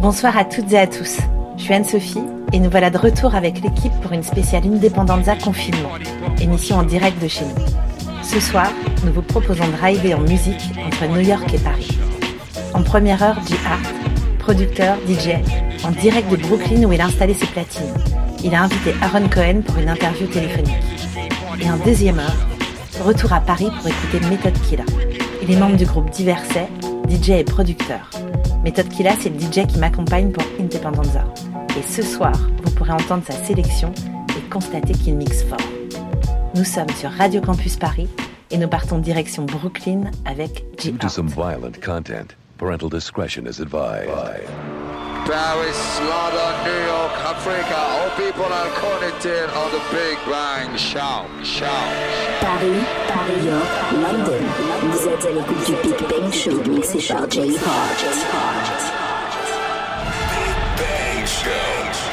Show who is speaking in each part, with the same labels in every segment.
Speaker 1: Bonsoir à toutes et à tous, je suis Anne-Sophie et nous voilà de retour avec l'équipe pour une spéciale Independenza Confinement, émission en direct de chez nous. Ce soir, nous vous proposons de rider en musique entre New York et Paris. En première heure, J-Art, producteur, DJ, en direct de Brooklyn où il a installé ses platines. Il a invité Aaron Cohen pour une interview téléphonique. Et en deuxième heure, retour à Paris pour écouter Method Killa. Il est membre du groupe Diverset, DJ et producteur. Method Killa, c'est le DJ qui m'accompagne pour Independenza. Et ce soir, vous pourrez entendre sa sélection et constater qu'il mixe fort. Nous sommes sur Radio Campus Paris et nous partons direction Brooklyn avec J-Art.
Speaker 2: Due to some violent content, parental discretion is advised.
Speaker 3: Paris, London, New York, Africa, all people are connected on the Big Bang Show.
Speaker 4: Paris, New York, London. Vous êtes à l'écoute du Big Bang Show mixé par J-Art.
Speaker 3: Big Bang Show.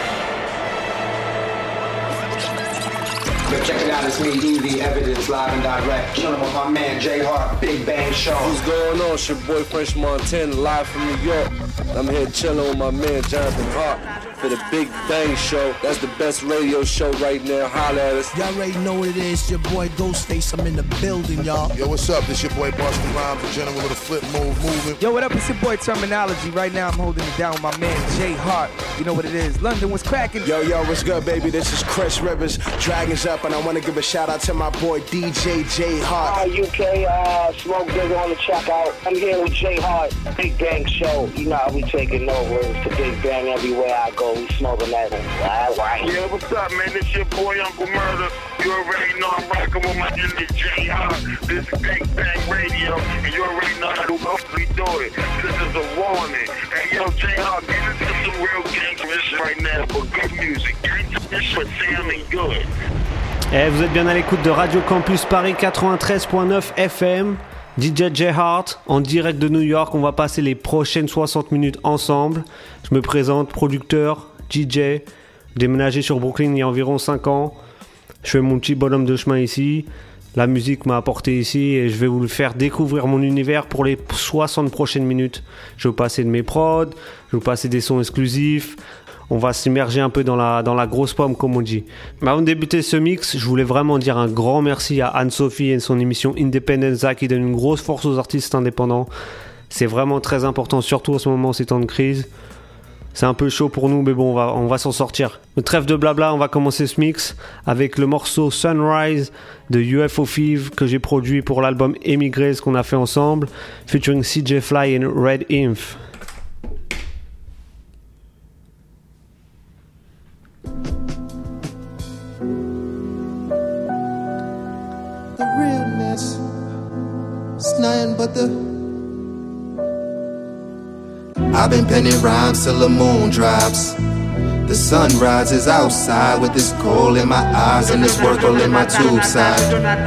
Speaker 5: Check it out, it's me, Evie, Evidence, live and direct. Chillin' with my man, J-Hart, Big Bang Show.
Speaker 6: What's going on? It's your boy French Montana, live from New York. I'm here chilling with my man, Jonathan Hart, for the Big Bang Show. That's the best radio show right now. Holla at us.
Speaker 7: Y'all already know what it is. Your boy Ghostface, I'm in the building, y'all.
Speaker 8: Yo, what's up? This your boy Boston Rhymes, the general of the flip moving.
Speaker 9: Yo, what up? It's your boy Terminology. Right now, I'm holding it down with my man, J-Hart. You know what it is. London, what's cracking?
Speaker 10: Yo, what's good, baby? This is Chris Rivers, Dragons Up, and I want to give a shout out to my boy DJ J-Hart.
Speaker 11: Hi, UK, Smoke Digger on the check out. I'm here with J-Hart, Big Bang Show. You know how we taking over. It's the Big Bang everywhere I go. We smoking that. Right.
Speaker 12: Yeah, what's up, man? This your boy Uncle Murder. You already know I'm rocking with my nigga J-Hart. This is Big Bang Radio, and you already know how to hopefully do it. This is a warning. Hey, yo, J-Hart, get into some real gangster shit right now for good music. Gangster shit sounding good.
Speaker 13: Vous êtes bien à l'écoute de Radio Campus Paris 93.9 FM. DJ J-Hart en direct de New York. On va passer les prochaines 60 minutes ensemble. Je me présente, producteur, DJ, déménagé sur Brooklyn il y a environ 5 ans. Je fais mon petit bonhomme de chemin ici. La musique m'a apporté ici et je vais vous le faire découvrir mon univers pour les 60 prochaines minutes. Je vais vous passer de mes prods, je vais vous passer des sons exclusifs. On va s'immerger un peu dans la grosse pomme, comme on dit. Mais avant de débuter ce mix, je voulais vraiment dire un grand merci à Anne-Sophie et son émission Independenza qui donne une grosse force aux artistes indépendants. C'est vraiment très important, surtout en ce moment, ces temps de crise. C'est un peu chaud pour nous, mais bon, on va s'en sortir. Le trêve de blabla, on va commencer ce mix avec le morceau Sunrise de UFO Thief que j'ai produit pour l'album Émigrés qu'on a fait ensemble, featuring CJ Fly et Red Inf.
Speaker 14: It's nothing but I've been penning rhymes till the moon drops. The sun rises outside with this coal in my eyes and this work all in my tube side.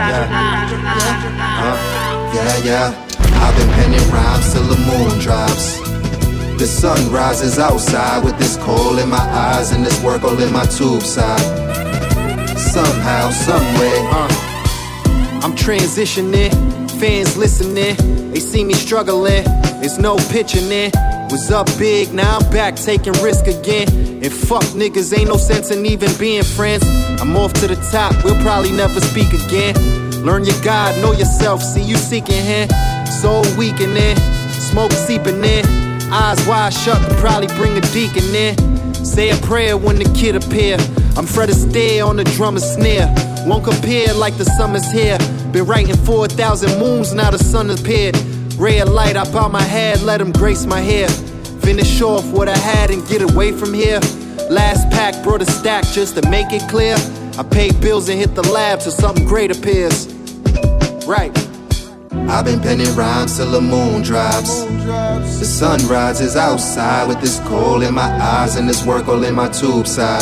Speaker 14: Yeah. I've been penning rhymes till the moon drops. The sun rises outside with this coal in my eyes and this work all in my tube side. Somehow, someway,
Speaker 15: I'm transitioning, fans listening, they see me struggling, there's no pitching in. Was up big, now I'm back taking risk again. And fuck niggas, ain't no sense in even being friends. I'm off to the top, we'll probably never speak again. Learn your God, know yourself, see you seeking him. Soul weakening, smoke seeping in. Eyes wide shut, could probably bring a deacon in. Say a prayer when the kid appear. I'm Fred Astaire on the drum and snare. Won't compare like the summer's here. Been writing 4,000 moons, now the sun appeared. Ray of light, I bow my head, let him grace my hair. Finish off what I had and get away from here. Last pack brought a stack just to make it clear. I pay bills and hit the lab till something great appears. Right.
Speaker 14: I've been penning rhymes till the moon drops. The sun rises outside with this coal in my eyes and this work all in my tube side.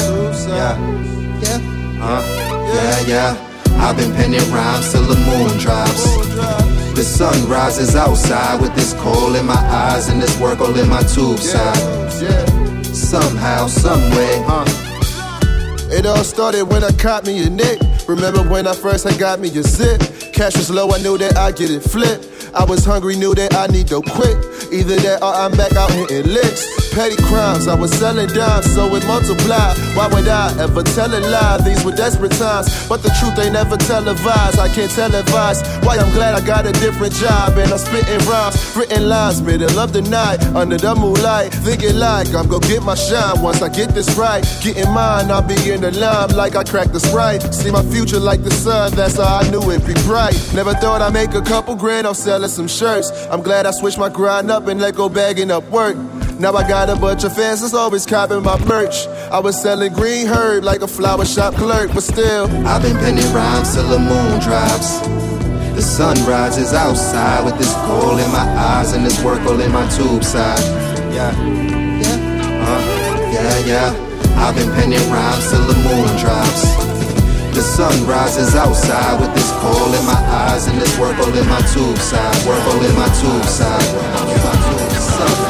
Speaker 14: Yeah. I've been penning rhymes till the moon drops. The sun rises outside with this coal in my eyes and this work all in my tube side. Somehow, someway.
Speaker 8: It all started when I caught me a nick. Remember when I first had got me a zip? Cash was low, I knew that I'd get it flipped. I was hungry, knew that I need to quit. Either that or I'm back out hitting licks. petty crimes. I was selling dimes, so it multiplied. Why would I ever tell a lie? These were desperate times, but the truth ain't never televised. I can't televise why I'm glad I got a different job. And I'm spitting rhymes, written lines, middle of the night, under the moonlight, thinking like I'm gonna get my shine. Once I get this right, getting mine, I'll be in the line like I cracked the Sprite. See my future like the sun, that's how I knew it'd be bright. Never thought I'd make a couple grand off selling some shirts. I'm glad I switched my grind up and let go bagging up work. Now I got a bunch of fans that's always copping my merch. I was selling green herb like a flower shop clerk, but still
Speaker 14: I've been penning rhymes till the moon drops. The sun rises outside with this coal in my eyes and this work all in my tube side. Yeah, I've been penning rhymes till the moon drops. The sun rises outside with this coal in my eyes and this work all in my tube side. Work all in my tube side.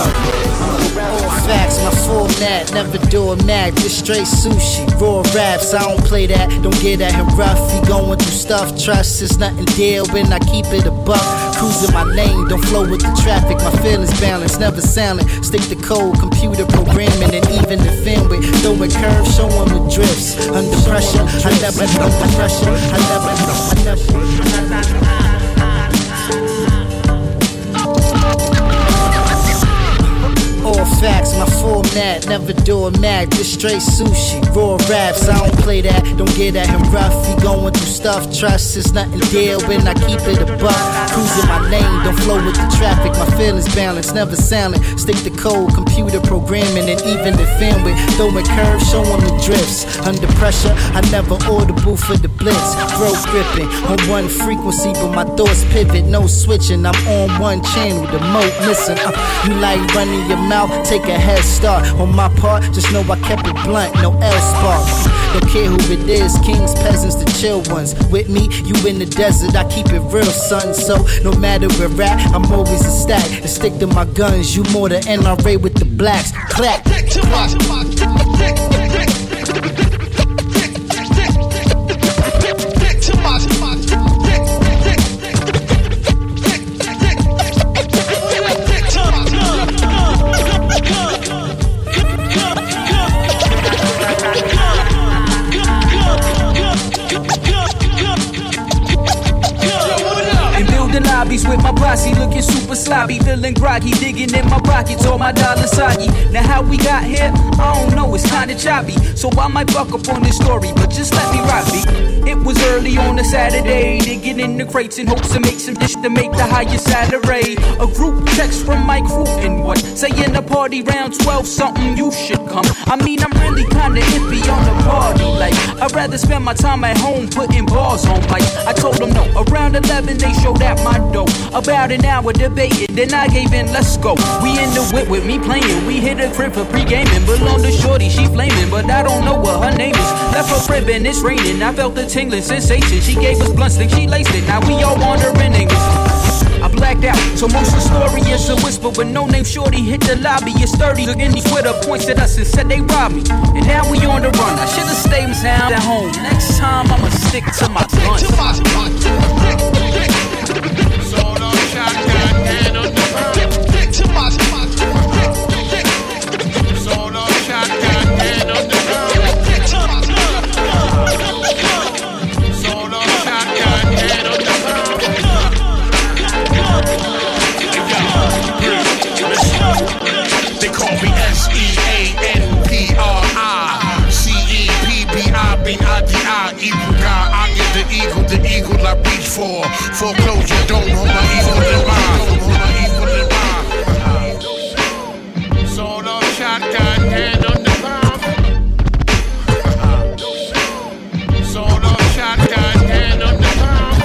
Speaker 16: Facts, my format, never do a mag, just straight sushi, raw raps, I don't play that, don't get at him rough, he going through stuff, trust is nothing deal when I keep it a buck, cruising my lane, don't flow with the traffic, my feelings balanced, never silent, stick to code, computer programming, and even the film with, throwing curves, showing with drifts, under pressure, I never know the pressure, I never know. All facts, my format, never do a mag, just straight sushi, raw raps, I don't play that, don't get at him rough, he going through stuff, trust is nothing deal when I keep it a buck, cruising my lane, don't flow with the traffic, my feelings balanced, never silent, stick to code, computer programming, and even the film with, throwing curves, showing the drifts, under pressure, I never audible for the blitz, throat gripping, on one frequency, but my thoughts pivot, no switching, I'm on one channel, the mode missing, you like running your mouth, take a head start on my part, just know I kept it blunt, no L-spark. Don't care who it is, kings, peasants, the chill ones. With me, you in the desert, I keep it real, son. So no matter where we're at, I'm always a stack and stick to my guns. You more the NRA with the blacks. Clap.
Speaker 17: Lobbies with my posse, looking super sloppy, feeling groggy, digging in my pockets, all my dollars soggy. Now how we got here, I don't know, it's kinda choppy, so I might fuck up on this story, but just let me rock me. It was early on a Saturday, digging in the crates in hopes to make some dish to make the highest salary. A group text from my crew and what, saying the party round 12 something, you should come. I mean, I'm really kinda iffy on the party, like, I'd rather spend my time at home putting bars on like. I told them no, around 11 they showed at my door. About an hour debated, then I gave in, let's go. We in the whip with me playing, we hit a crib for pre-gaming. Belong to shorty, she flaming, but I don't know what her name is. Left her crib and it's raining, I felt the tingling sensation. She gave us blunts, then she laced it, now we all wandering English. I blacked out, so most of the story is a whisper. But no name shorty hit the lobby, it's 30. Took any Twitter, points at us and said they robbed me. And now we on the run, I should've stayed down at home. Next time I'ma stick to my guns.
Speaker 12: Shotgun, hand on the ground. Solo shotgun, hand on the ground. Solo shotgun, hand on the ground. They call me SEANPRI, CEPBI, been IDI, evil guy. I get the eagle I reach for. Foreclosure, don't hold my evil in mind. Solo shotgun, hand on the ground. Solo shotgun, hand on the ground.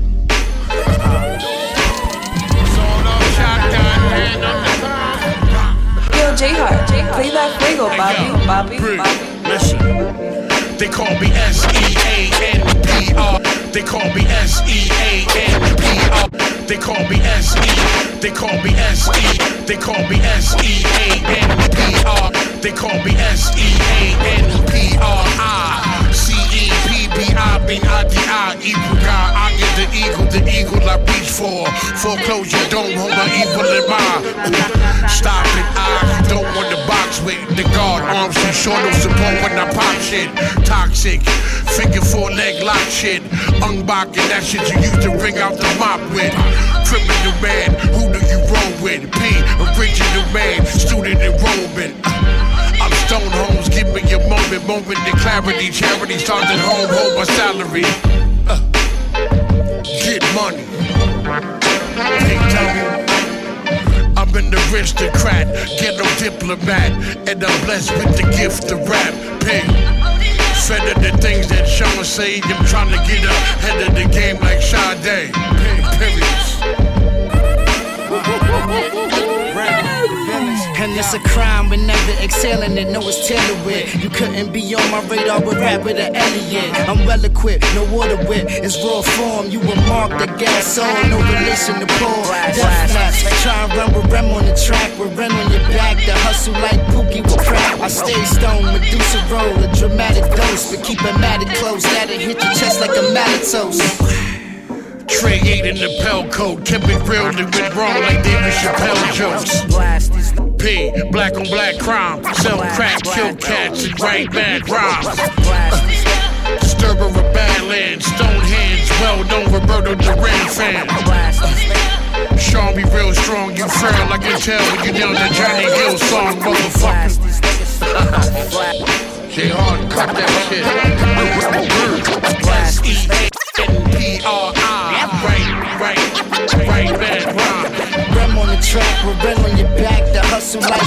Speaker 12: Solo shotgun, hand on the ground.
Speaker 18: Yo, J-Hart, play that fuego, Bobby.
Speaker 12: They call me SEANPR. They call me SEANPR. They call me SE. They call me SE. They call me SEANPR. They call me SEANPRI. CEPBI, been IDI, evil guy. I get the eagle I reach for. Foreclosure, don't hold my evil in mind. Stop it, I don't
Speaker 19: arms too short, no support when I pop shit. Toxic, figure 4 leg lock shit. Unbocking that shit you used to bring out the mop with. Criminal man, who do you roll with? P, original man, student enrollment. I'm Stone Holmes, give me a moment to clarity. Charity starts at home, hold my salary. Get money. Big time. I'm an aristocrat, ghetto diplomat, and I'm blessed with the gift of rap. Pay. Fed of the things that Sean say, I'm trying to get ahead of the game like Sade. Period.
Speaker 16: And it's a crime, we're never exhaling it, no it's tailored with. You couldn't be on my radar with rap with an Elliot. I'm well equipped, no water wit, it's raw form. You were marked the gas on, no relation to Paul. Death nuts, try and run with Rem on the track, with Ren on your back. The hustle like Pookie with crack. I stay stoned, Medusa roll, a dramatic dose, but keep it matted close. That'll hit your chest like a malletose.
Speaker 19: Trey 8 in the Pell coat, kept it real and went wrong like David Chappelle jokes. P, black on black crime, sell crack, kill cats, and write bad rhymes. Disturber of Badlands, Stonehenge, well known Roberto Duran fan. Sean be real strong, you frail, I can tell when you down that Johnny Gill song, motherfucker. J Hard, cut that shit. S-E-N-P-R-I, right bad rhyme.
Speaker 16: Rem on the track, with Ren on your back, the hustle like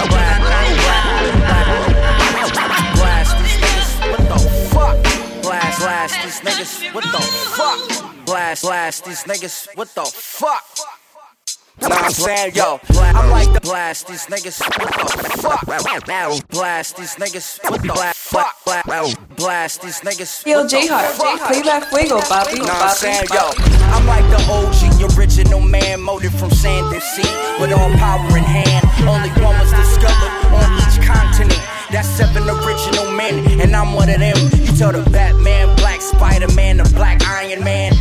Speaker 20: blast these niggas, what the fuck? Blast these niggas, what the fuck? Blast these niggas, what the fuck? Nah, I'm saying, yo, I'm like the blast these niggas, what the fuck? Blast these niggas, what the fuck? Blast these niggas.
Speaker 18: Yo, J-Hart, play that fuego, papi.
Speaker 20: Nah, I'm saying, yo, I'm like the OG, original man, molded from sand and sea, with all power in hand. Only one was discovered on each continent. That's 7 original men, and I'm one of them. You tell the Batman, Black Spider-Man, the Black Iron Man,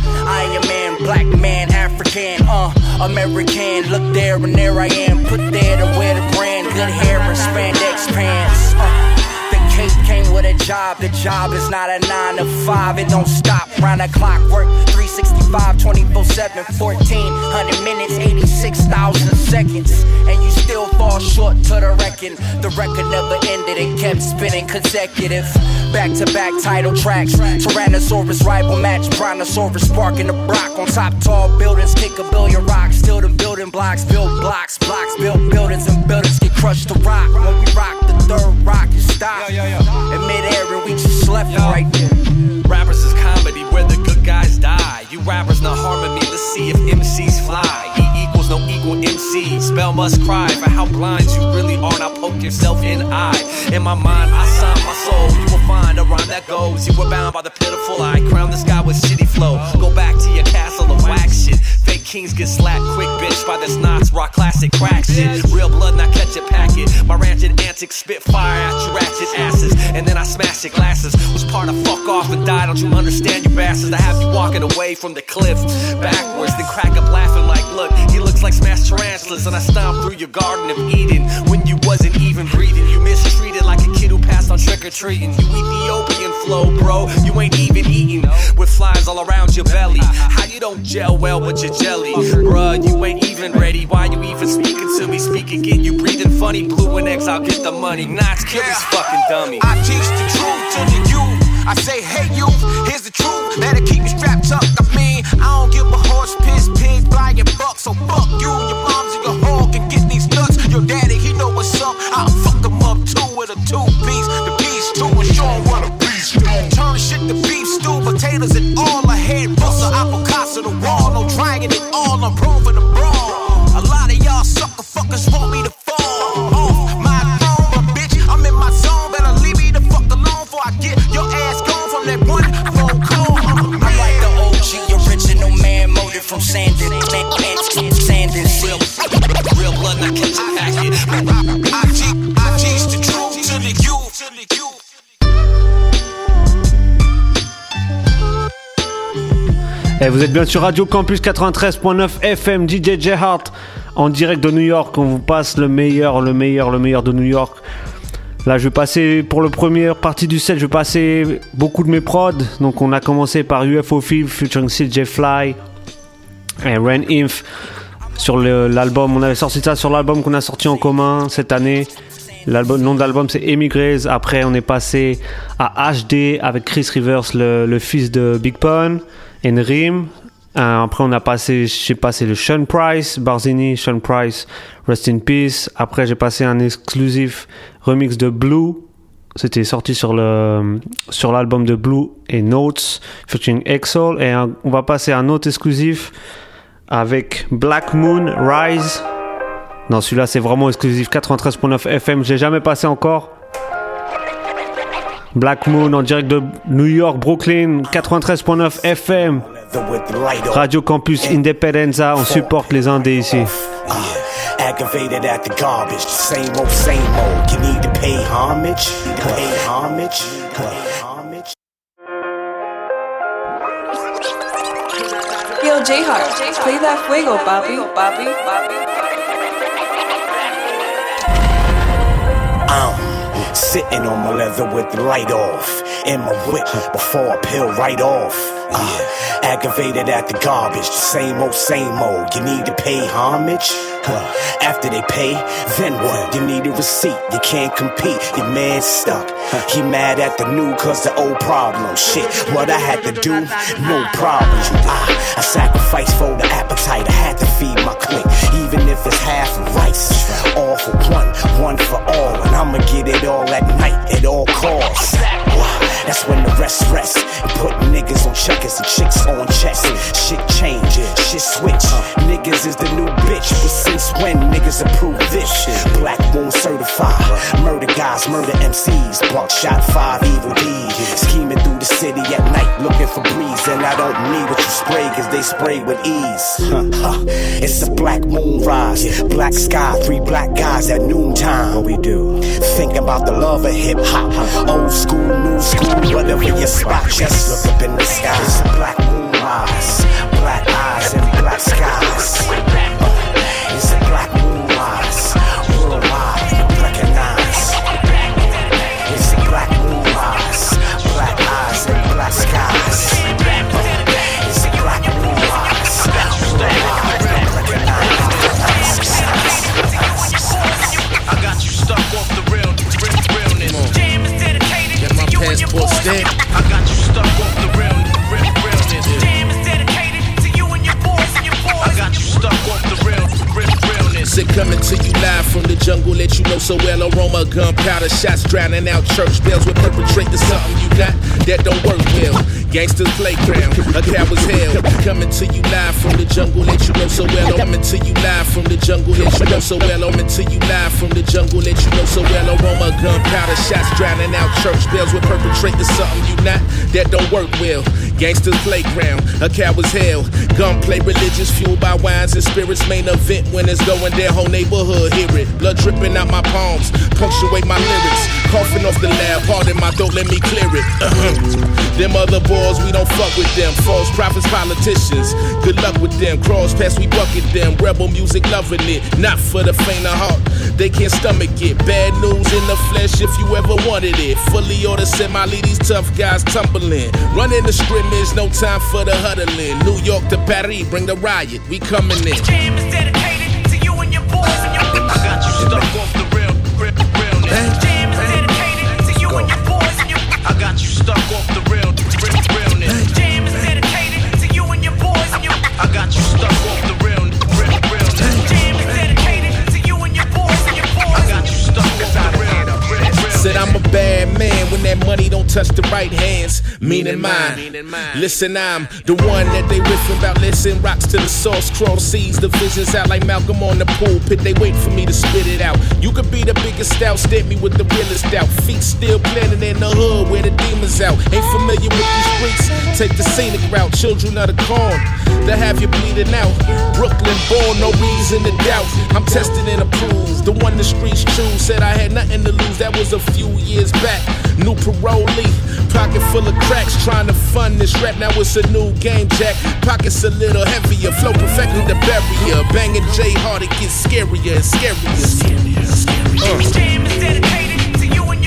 Speaker 20: Black man, African, American. Look there and there I am, put there to wear the brand. Good hair and spandex pants. The cape came with a job. The job is not a 9 to 5. It don't stop. Round the clock work, 365, 24/7, 1400 minutes, 86,000 seconds, and you still fall short to the record. The record never ended. It kept spinning consecutive, back-to-back title tracks. Tyrannosaurus rival match, Brontosaurus sparking the block on top tall buildings. Kick a billion rocks, still them building blocks, build blocks, build buildings, and buildings get crushed to rock. When we rock the third rock, you stop. In midair and we just left it right there.
Speaker 21: Rappers is comedy where the good guys die. You rappers not harming me, let's see if MCs fly. E equals no equal MC. Spell must cry for how blind you really are. Now poke yourself in the eye. In my mind, I sign my soul. You will find a rhyme that goes. You were bound by the pitiful eye. Crown the sky with shitty flow. Go back to your castle of wax shit. Fake kings get slapped quick, bitch, by this knots. Rock classic crack shit. Real blood, not catch a packet. My rancid antics spit fire at your ratchet asses. And then I smash your glasses. Was part of fuck off and die. Don't you understand, you bastards? I have you walking away from the cliff backwards, then crack up laughing like, look, he looks like smashed tarantulas. And I stomped through your garden of Eden when you wasn't even breathing. You mistreated like a kid who passed on trick-or-treating. You Ethiopian flow, bro, you ain't even eating. With flies all around your belly. How you don't gel well with your jelly? Bruh, you ain't even ready. Why you even speaking to me? Speak again, you breathing funny. Blue and X, I'll get the money. Knots kill this fucking dummy.
Speaker 5: I teach the truth to the youth. I say, hey youth, here's the truth. Better keep me strapped up. I mean, I don't give a horse, piss, pig, flying buck. So fuck you and your moms and your hog and get these nuts. Your daddy, he know what's up. I'll fuck him up too with a 2-piece. The piece too and show him what a beast do. Turn shit to beef stew, potatoes and all ahead. Buster, avocados to the wall. No dragging it all, I'm proving the brawl. A lot of y'all sucker fuckers want me to fall off my throne, but bitch, I'm in my zone. Better leave me the fuck alone before I get your ass gone from that one phone call.
Speaker 20: I'm like the OG, original man, molded from sand and seal. Real blood, not catch a packet.
Speaker 5: I teach the truth to the youth.
Speaker 13: Et vous êtes bien sur Radio Campus 93.9 FM, DJ J-Hart en direct de New York. On vous passe le meilleur de New York. Là, je vais passer, pour la première partie du set, je vais passer beaucoup de mes prods. Donc, on a commencé par UFO Thief featuring CJ Fly et Ren Inf sur l'album. On avait sorti ça sur l'album qu'on a sorti en commun cette année. Le nom de l'album, c'est Emigres. Après, on est passé à HD avec Chris Rivers, le fils de Big Pun, et Rim. Après, j'ai passé le Sean Price, Barzini, Sean Price, Rest in Peace. Après, j'ai passé un exclusif remix de Blue. C'était sorti sur l'album de Blue et Notes, featuring Exol. Et on va passer à un autre exclusif avec Black Moon Rise. Non, celui-là, c'est vraiment exclusif, 93.9 FM. Je l'ai jamais passé encore. Black Moon en direct de New York, Brooklyn, 93.9 FM. Radio Campus Independenza, on supporte les Indés ici.
Speaker 1: Aggravated at the garbage, same old, you need to pay homage,
Speaker 18: Yo, J-Heart, play that fuego, Bobby.
Speaker 1: Sitting on my leather with the light off, in my whip before I peel right off. Aggravated at the garbage, same old, you need to pay homage. After they pay, then what? You need a receipt, you can't compete, your man's stuck. He mad at the new cause the old problem. Shit, what I had to do, no problem. I sacrificed for the appetite, I had to feed my clique. Even if it's half rice, all for one for all. And I'ma get it all at night, at all costs. That's when the rest and put niggas on checkers and chicks on checks. Shit change, shit switch. Niggas is the new bitch, but since when niggas approve this? Black Moon certified, murder guys, murder MCs, buckshot 5 evil deeds. Scheming through the city at night, looking for breeze, and I don't need what you spray, cause they spray with ease. It's a black moon rise, black sky, 3 black guys at noontime. What we do? Think about the love of hip hop, old school, new school. Whatever your spot, just look up in the sky. It's a black moon rise, black eyes and black skies. It's a black moon rise, worldwide, recognize. It's a black moon rise, black eyes and black skies. It's a black moon rise, worldwide, recognize.
Speaker 19: I got you stuck off the realness. Passport stamp. I got you stuck off the realness. Jam is dedicated to you and your boys I got you stuck off the realness. Sick coming to you live from the jungle that you know so well. Aroma, gunpowder, shots drowning out church bells. We're perpetrating something you got that don't work well. Gangsters playground, a coward's hell. Coming to you live from the jungle that you know so well. Coming to you live from the jungle that you know so well. Coming to you live from the jungle that you know so well. Aroma, gunpowder, shots drowning out church bells. We're perpetrating something you not that don't work well. Gangsters playground, a coward's hell. Gunplay religious, fueled by wines and spirits. Main event when it's going down, whole neighborhood hear it. Blood dripping out my palms, punctuate my lyrics. Coughing off the lab, pardon my throat, let me clear it. Them other boys, we don't fuck with them. False prophets, politicians, good luck with them. Cross pass, we bucket them. Rebel music, loving it, not for the faint of heart. They can't stomach it. Bad news in the flesh if you ever wanted it. Fully or to semi, leave these tough guys tumbling. Running the scrimmage, no time for the huddling. New York to Paris, bring the riot, we coming in. Jam is dedicated to you and your boys I got you stuck off the realness. Jam is dedicated to you and your boys I got you stuck off the realness. Jam is dedicated to you and your boys I got you stuck off the realness. Jam is dedicated to you and your boys I got you stuck off the realness. Said I'm a bad man when that money don't touch the right hands, meaning mine. Listen, I'm the one that they riffing about. Listen, rocks to the source, cross seas, the visions out like Malcolm on the pulpit. They wait for me to spit it out. You could be the biggest out, stamp me with the realest out. Feet still planted in the hood where the demons out. Ain't familiar with these streets, take the scenic route. Children of the corn, to have you bleeding out. Brooklyn born, no reason to doubt. I'm tested and approved, the one the streets choose. Said I had nothing to lose, that was a few years back. New parolee, pocket full of cracks, trying to fund this rap. Now it's a new game, Jack. Pockets a little heavier, flow perfected the barrier. Banging J Hard, it gets scarier and scarier. Jam is dedicated to you and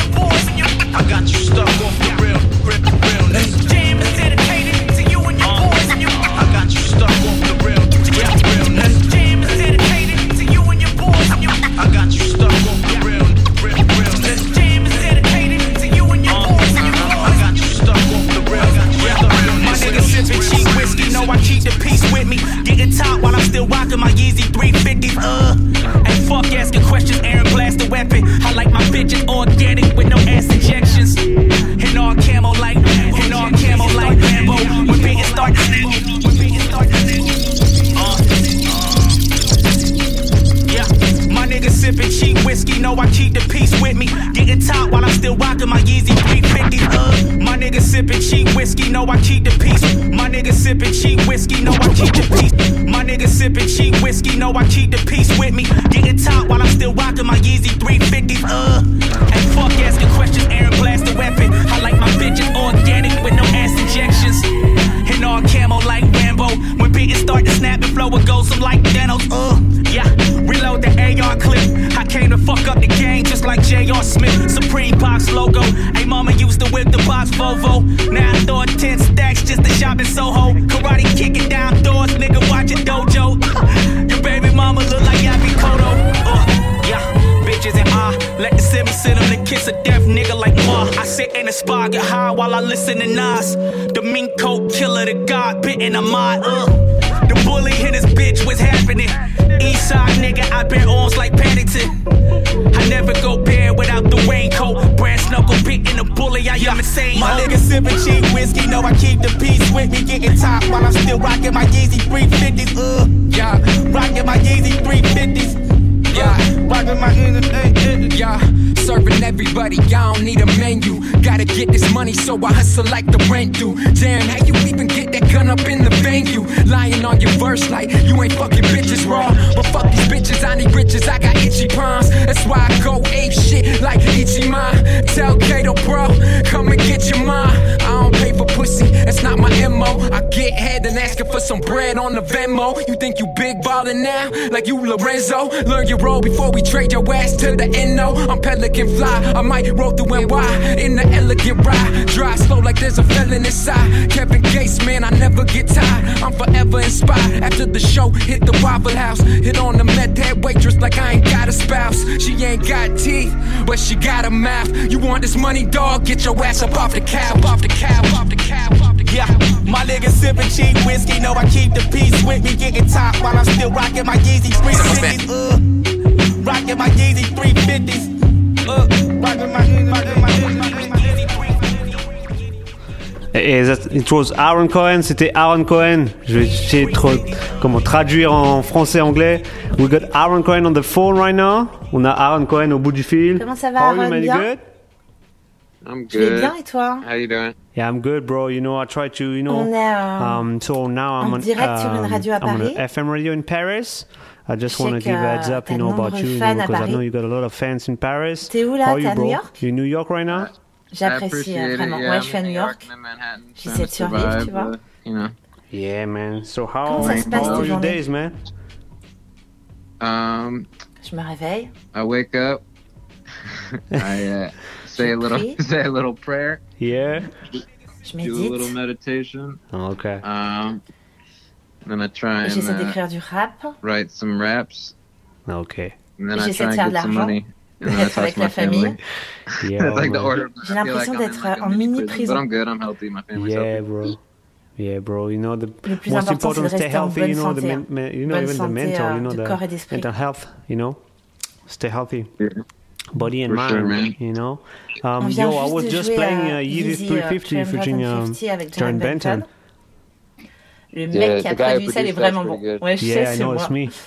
Speaker 17: still rocking my Yeezy 350s. My nigga sipping cheap whiskey, know I keep the peace. My nigga sipping cheap whiskey, know I keep the peace. My nigga sipping cheap whiskey, know I keep the peace with me. Getting top while I'm still rocking my Yeezy 350s. And fuck asking questions, Aaron blast the weapon. I like my bitches organic with no ass injections. And all camo like Rambo. When beatings start to snap and flow, it goes some like Thanos. Yeah, reload the AR clip. I came to fuck up the game just like J.R. Smith. Supreme box logo. Hey, mama used to whip the box Volvo. Now I throw 10 stacks just to shop in Soho. Karate kicking down doors, nigga watching dojo. Your baby mama look like Yabi Kodo. Yeah, bitches and let the Simmons send him the kiss of death, nigga like Ma. I sit in the spa, get high while I listen to Nas. The mink coat killer, the god bitten a mod. The bully in his bitch, what's happening? Eastside nigga, I bear arms like Paddington. I never go bare without the raincoat. Brass knuckle beating the bully, I am insane. My nigga sipping cheap whiskey, know I keep the peace with me. Getting top while I'm still rocking my Yeezy 350s. Yeah, rocking my Yeezy 350s. Yeah, rockin' my yeah, serving everybody, I don't need a menu. Gotta get this money, so I hustle like the rent do. Damn, how you even get that gun up in the venue? Lying on your verse like you ain't fucking bitches raw. But fuck these bitches, I need riches, I got itchy palms. That's why I go ape shit like Ichiman. Tell Kato bro, come and get your mom. I don't pay for pussy, that's not my MO. I get head and asking for some bread on the Venmo. You think you big ballin' now, like you Lorenzo? Learn your role before we trade your ass to the NO. I'm Pelican fly, I might roll through NY in the elegant ride. Drive slow like there's a felon inside. Kevin Gates, man, I never get tired. I'm forever inspired. After the show, hit the Waffle House. Hit on the meth head waitress like I ain't got a spouse. She ain't got teeth, but she got a mouth. You want this money, dog? Get your ass up off the cab, off the cab, off the cab, off the cab. Yeah, my nigga sipping cheap whiskey, know I keep the peace with me. Getting top while I'm still rocking my Yeezy 350s. Rocking my Yeezy 350s. Rocking my Yeezy 350s.
Speaker 13: It was Aaron Cohen, c'était Aaron Cohen. Je vais essayer de traduire en français-anglais. We got Aaron Cohen on the phone right now. On a Aaron Cohen au bout du fil.
Speaker 2: Comment ça va, Aaron? Bien?
Speaker 13: Good?
Speaker 2: I'm good. Je vais bien, et toi?
Speaker 21: How you doing?
Speaker 13: Yeah, I'm good, bro. You know, I try to,
Speaker 2: On est
Speaker 13: so now I'm
Speaker 2: en direct sur une radio à
Speaker 13: I'm on
Speaker 2: Paris.
Speaker 13: an FM radio in Paris. I just want to give a heads up, about you, because I know you got a lot of fans in Paris.
Speaker 2: T'es où là? T'es à New York?
Speaker 13: You're in New York right now?
Speaker 2: J'apprécie vraiment.
Speaker 21: Yeah,
Speaker 2: ouais, je suis à New York. J'essaie de survivre, tu vois.
Speaker 13: Yeah, man. So
Speaker 2: Comment ça se passe tes journées?
Speaker 13: Days, man?
Speaker 2: Je me réveille.
Speaker 21: I wake up. I say a little prayer.
Speaker 13: Yeah.
Speaker 2: Je médite.
Speaker 21: Do a little meditation.
Speaker 13: Okay.
Speaker 21: Then I try and
Speaker 2: j'essaie d'écrire du rap.
Speaker 21: Write some raps.
Speaker 13: Okay.
Speaker 21: And then I try and get some money. And then I talk to my family.
Speaker 13: Yeah,
Speaker 21: like the order.
Speaker 2: J'ai l'impression d'être en mini prison.
Speaker 21: But I'm good. I'm healthy. My family's healthy.
Speaker 13: Yeah, bro. You know, the
Speaker 2: plus
Speaker 13: most
Speaker 2: important,
Speaker 13: important, stay healthy.
Speaker 2: You
Speaker 13: know,
Speaker 2: even
Speaker 13: the mental.
Speaker 2: de corps et d'esprit.
Speaker 13: Mental health. You know, stay healthy.
Speaker 21: Yeah.
Speaker 13: Body and mind.
Speaker 21: Sure, man.
Speaker 13: You know.
Speaker 2: On vient
Speaker 13: I was just playing
Speaker 2: Yeezy
Speaker 13: 350 featuring Jaren Benton.
Speaker 2: Le mec qui a produit ça, il est vraiment bon. Ouais, je sais,
Speaker 13: I know, it's me.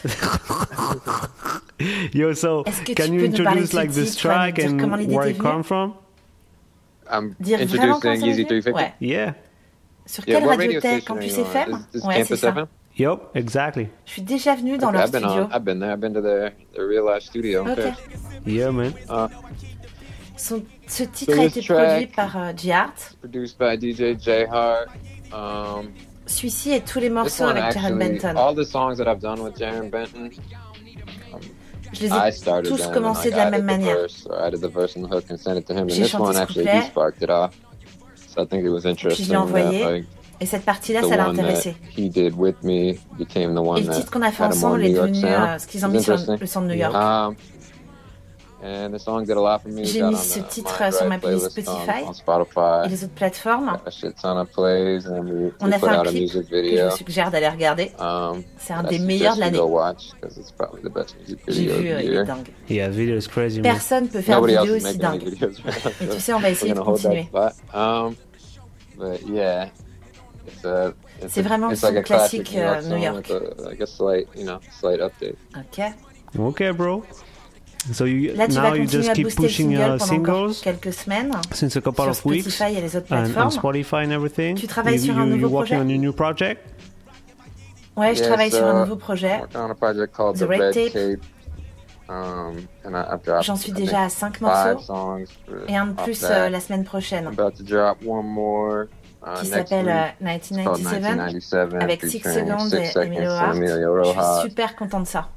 Speaker 13: Yo, so can you introduce like this track and where it come from?
Speaker 21: I'm introducing Yeezy 350.
Speaker 2: Ouais.
Speaker 13: Yeah.
Speaker 2: Sur quelle radio t'es? Campus FM? Ouais, c'est ça.
Speaker 13: Yup, exactly.
Speaker 2: Je suis déjà venu dans leur studio.
Speaker 21: I've been there. I've been to their real life studio.
Speaker 2: Okay.
Speaker 13: Yeah, man.
Speaker 2: Ce titre a été produit par J-Art.
Speaker 21: Produced by DJ J-Hart.
Speaker 2: Celui-ci et tous les morceaux avec Jaren Benton.
Speaker 21: All the songs that I've done with Jaren Benton.
Speaker 2: Je les ai tous commencés de la même manière. J'ai chanté ce couplet. Puis je l'ai envoyé. Et cette partie-là, ça l'a intéressé. Et le titre qu'on a fait ensemble est devenu ce qu'ils ont mis sur le son de New York. J'ai mis ce titre sur ma playlist Spotify et les autres plateformes. On a fait un clip que je vous suggère d'aller regarder. C'est un des meilleurs de l'année. J'ai vu, il est dingue.
Speaker 13: Yeah, video is crazy.
Speaker 2: Personne ne peut faire une vidéo aussi dingue. Et tu sais, on va essayer de continuer. C'est vraiment son classique New York.
Speaker 21: Ok.
Speaker 13: Ok, bro. So
Speaker 2: là, tu vas continuer à booster le single pendant quelques semaines
Speaker 13: since a couple
Speaker 2: sur
Speaker 13: of weeks,
Speaker 2: Spotify et les autres plateformes.
Speaker 13: And Spotify and everything.
Speaker 2: Tu travailles sur un nouveau projet?
Speaker 13: On a new project?
Speaker 2: Ouais, je travaille sur un nouveau projet. The Red Tape. J'en suis déjà à 5 morceaux et un de plus la semaine prochaine qui s'appelle 1997 avec 6 secondes et Emilio Hart. Je suis super content de ça.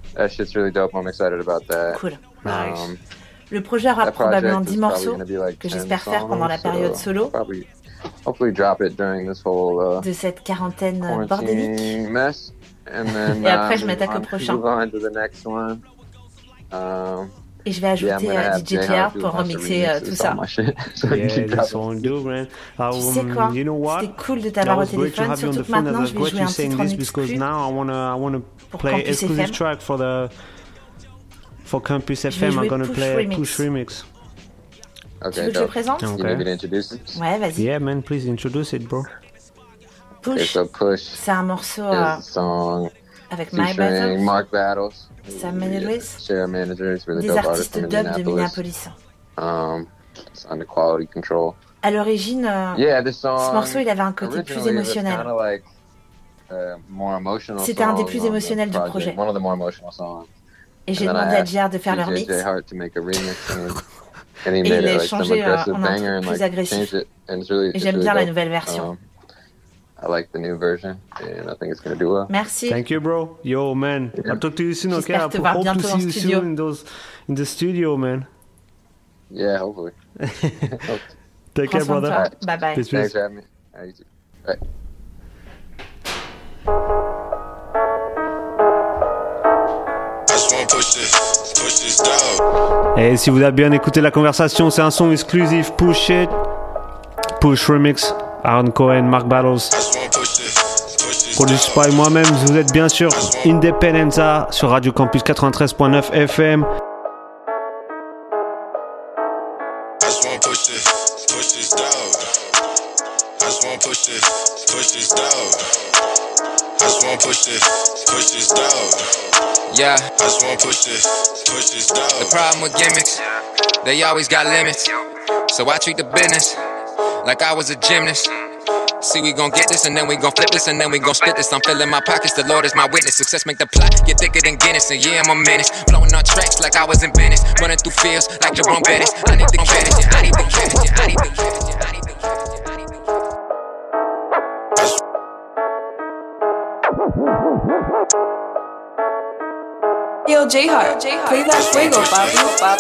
Speaker 2: Cool. Le projet aura probablement 10 morceaux que j'espère faire pendant la période solo de cette quarantaine bordélique. Et après je m'attaque au prochain. Et je vais ajouter DJ JR pour remixer tout ça.
Speaker 13: Tu sais
Speaker 2: quoi? C'était cool de t'avoir au téléphone, surtout que maintenant je vais jouer un titre en exclu pour Campus FM.
Speaker 13: For Campus FM, I'm gonna play Push Remix.
Speaker 2: Tu veux que je le présente? Ouais, vas-y.
Speaker 13: Yeah, man, please introduce it, bro.
Speaker 2: Push, c'est un morceau avec My Battles, Sam Mendes, des artistes dub de Minneapolis. À l'origine, ce morceau, il avait un côté plus émotionnel. C'était un des plus émotionnels du projet. Et j'ai demandé à JR de faire le remix. Et il l'a changé en un truc plus agressif. Et j'aime bien la nouvelle version.
Speaker 4: I like the new version, and I think it's gonna do well.
Speaker 2: Merci.
Speaker 13: Thank you, bro. Yo, man. I'll talk to you soon, okay? I hope to see you soon in the studio, man.
Speaker 4: Yeah, hopefully.
Speaker 13: Take care, brother.
Speaker 2: Bye bye.
Speaker 4: Peace. Thanks for having me. You too. Bye.
Speaker 13: Et si vous avez bien écouté la conversation, c'est un son exclusif. Push It, Push Remix. Aaron Cohen, Mark Battles, produit par moi-même. Vous êtes bien sûr Independenza sur Radio Campus 93.9 FM.
Speaker 22: Yeah, I just wanna push this dog. The problem with gimmicks, they always got limits. So I treat the business like I was a gymnast. See, we gon' get this and then we gon' flip this and then we gon' split this. I'm filling my pockets, the Lord is my witness. Success make the plot get thicker than Guinness. And yeah, I'm a menace, blowing on tracks like I was in Venice. Running through fields like Jerome Bettis. I need the credit, yeah, I need the credit, yeah, I need the credit, yeah, I need the credit, yeah, I need the credit.
Speaker 18: Yo, J-Heart, play that fuego, Bobby.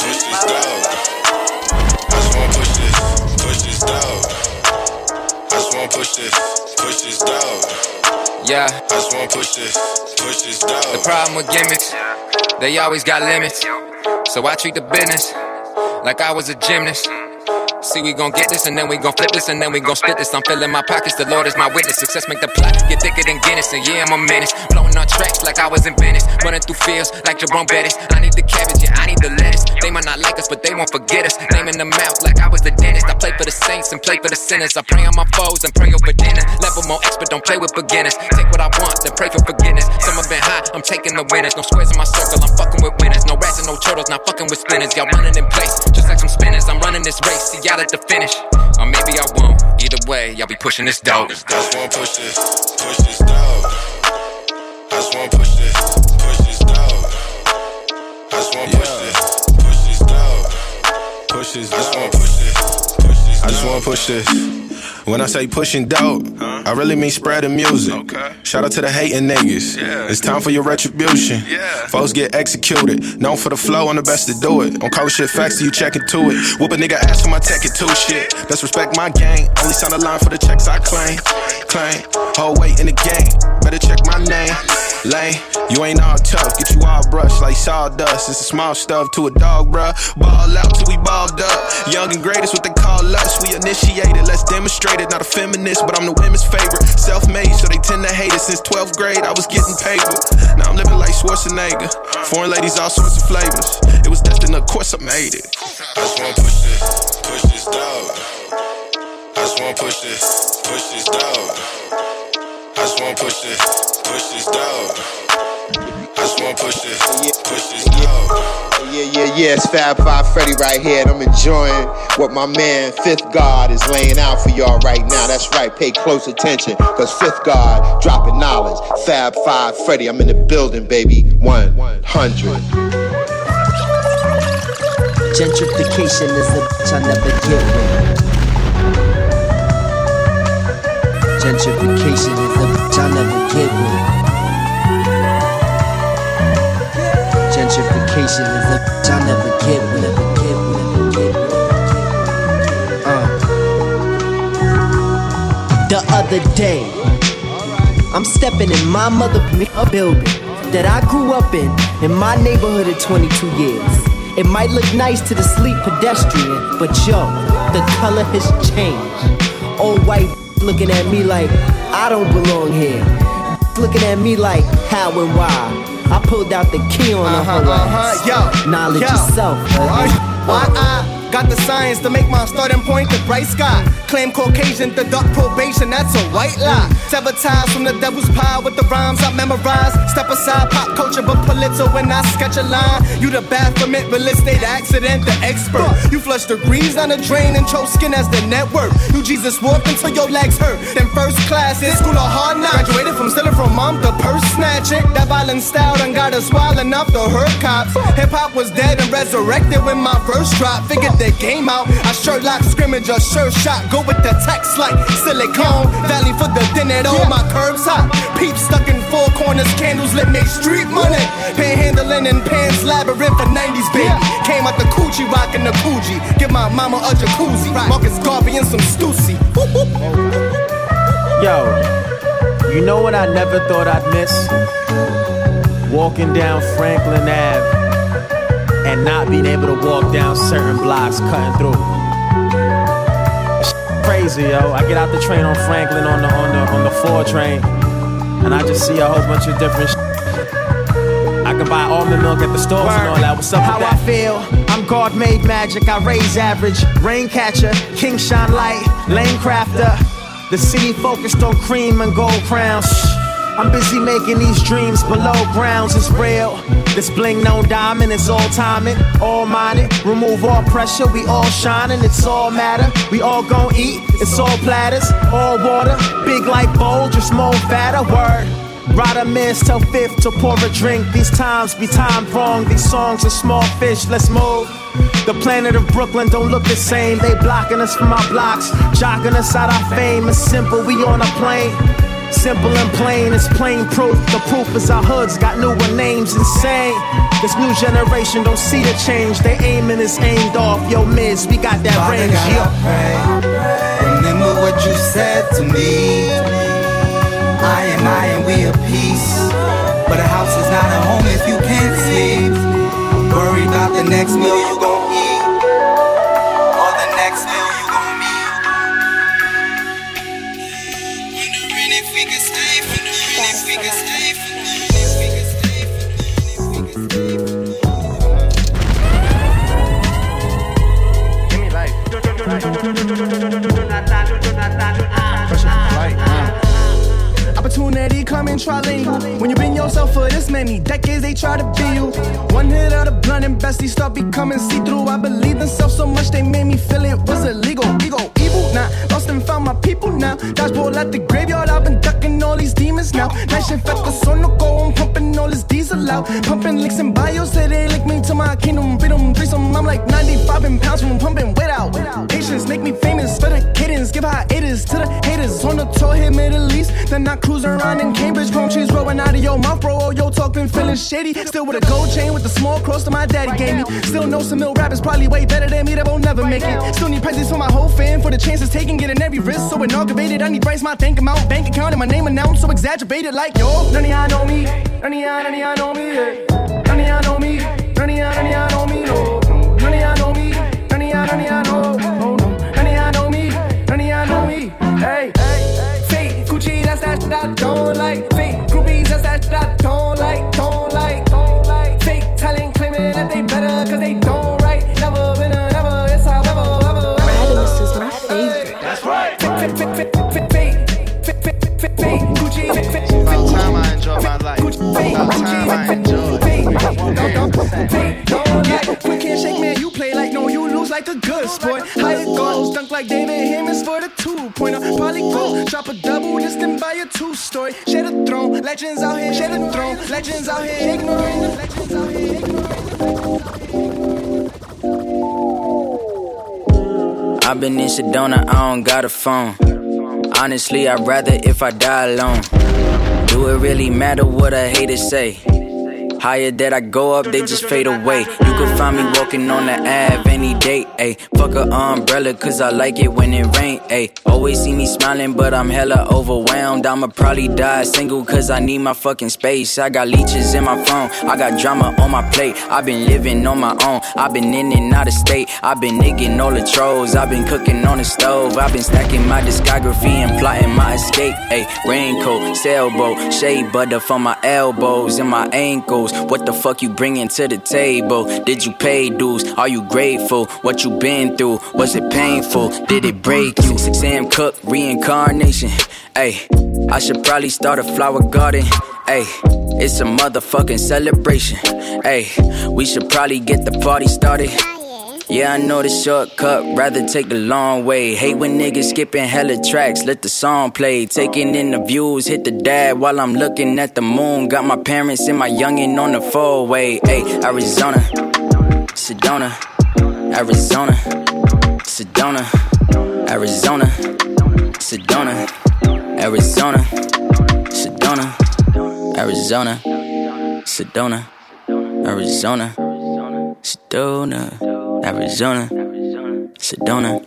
Speaker 22: I just wanna push this dog. Yeah, I just wanna push this dog. The problem with gimmicks, they always got limits. So I treat the business like I was a gymnast. See, we gon' get this and then we gon' flip this and then we gon' split this. I'm filling my pockets, the Lord is my witness. Success make the plot get thicker than Guinness. And yeah, I'm a menace, blowing on tracks like I was in Venice. Running through fields like Jerome Bettis. I need the cabbage, yeah, I need the lettuce. They might not like us, but they won't forget us. Naming them out like I was the dentist. I play for the saints and play for the sinners. I pray on my foes and pray over dinner. Level more expert, don't play with beginners. Take what I want, then pray for forgiveness. Some have been high, I'm taking the winners. No squares in my circle, I'm fucking with winners. No rats and no turtles, not fucking with spinners. Y'all running in place, just like some spinners. I'm running this race, see y'all at the finish. Or maybe I won't. Either way, y'all be pushing this dog. I just wanna push this dog. I just wanna push this dog. I just wanna push this dog. Push this dog. I just wanna push this. When I say pushing dope, I really mean spreading music. Shout out to the hating niggas. It's time for your retribution. Folks get executed. Known for the flow, I'm the best to do it. On cold shit facts, so you check into it. Whoop a nigga ass for my tech it too shit. Let's respect my gang. Only sign a line for the checks I claim. Whole weight in the game. Better check my name. Lane, you ain't all tough. Get you all brushed like sawdust. It's a small stuff to a dog, bruh. Ball out till we balled up. Young and great is what they call us. We initiated, let's demonstrate it. Not a feminist, but I'm the women's favorite. Self-made, so they tend to hate it. Since 12th grade, I was getting paper. Now I'm living like Schwarzenegger. Foreign ladies, all sorts of flavors. It was destined, of course I made it. I just wanna push this dog. I just wanna push this dog. I just wanna push this dog. I just wanna push this dog.
Speaker 23: Yeah.
Speaker 3: Yeah, it's Fab Five Freddy right here, and I'm enjoying what my man Fifth God is laying out for y'all right now. That's right, pay close attention, cause Fifth God dropping knowledge. Fab Five Freddy, I'm in the building, baby. 100.
Speaker 6: Gentrification is a bitch I never get with. Gentrification is a bitch I never get with. Gentrification is a bitch I never get with. The other day, I'm stepping in my motherfucking building that I grew up in my neighborhood of 22 years. It might look nice to the sleek pedestrian, but yo, the color has changed. Old white looking at me like I don't belong here. Looking at me like how and why. I pulled out the key on the whole ass. Knowledge yourself.
Speaker 23: I got the science to make my starting point the bright sky. Claim Caucasian, the dark probation, that's a white lie. Sabotage from the devil's pie with the rhymes I memorize. Step aside, pop culture, but Pulitzer when I sketch a line. You the Baphomet, real estate accident, the expert. You flush the grease down the drain and chose skin as the network. You Jesus walked until your legs hurt. Then first class in school of hard knocks. Graduated from stealing from mom to purse snatching. That violent style done got us wild enough to hurt cops. Hip hop was dead and resurrected when my verse dropped. Figured the game out. I Sherlock scrimmage, a sure shot. Go with the text like Silicon Valley for the dinner. On my curbs hot. Peeps stuck in four corners. Candles lit make street money. Panhandling in pants labyrinth for 90s baby. Came out the coochie rockin' the Coogee. Give my mama a jacuzzi. Marcus Garvey and some Stussy.
Speaker 24: Yo, you know what I never thought I'd miss? Walking down Franklin Ave and not being able to walk down certain blocks cutting through. It's crazy, yo. I get out the train on Franklin on the 4 train, and I just see a whole bunch of different I can buy almond milk at the stores and all that. What's up with that?
Speaker 6: How I feel, I'm God made magic. I raise average, rain catcher, king shine light, lane crafter. The city focused on cream and gold crowns. I'm busy making these dreams below grounds. It's real. This bling no diamond, it's all timing, all minded. Remove all pressure, we all shining, it's all matter. We all gon' eat, it's all platters, all water. Big like bowl, just more fatter, word. Rider miss, tell Fifth to pour a drink. These times be timed wrong, these songs are small fish, let's move. The planet of Brooklyn don't look the same. They blocking us from our blocks, jocking us out our fame. It's simple, we on a plane. Simple and plain, it's plain proof. The proof is our hoods got newer names, insane. This new generation don't see the change. They aiming is aimed off. Yo, Miz, we got that
Speaker 25: Father
Speaker 24: range.
Speaker 25: God, I pray. Remember what you said to me. I and we are peace. But a house is not a home if you can't sleep. Worry about the next meal you gon' eat, or the next meal you gon' meet. Wondering if we could stay for the if we could stay for
Speaker 23: Give me life. Opportunity coming trilingual. When you been yourself for this many decades, they try to be you. One hit of the blunt and bestie start becoming see-through. I believed in self so much they made me feel it was illegal. Ego, evil, now lost and found my people now. Dodgeball at the graveyard, I've been ducking all these demons now. Night shift at the sun, no go, I'm pumping all this diesel out. Pumping licks and bios, say they link me to my kingdom. Freedom, threesome, I'm like 95 pounds from pumping weight out. Patience make me famous for the cadence. Give hiatus to the haters. On the tour, hit Middle East, then I cruise around in Cambridge. Palm trees rolling out of your mouth, bro. Oh, yo, talk been feeling shady. Still with a gold chain with the small cross that my daddy gave me. Still know some ill rappers probably way better than me that won't never make it. Still need presents for my whole fan for the chances taken, getting every risk so inaugurated. I need Bryce my bank amount, bank account, and my name announced so exaggerated like yo. None of y'all know me. None of y'all know me. None of y'all know me. None of y'all know me. No. None of y'all know me. None of y'all know. Oh no. None of y'all know me. None of y'all know me. Hey. Fake Gucci, that's that shit I don't like. Fake groupies, that's that shit I don't like. Don't like. Fake talent claiming that they better cause they don't write. Never been a never, it's however.
Speaker 2: Radimus is my favorite.
Speaker 23: That's right. Fake Gucci.
Speaker 26: About time I enjoy my life. About time I enjoy.
Speaker 23: Don't get quick a good sport. Higher goals, dunk like David Hammons for the 2-pointer. Probably go drop a double, this then buy a 2-story. Share the throne, legends out here, share the throne. Legends out here ignoring the legends out here ignoring.
Speaker 20: I've been in Sedona, I don't got a phone. Honestly, I'd rather if I die alone. Do it really matter what a hater say? Higher that I go up, they just fade away. You can find me walking on the Ave any day, ayy. Fuck a umbrella, cause I like it when it rain, ayy. Always see me smiling, but I'm hella overwhelmed. I'ma probably die single, cause I need my fucking space. I got leeches in my phone, I got drama on my plate. I've been living on my own, I've been in and out of state. I've been nigging all the trolls, I've been cooking on the stove. I've been stacking my discography and plotting my escape, ayy. Raincoat, sailboat, shea butter for my elbows and my ankles. What the fuck you bringing to the table? Did you pay dues? Are you grateful? What you been through? Was it painful? Did it break you? Sam Cooke, reincarnation. Ayy, I should probably start a flower garden. Ayy, it's a motherfucking celebration. Ayy, we should probably get the party started. Yeah, I know the shortcut, rather take the long way. Hate when niggas skipping hella tracks, let the song play. Taking in the views, hit the dab while I'm looking at the moon. Got my parents and my youngin' on the four-way. Ayy, Arizona, Sedona, Arizona, Sedona, Arizona, Sedona, Arizona, Sedona, Arizona, Sedona, Arizona, Sedona, Arizona, Sedona.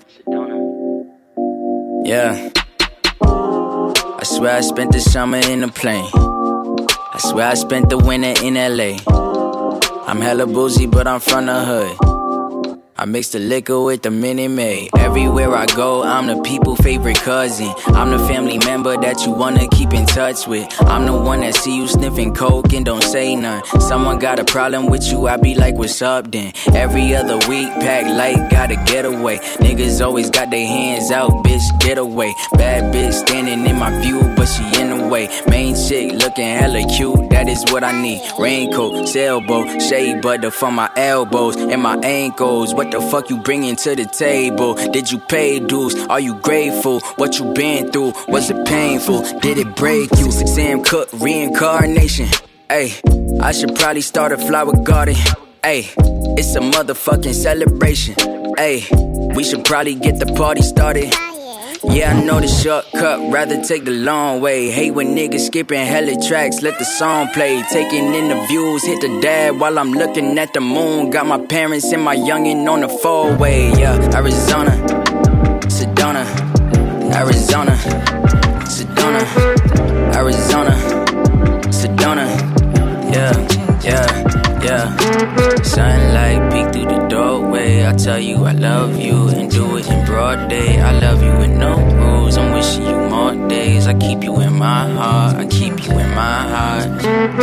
Speaker 20: Yeah. I swear I spent the summer in a plane. I swear I spent the winter in LA. I'm hella boozy, but I'm from the hood. I mix the liquor with the Minute Maid. Everywhere I go, I'm the people's favorite cousin. I'm the family member that you wanna keep in touch with. I'm the one that see you sniffing coke and don't say none. Someone got a problem with you, I be like, what's up then? Every other week, pack light, gotta get away. Niggas always got their hands out, bitch, get away. Bad bitch standing in my view, but she in the way. Main chick looking hella cute, that is what I need. Raincoat, sailboat, shea butter for my elbows and my ankles. What the fuck you bringing to the table? Did you pay dues? Are you grateful? What you been through? Was it painful? Did it break you? Sam Cooke, reincarnation. Ayy, I should probably start a flower garden. Ayy, it's a motherfucking celebration. Ayy, we should probably get the party started. Yeah, I know the shortcut, rather take the long way. Hate when niggas skipping hella tracks, let the song play. Taking in the views, hit the dab while I'm looking at the moon. Got my parents and my youngin' on the four-way. Yeah, Arizona, Sedona, Arizona, Sedona, Arizona, Sedona. Yeah, yeah, yeah. Sunlight peek through the doorway. I tell you I love you and do it in broad day. I love you with no rules. I'm wishing you more days. I keep you in my heart. I keep you in my heart.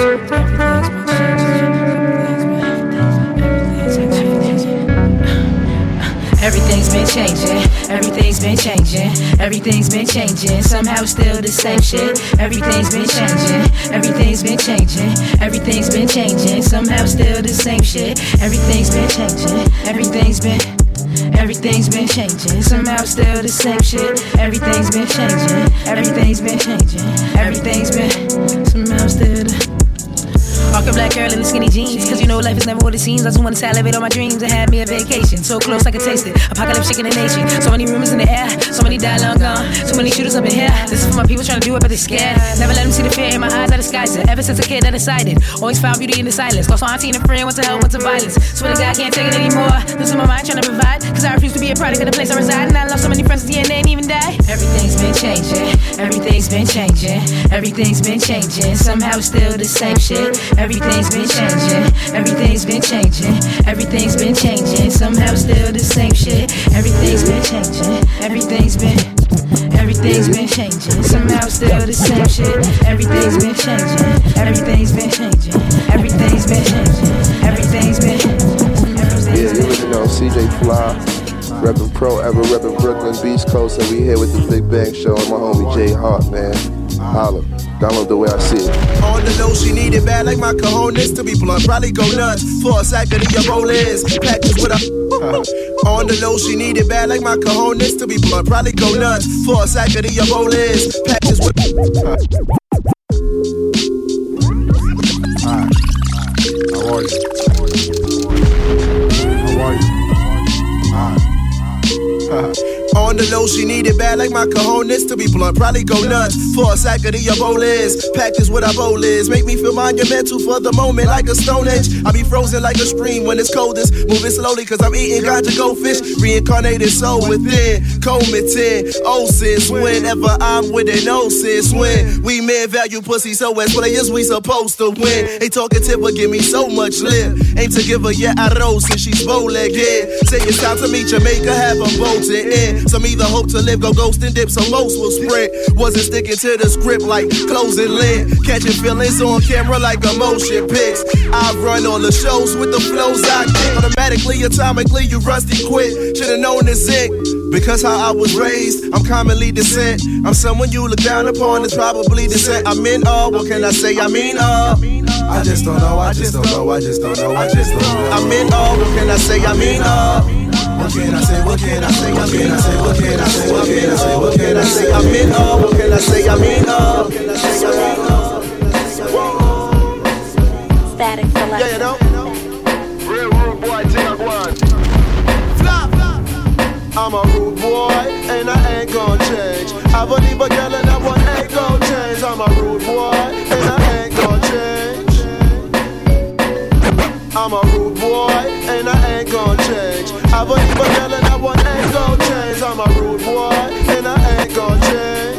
Speaker 7: Everything's been changing, everything's been changing, everything's been changing, somehow still the same shit. Everything's been changing, everything's been changing, everything's been changing, somehow still the same shit. Everything's been changing, everything's been changing, somehow still the same shit. Everything's been changing, everything's been changing, everything's been somehow still the Rock a black girl in the skinny jeans, cause you know life is never what it seems. I just wanna salivate on my dreams and have me a vacation. So close I can taste it, apocalypse shaking the nation. So many rumors in the air, so many die long gone. Too many shooters up in here, this is for my people trying to do it but they scared. Never let them see the fear in my eyes, I disguise it. Ever since a kid I decided, always found beauty in the silence. Lost my auntie and a friend, went to hell, went to violence. Swear to God, can't take it anymore. Losing my mind trying to provide, cause I refuse to be a product of the place I reside. And I lost so many friends at the end, they ain't even die. Everything's been changing, everything's been changing, everything's been changing, somehow still the same shit. Everything's been changing, everything's been changing, everything's been changing, somehow still the same shit. Everything's been changing, everything's been changing, somehow still the same shit. Everything's been changing, everything's been changing, everything's been changing, everything's been.
Speaker 8: Yeah, you really know CJ Fly, reppin' Pro Ever, reppin' Brooklyn, Beast Coast, and we here with the Big Bang Show and my homie Jay Hart, man. Holla. Download the way I see it.
Speaker 23: On the low, she need it bad like my cojones to be blunt. Probably go nuts for a second of your roll is. Practice with a
Speaker 8: On the low, she need it bad like my cojones to be blunt. Probably go nuts for a sack of the Ebolas. Patches with.
Speaker 9: Alright. How are you? How are you? Alright.
Speaker 8: On the low, she need it bad like my cojones to be blunt. Probably go nuts for a sack of the Ebolas. Practice what I bowl is. Make me feel monumental for the moment like a stone age. I be frozen like a stream when it's coldest. Moving slowly cause I'm eating ganja goldfish. Reincarnated soul within. Comatin. Oh sis, whenever I'm with it, no sis. When we men value pussy so as players we supposed to win. They talkative but give me so much lip. Ain't to give her yet I rose since she's bow-legged. Say it's time to meet Jamaica, have them bolted in. Some either hope to live, go ghost and dip, so most will sprint. Wasn't sticking to the script like closing lid. Catching feelings on camera like emotion pics. I run all the shows with the flows I get. Automatically, atomically, you rusty quit. Should've known this it. Because how I was raised, I'm commonly descent. I'm someone you look down upon, it's probably descent. I'm in awe, what can I say? I mean I just don't know, I just don't know, I just don't know, I just don't know. I'm in awe, what can I say? I mean what can I say? What can I say? What can I say? What can I say? What can I say? What can I say? I'm in awe. What can I say? I mean
Speaker 2: Static Selector.
Speaker 8: Yeah, you know.
Speaker 12: Real rude boy, take one.
Speaker 8: Flop. I'm a rude boy, and I ain't gonna change. I believe a girl and that one ain't gonna change. I'm a rude boy, and I ain't gonna change. I'm a rude boy, and I ain't gonna change. I believe a girl and that one ain't gon' change. I'm a rude boy and I ain't gon' change.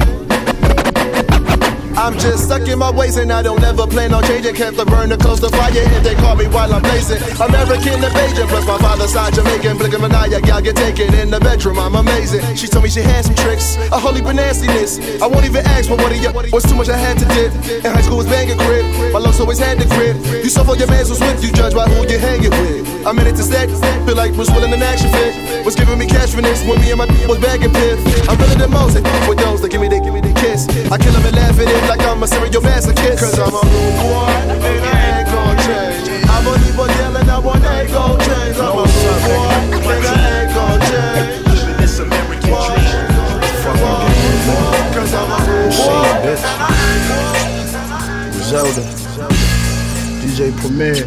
Speaker 8: I'm just stuck in my ways and I don't ever plan on changing. Kept the burner close to fire if they call me while I'm blazing. American invasion plus my father's side Jamaican. Blinking maniac, y'all get taken in the bedroom. I'm amazing. She told me she had some tricks, a holy nastiness. I won't even ask for what of you was too much I had to dip. In high school was banging crib. My love's always had the grip. You suffer your man so swift, you judge by who you hanging with. I'm in it to stack, feel like Bruce Willis in an action fit. Was giving me cash for this when me and my was bagging piff. I'm really the most with those that give me the kiss. I kill them and laugh at it like I'm a serial masochist. Cause I'm a rude boy and I ain't gon' change. I'm a leave a yelling, I want ain't gon' change. I'm a rude boy and I ain't gon' change.
Speaker 9: It's American dream.
Speaker 8: Cause I'm a rude boy and I ain't
Speaker 9: Zelda, DJ Premier.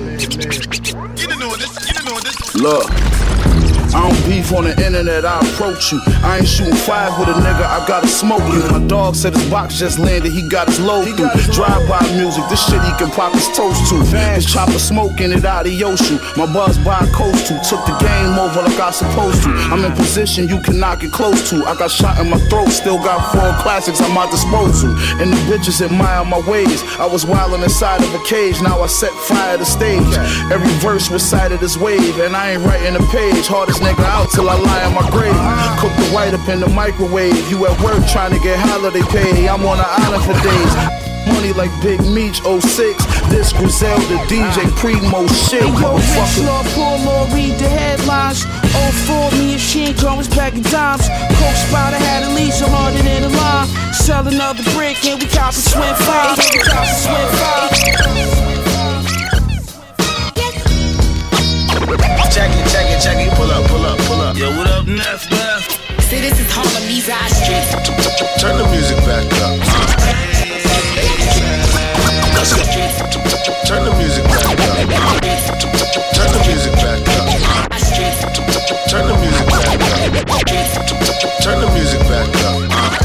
Speaker 9: Look, I don't beef on the internet, I approach you. I ain't shooting five with a nigga, I gotta smoke you. My dog said his box just landed, he got his load through. Drive-by music, this shit he can pop his toast to. His chopper smoking it out of Yoshu. My buzz by coast to, took the game over like I supposed to. I'm in position you can knock it close to. I got shot in my throat, still got 4 classics at my disposal. And the bitches admire my ways. I was wildin' inside of a cage, now I set fire to stage. Every verse recited this wave, and I ain't writing a page. Hardest nigga out till I lie in my grave. Cook the white up in the microwave. You at work trying to get holiday pay. I'm on an island for days. Money like Big Meech 06. This Griselda DJ Primo shit.
Speaker 10: Hey yo, rich law, poor law, read the headlines. 04, me and Sheen was back in dimes. Coke Spider had a lease, so harder than a line. Sell another brick and we cop a swim 5.
Speaker 11: Check it, pull up. Yo, what up, Neff?
Speaker 14: See, this is Harlem, these our streets.
Speaker 9: Turn the music back up.
Speaker 11: Let's go.
Speaker 9: Turn the music back up. Turn the music back up. Turn the music back up. Turn the music back up.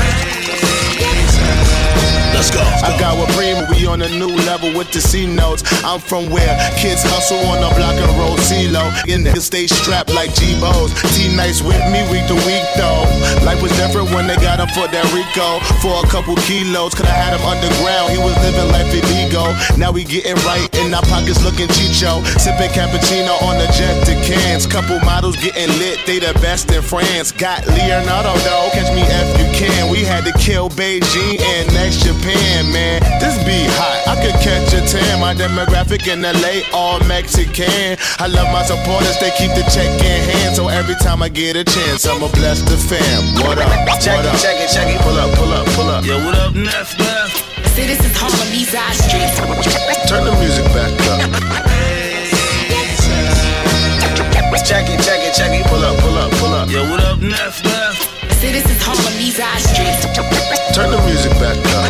Speaker 11: Let's go.
Speaker 9: I got with Primo, we on a new level with the C notes. I'm from where kids hustle on the block and roll CeeLo. And niggas stay strapped like G-Bo's. T-Nice with me week to week though. Life was different when they got him for that Rico. For a couple kilos, could I had him underground. He was living life illegal. Now we getting right in our pockets looking chicho. Sipping cappuccino on the jet to cans. Couple models getting lit, they the best in France. Got Leonardo though, catch me if you can. We had to kill Beijing and next Japan, man. This be hot, I could catch a tan. My demographic in LA, all Mexican. I love my supporters, they keep the check in hand. So every time I get a chance, I'ma bless the fam. What up?
Speaker 11: Check it, pull up. Yo, what up, Neff?
Speaker 14: See, this is Harlem, these our streets.
Speaker 9: Turn the music back up.
Speaker 11: Check it, pull up. Yo, what up, Neff?
Speaker 14: See, this is Harlem, these our streets.
Speaker 9: Turn the music back up.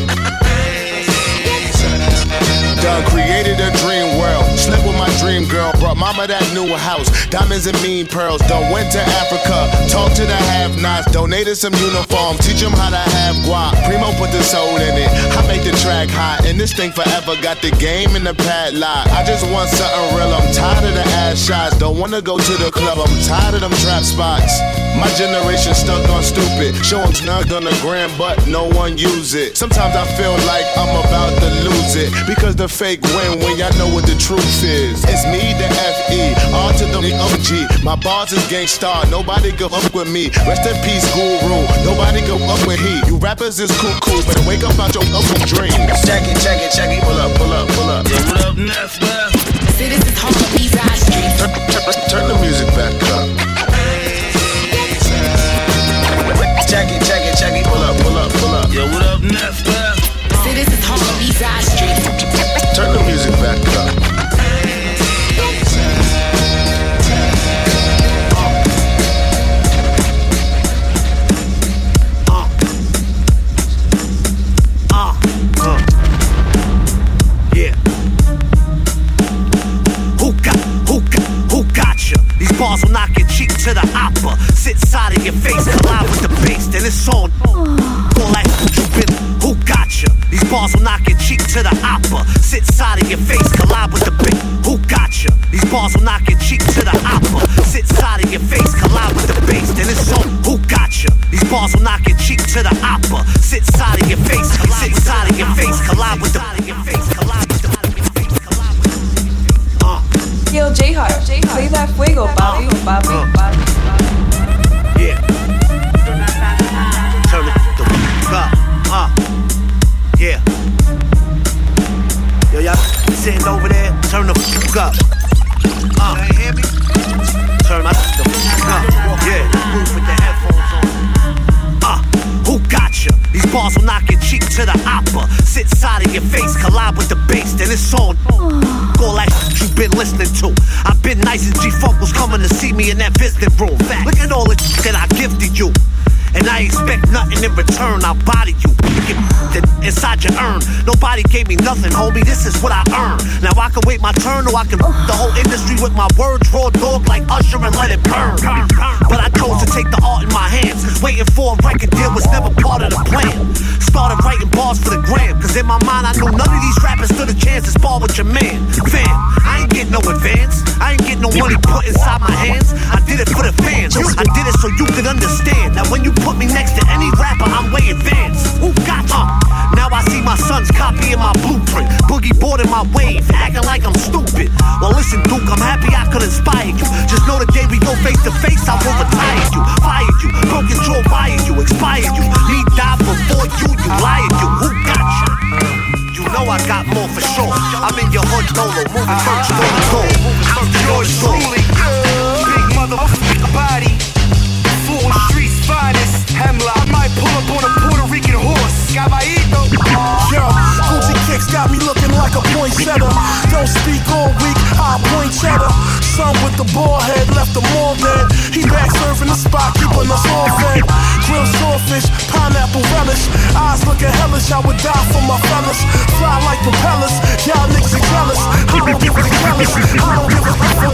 Speaker 9: Done created a dream world. Slept with my dream girl. Brought mama that new house. Diamonds and mean pearls. Done went to Africa. Talked to the have-nots. Donated some uniform. Teach them how to have guap. Primo put the soul in it. I make the track hot. And this thing forever got the game in the padlock. I just want something real. I'm tired of the ass shots. Don't wanna go to the club. I'm tired of them trap spots. My generation stuck on stupid. Show them snugged on the gram, but no one use it. Sometimes I feel like I'm about to lose it. Because the fake win when y'all know what the truth is. It's me, the F.E., R to the OG. My bars is gangstar, nobody go up with me. Rest in peace, Guru, nobody go up with he. You rappers is cool, but wake up out your open dreams.
Speaker 11: Check it, pull up. Yo, what up, Neff?
Speaker 14: See, this is Harlem, these our streets.
Speaker 9: Turn the music back up.
Speaker 11: Check it, pull up. Yo, what up, Neff?
Speaker 14: See, this is Harlem, these our streets.
Speaker 9: Turn the music back up.
Speaker 6: Yeah. Who got you? These bars will knock your cheek to the opera. Sit side of your face, collide with the bass, then it's on. Go like you been. Who got you? These bars will knock your cheek to the opera. Sit side of your face, collide with the bass. Who got you? These bars will knock your cheek to the opera. Sit side of your face, collide with the bass, then it's on. Who got you? These bars will knock your cheek to the opera. Sit side of your face, sit side of your face, collide with the face, collide with the.
Speaker 18: Yo, J-Heart, play that fuego, papi.
Speaker 6: Yeah. Turn it the up. Yeah. Yo, y'all sitting over there, turn the up. You hear me? Turn the up. Yeah. Move with the headphones on. Who got you? These bars will knock your cheek to the opera. Sit side of your face, collide with the bass, then it's on. Go like you've been listening to. I've been nice and G-Funk was coming to see me in that visiting room. Look at all the that I gifted you. And I expect nothing in return, I'll body you. Get inside your urn. Nobody gave me nothing, homie, this is what I earned. Now I can wait my turn or I can the whole industry with my words. Raw dog like Usher and let it burn. But I chose to take the art in my hands. Waiting for a record deal was never part of the plan. Started writing bars for the gram. Cause in my mind I knew none of these rappers stood a chance to spar with your man. Fam, I ain't get no advance. I ain't get no money put inside my hands. I did it for the fans. I did it so you could understand. Now when you put me next to any rapper, I'm way advanced. Who got you? Now I see my sons copying my blueprint. Boogie boarding my wave, acting like I'm stupid. Well listen, Duke, I'm happy I could inspire you. Just know the day we go face to face, I will retire you. Fire you, broken jaw, wire you, expire you. Me die before you liar you. Who got you? You know I got more for sure. I'm in your hood solo, moving merch on the door. I'm yours truly, big motherfucking body. Full streets finest, Hemlock. I might pull up on a Puerto Rican horse. Caballito.
Speaker 23: Yo, Gucci kicks got me looking like a poinsettia. Don't speak all week, I'll point cheddar. Son with the ball head, left them all dead. He back surfing the spot, keeping us all fed. Grilled swordfish, pineapple relish. Eyes looking hellish, I would die for my fellas. Fly like propellers, y'all niggas are jealous. I don't give a jealous, I don't give a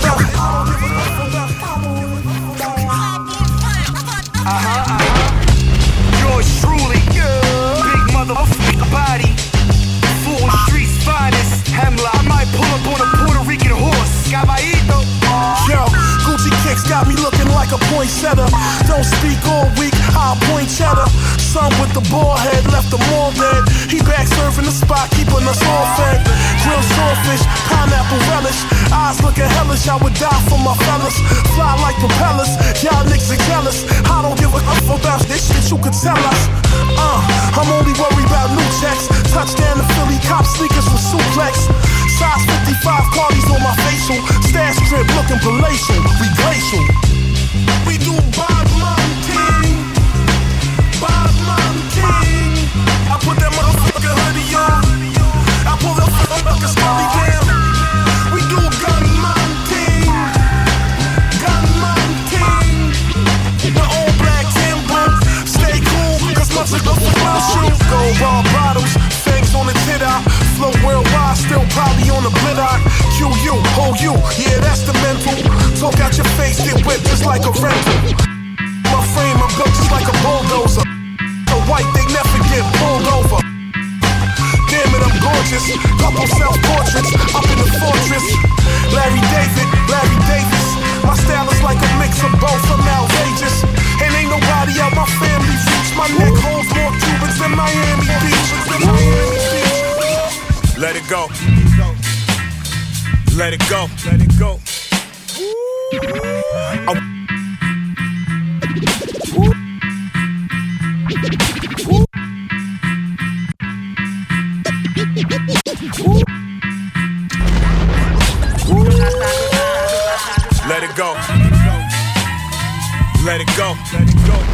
Speaker 6: Yours truly, big motherfucking body. Full streets finest, Hemlock. I might pull up on a Puerto Rican horse. Caballito.
Speaker 23: Yo, Gucci kicks got me looking like a poinsettia. Don't speak all week, I'll point cheddar. Son with the ball head, left them all dead. He back surfing the spot, keeping us all fed. Grilled swordfish, pineapple relish. Eyes looking hellish, I would die for my fellas. Fly like propellers, y'all niggas are jealous. I don't give a fuck about this shit, you could tell us. I'm only worried about new checks. Touchdown to Philly, cop sneakers from Suplex. Size 55 Cardi's on my facial. Stash strip looking palatial, we glacial. We do Bob Mountain, Bob Mountain. I put that motherfucking hoodie on. I pull that motherfucking scully down. We do Gun Mountain, Gun
Speaker 1: you, yeah, that's the mental. Talk out your face, get whipped just like a rental. My frame, I'm built just like a bulldozer. The white, they never get pulled over. Damn it, I'm gorgeous. Couple self-portraits up in the fortress. Larry Davis. My style is like a mix of both. I'm outrageous. And ain't nobody out my family reach. My neck holds more Cubans than Miami Beach.
Speaker 5: Let it go. Let it go. Let it go. Let it go. Let it go. Let it go.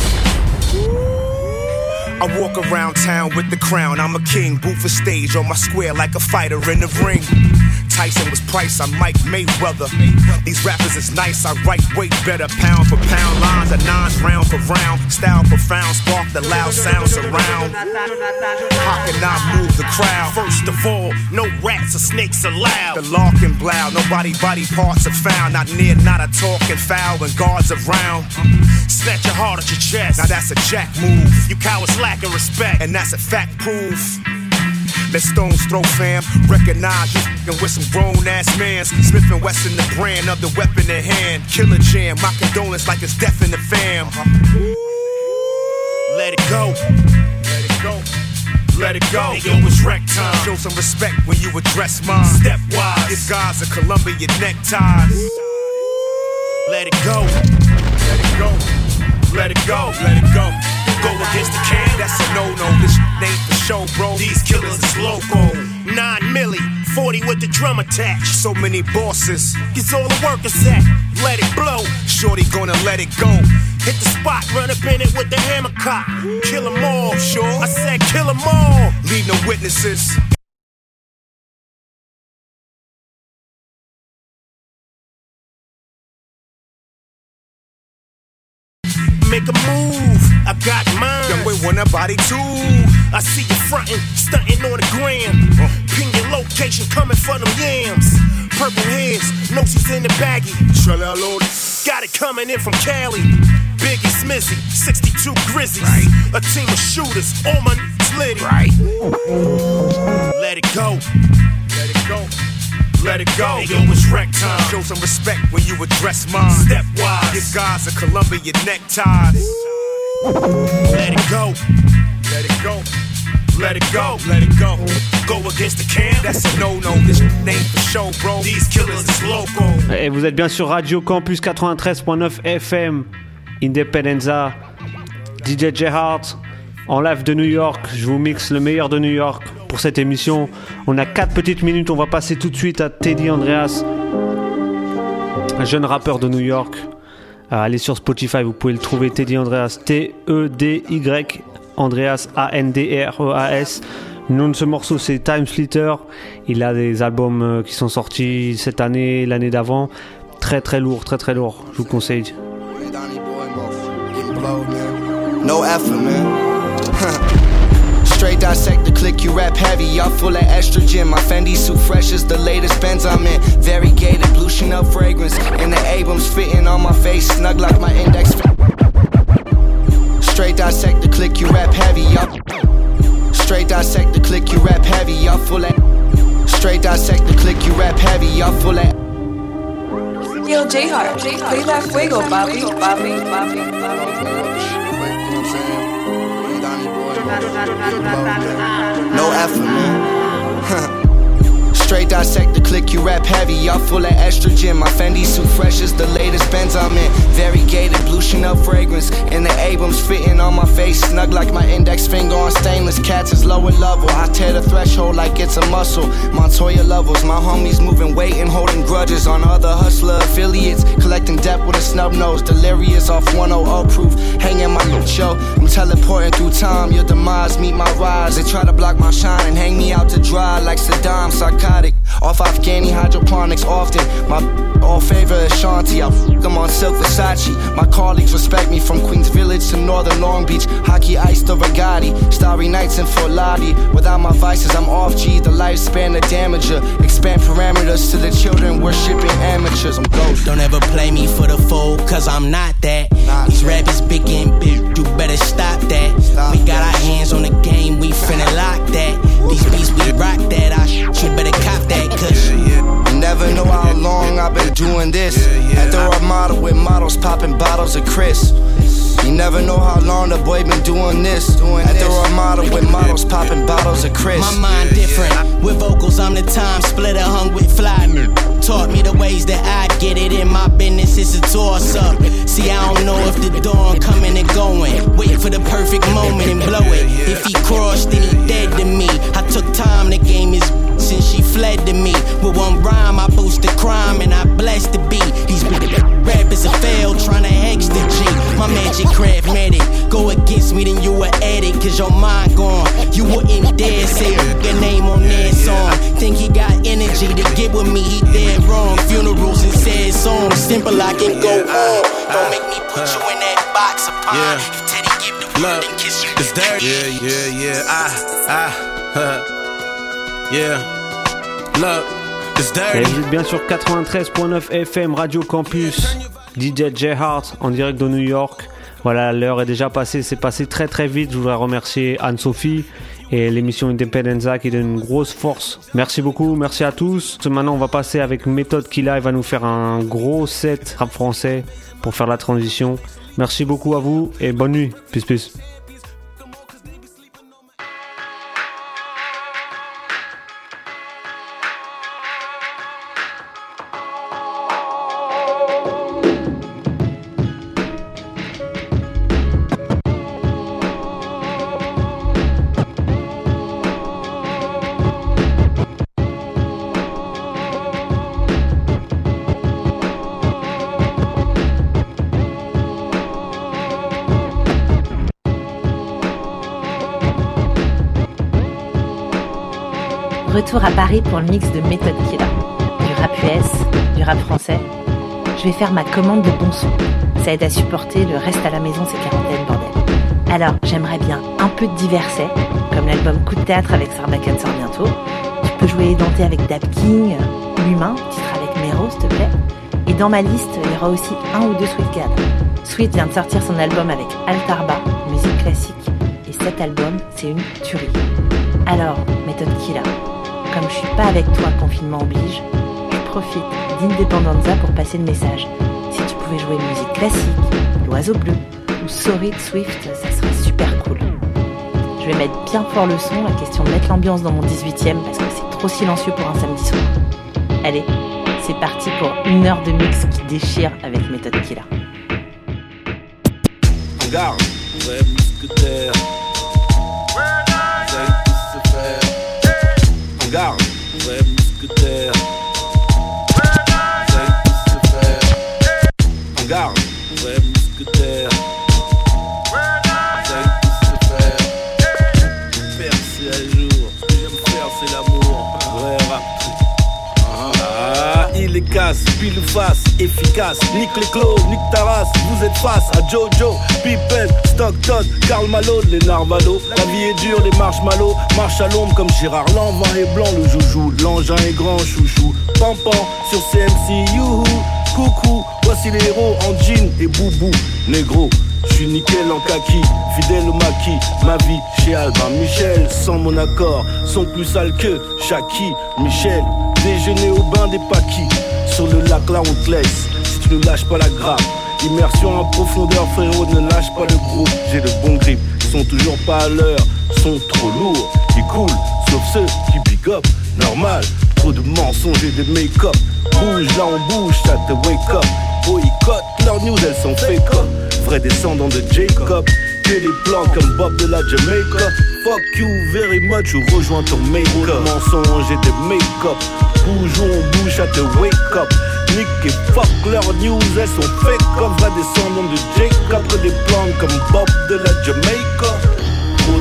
Speaker 5: I walk around town with the crown. I'm a king, boot for stage on my square like a fighter in the ring. Tyson was Price, I'm Mike Mayweather. These rappers is nice, I write way better. Pound for pound, lines are nines, round for round. Style profound, spark the loud sounds around. How can I move the crowd? First of all, no rats or snakes allowed. The lark and blow, nobody body parts are found. Not near, not a talking foul when guards around. Snatch your heart at your chest, now that's a jack move. You cowards lacking respect, and that's a fact proof. Let stones throw fam, recognize you f***ing with some grown-ass mans. Smith & Wesson the brand of the weapon in hand. Killer jam, my condolence like it's death in the fam. Let it go. Let it go. Let it go. Hey, yo, it's wreck time. Show some respect when you address mine. Stepwise, give guys a Columbia neckties. Let it go. Let it go. Let it go. Let it go. Go against the can, that's a no-no. This ain't for show, bro. These killers is loco. 9 milli, 40 with the drum attached. So many bosses, gets all the workers at. Let it blow, shorty gonna let it go. Hit the spot, run up in it with the hammer cock. Kill 'em all, sure. I said kill 'em all. Leave no witnesses. Make a move, I got mine. Young boy want a body too. I see you frontin', stuntin' on the gram. Ping your location, coming for them yams. Purple hairs, noses in the baggie. Got it coming in from Cali. Biggie Smizzy, 62 Grizzlies. Right. A team of shooters, all my niggas litty. Right. Let it go. Let it go. Let it go. Hey, yo, it's wreck time. Show some respect when you address mine. Stepwise, give guys a Columbia neckties. Let it go. Let it go. Let it go. Let it go. Go against the can, that's a no-no. This ain't for show, bro. These killers is loco.
Speaker 13: Et vous êtes bien sur Radio Campus 93.9 FM. Independenza. DJ J-Heart. En live de New York. Je vous mixe le meilleur de New York. Pour cette émission, on a 4 petites minutes, on va passer tout de suite à Teddy Andreas, un jeune rappeur de New York. Allez sur Spotify, vous pouvez le trouver, Teddy Andreas, T-E-D-Y, Andreas, A-N-D-R-E-A-S. Le nom de ce morceau, c'est Time Splitter. Il a des albums qui sont sortis cette année, l'année d'avant. Très très lourd, très très lourd, je vous conseille.
Speaker 25: No effort, man. Straight dissect the click, you rap heavy, y'all full of estrogen. My Fendi suit fresh as the latest Benz I'm in. Variegated, blue Chanel fragrance. And the Abrams fitting on my face, snug like my index. Straight dissect the click, you rap heavy, y'all. Straight dissect the click, you rap heavy, y'all full of. Straight dissect the click, you rap heavy, y'all full of.
Speaker 18: Yo, J-Heart, play that fuego, Bobby.
Speaker 25: No effort, man. Straight dissect the click, you rap heavy, y'all full of estrogen. My Fendi suit fresh as the latest Benz I'm in. Variegated, blue Chanel fragrance. And the Abrams fitting on my face, snug like my index finger on stainless. Cats is lower level, I tear the threshold like it's a muscle. Montoya levels, my homies moving weight and holding grudges on other hustler affiliates. Collecting debt with a snub nose, delirious off 100 proof. Hanging my show, I'm teleporting through time. Your demise meet my rise. They try to block my shine and hang me out to dry like Saddam, psychotic. Off Afghani hydroponics often. My all favor Ashanti. I them on Silk Versace. My colleagues respect me from Queens Village to Northern Long Beach. Hockey ice to Regatti. Starry nights in Fort Lauderdale. Without my vices, I'm off G. The lifespan, the damager. Expand parameters to the children worshipping amateurs. I'm ghost.
Speaker 20: Don't ever play me for the fool, cause I'm not that. These rappers big and big, you better stop that. We got our hands on the game, we finna lock that. These beats, we rock that. You better cop that, cause
Speaker 25: you never know how long I've been doing this. At the Ramada with models popping bottles of Chris. You never know how long the boy been doing this. At the Ramada with models popping bottles of Chris.
Speaker 20: My mind different. With vocals, I'm the time splitter, hung with fly. Taught me the ways that I get it in my business. It's a toss up. See, I don't know if the dawn coming and going. Wait for the perfect moment and blow it. If he crossed, then he dead to me. I took time to game his since she fled to me. With one rhyme, I boost the crime and I bless the beat. These rappers are failed, trying to hex the G. My magic craft medic. Go against me, then you a addict, cause your mind gone. You wouldn't dare say your name on their song. Think he got energy to get with me, he dead wrong. Funerals and sad songs, simple I can go on. Don't make me put you in that box of pine. If Teddy give the word and kiss you, it's dirty.
Speaker 13: Et vous êtes bien sur 93.9 FM Radio Campus, DJ J-Heart en direct de New York. Voilà, l'heure est déjà passée, c'est passé très très vite. Je voudrais remercier Anne-Sophie et l'émission Independenza qui donne une grosse force. Merci beaucoup, merci à tous. Maintenant on va passer avec Méthode Killa, il va nous faire un gros set rap français pour faire la transition. Merci beaucoup à vous et bonne nuit. Peace peace.
Speaker 2: Retour à Paris pour le mix de Méthode Killa. Du rap US, du rap français. Je vais faire ma commande de bon son. Ça aide à supporter le reste à la maison, ces quarantaines, bordel. Alors, j'aimerais bien un peu de diverset, comme l'album Coup de théâtre avec Sarbacane sort bientôt. Tu peux jouer Denté avec Dap King, L'Humain, titre avec Mero, s'il te plaît. Et dans ma liste, il y aura aussi un ou deux Sweet Gad. Sweet vient de sortir son album avec Altarba, musique classique. Et cet album, c'est une tuerie. Alors, Méthode Killa. Comme je suis pas avec toi, confinement oblige, je profite d'Independenza pour passer le message. Si tu pouvais jouer une musique classique, L'Oiseau Bleu ou Sorry de Swift, ça serait super cool. Je vais mettre bien fort le son, la question de mettre l'ambiance dans mon 18e parce que c'est trop silencieux pour un samedi soir. Allez, c'est parti pour une heure de mix qui déchire avec Méthode Killa.
Speaker 15: Regarde, vrai mousquetaire. Garde, vrai mousquetaire. Ça y tout se faire. Garde, vrai mousquetaire. Ça y tout se faire. Percer à jour, ce que j'aime faire c'est l'amour. Vrai rap. Il est casse, pile ou face, efficace. Nique les clos, nique ta race. Vous êtes face à Jojo, Pippen, Stockton, Karl Malone, les Narvalo. La vie est dure, les marshmallows. Marche à l'ombre comme Gérard Lanvin est blanc, le joujou. L'engin est grand, chouchou. Pampan sur CMC, youhou. Coucou, voici les héros en jean et boubou. Négro, j'suis nickel en kaki, fidèle au maquis. Ma vie chez Albin Michel, sans mon accord, sont plus sales que Jackie, Michel. Déjeuner au bain des paquis. Sur le lac là on te laisse, si tu ne lâches pas la grappe. Immersion en profondeur frérot, ne lâche pas le groupe. J'ai le bon grip, ils sont toujours pas à l'heure. Sont trop lourds, ils coulent, sauf ceux qui big up. Normal, trop de mensonges et de make-up. Bouge là on bouge, ça te wake up. Boycott, leurs news elles sont fake up. Vrai descendant de Jacob. Que des plans comme Bob de la Jamaica. Fuck you very much ou rejoins ton make-up. Mensonges et de make-up. Bouge où on bouge à te wake up. Nick et fuck leurs news elles sont fake up. Vrai descendant de Jacob. Que des plans comme Bob de la Jamaica. Trop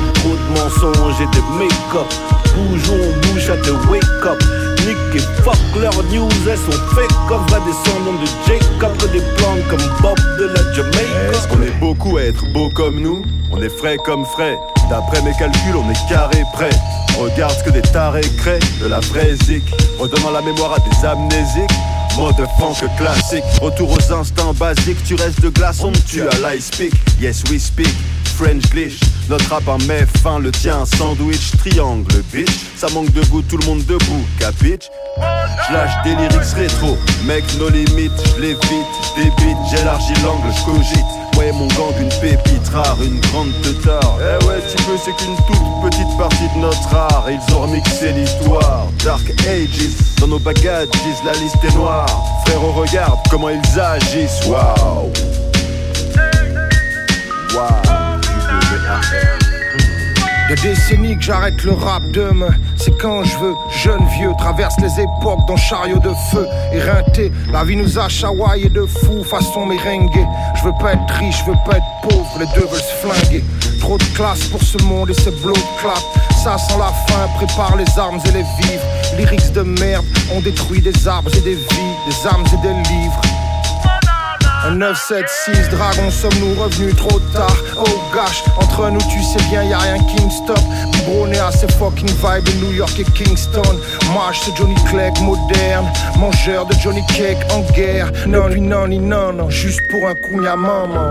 Speaker 15: de mensonges et de make-up. Bougeons, on bouge à te wake up. Nick et fuck leurs news, elles sont fake. Comme va descendant de Jacob, que des plantes comme Bob de la Jamaïque.
Speaker 4: Est-ce qu'on est beaucoup à être beau comme nous? On est frais comme frais. D'après mes calculs, on est carré prêt. Regarde ce que des tarés créent, de la vraie zik. Redonnant la mémoire à des amnésiques. Mode funk classique, retour aux instincts basiques. Tu restes de glace, on me tue à l'ice speak. Yes we speak, French glitch. Notre rap en met fin, le tien sandwich. Triangle bitch, ça manque de goût, tout le monde debout, capitch. J'lâche des lyrics rétro, mec no limite. J'lévite, débite, j'élargis l'angle, j'cogite. Moi et mon gang, une pépite rare, une grande teutard. Eh ouais, tu peux, c'est qu'une toute petite partie de notre art. Et ils ont remixé l'histoire, Dark Ages. Dans nos bagages, la liste est noire. Frérot, regarde comment ils agissent, waouh.
Speaker 16: Des décennies que j'arrête le rap demain. C'est quand je veux, jeune vieux, traverse les époques dans chariot de feu. Éreinté, la vie nous a chahouaillé de fou façon merengue. Je veux pas être riche, je veux pas être pauvre, les deux veulent se flinguer. Trop de classe pour ce monde et ses blots de clap. Ça sent la faim, prépare les armes et les vivres. Lyrics de merde, on détruit des arbres et des vies, des âmes et des livres. Un 976 dragon, sommes-nous revenus trop tard? Oh gosh, entre nous tu sais bien y'a rien qui me stoppe. Biberonné à ces fucking vibes de New York et Kingston. Moi c'est Johnny Clegg moderne, mangeur de Johnny Cake en guerre. Non, lui non, ni non, non, juste pour un coup y'a maman.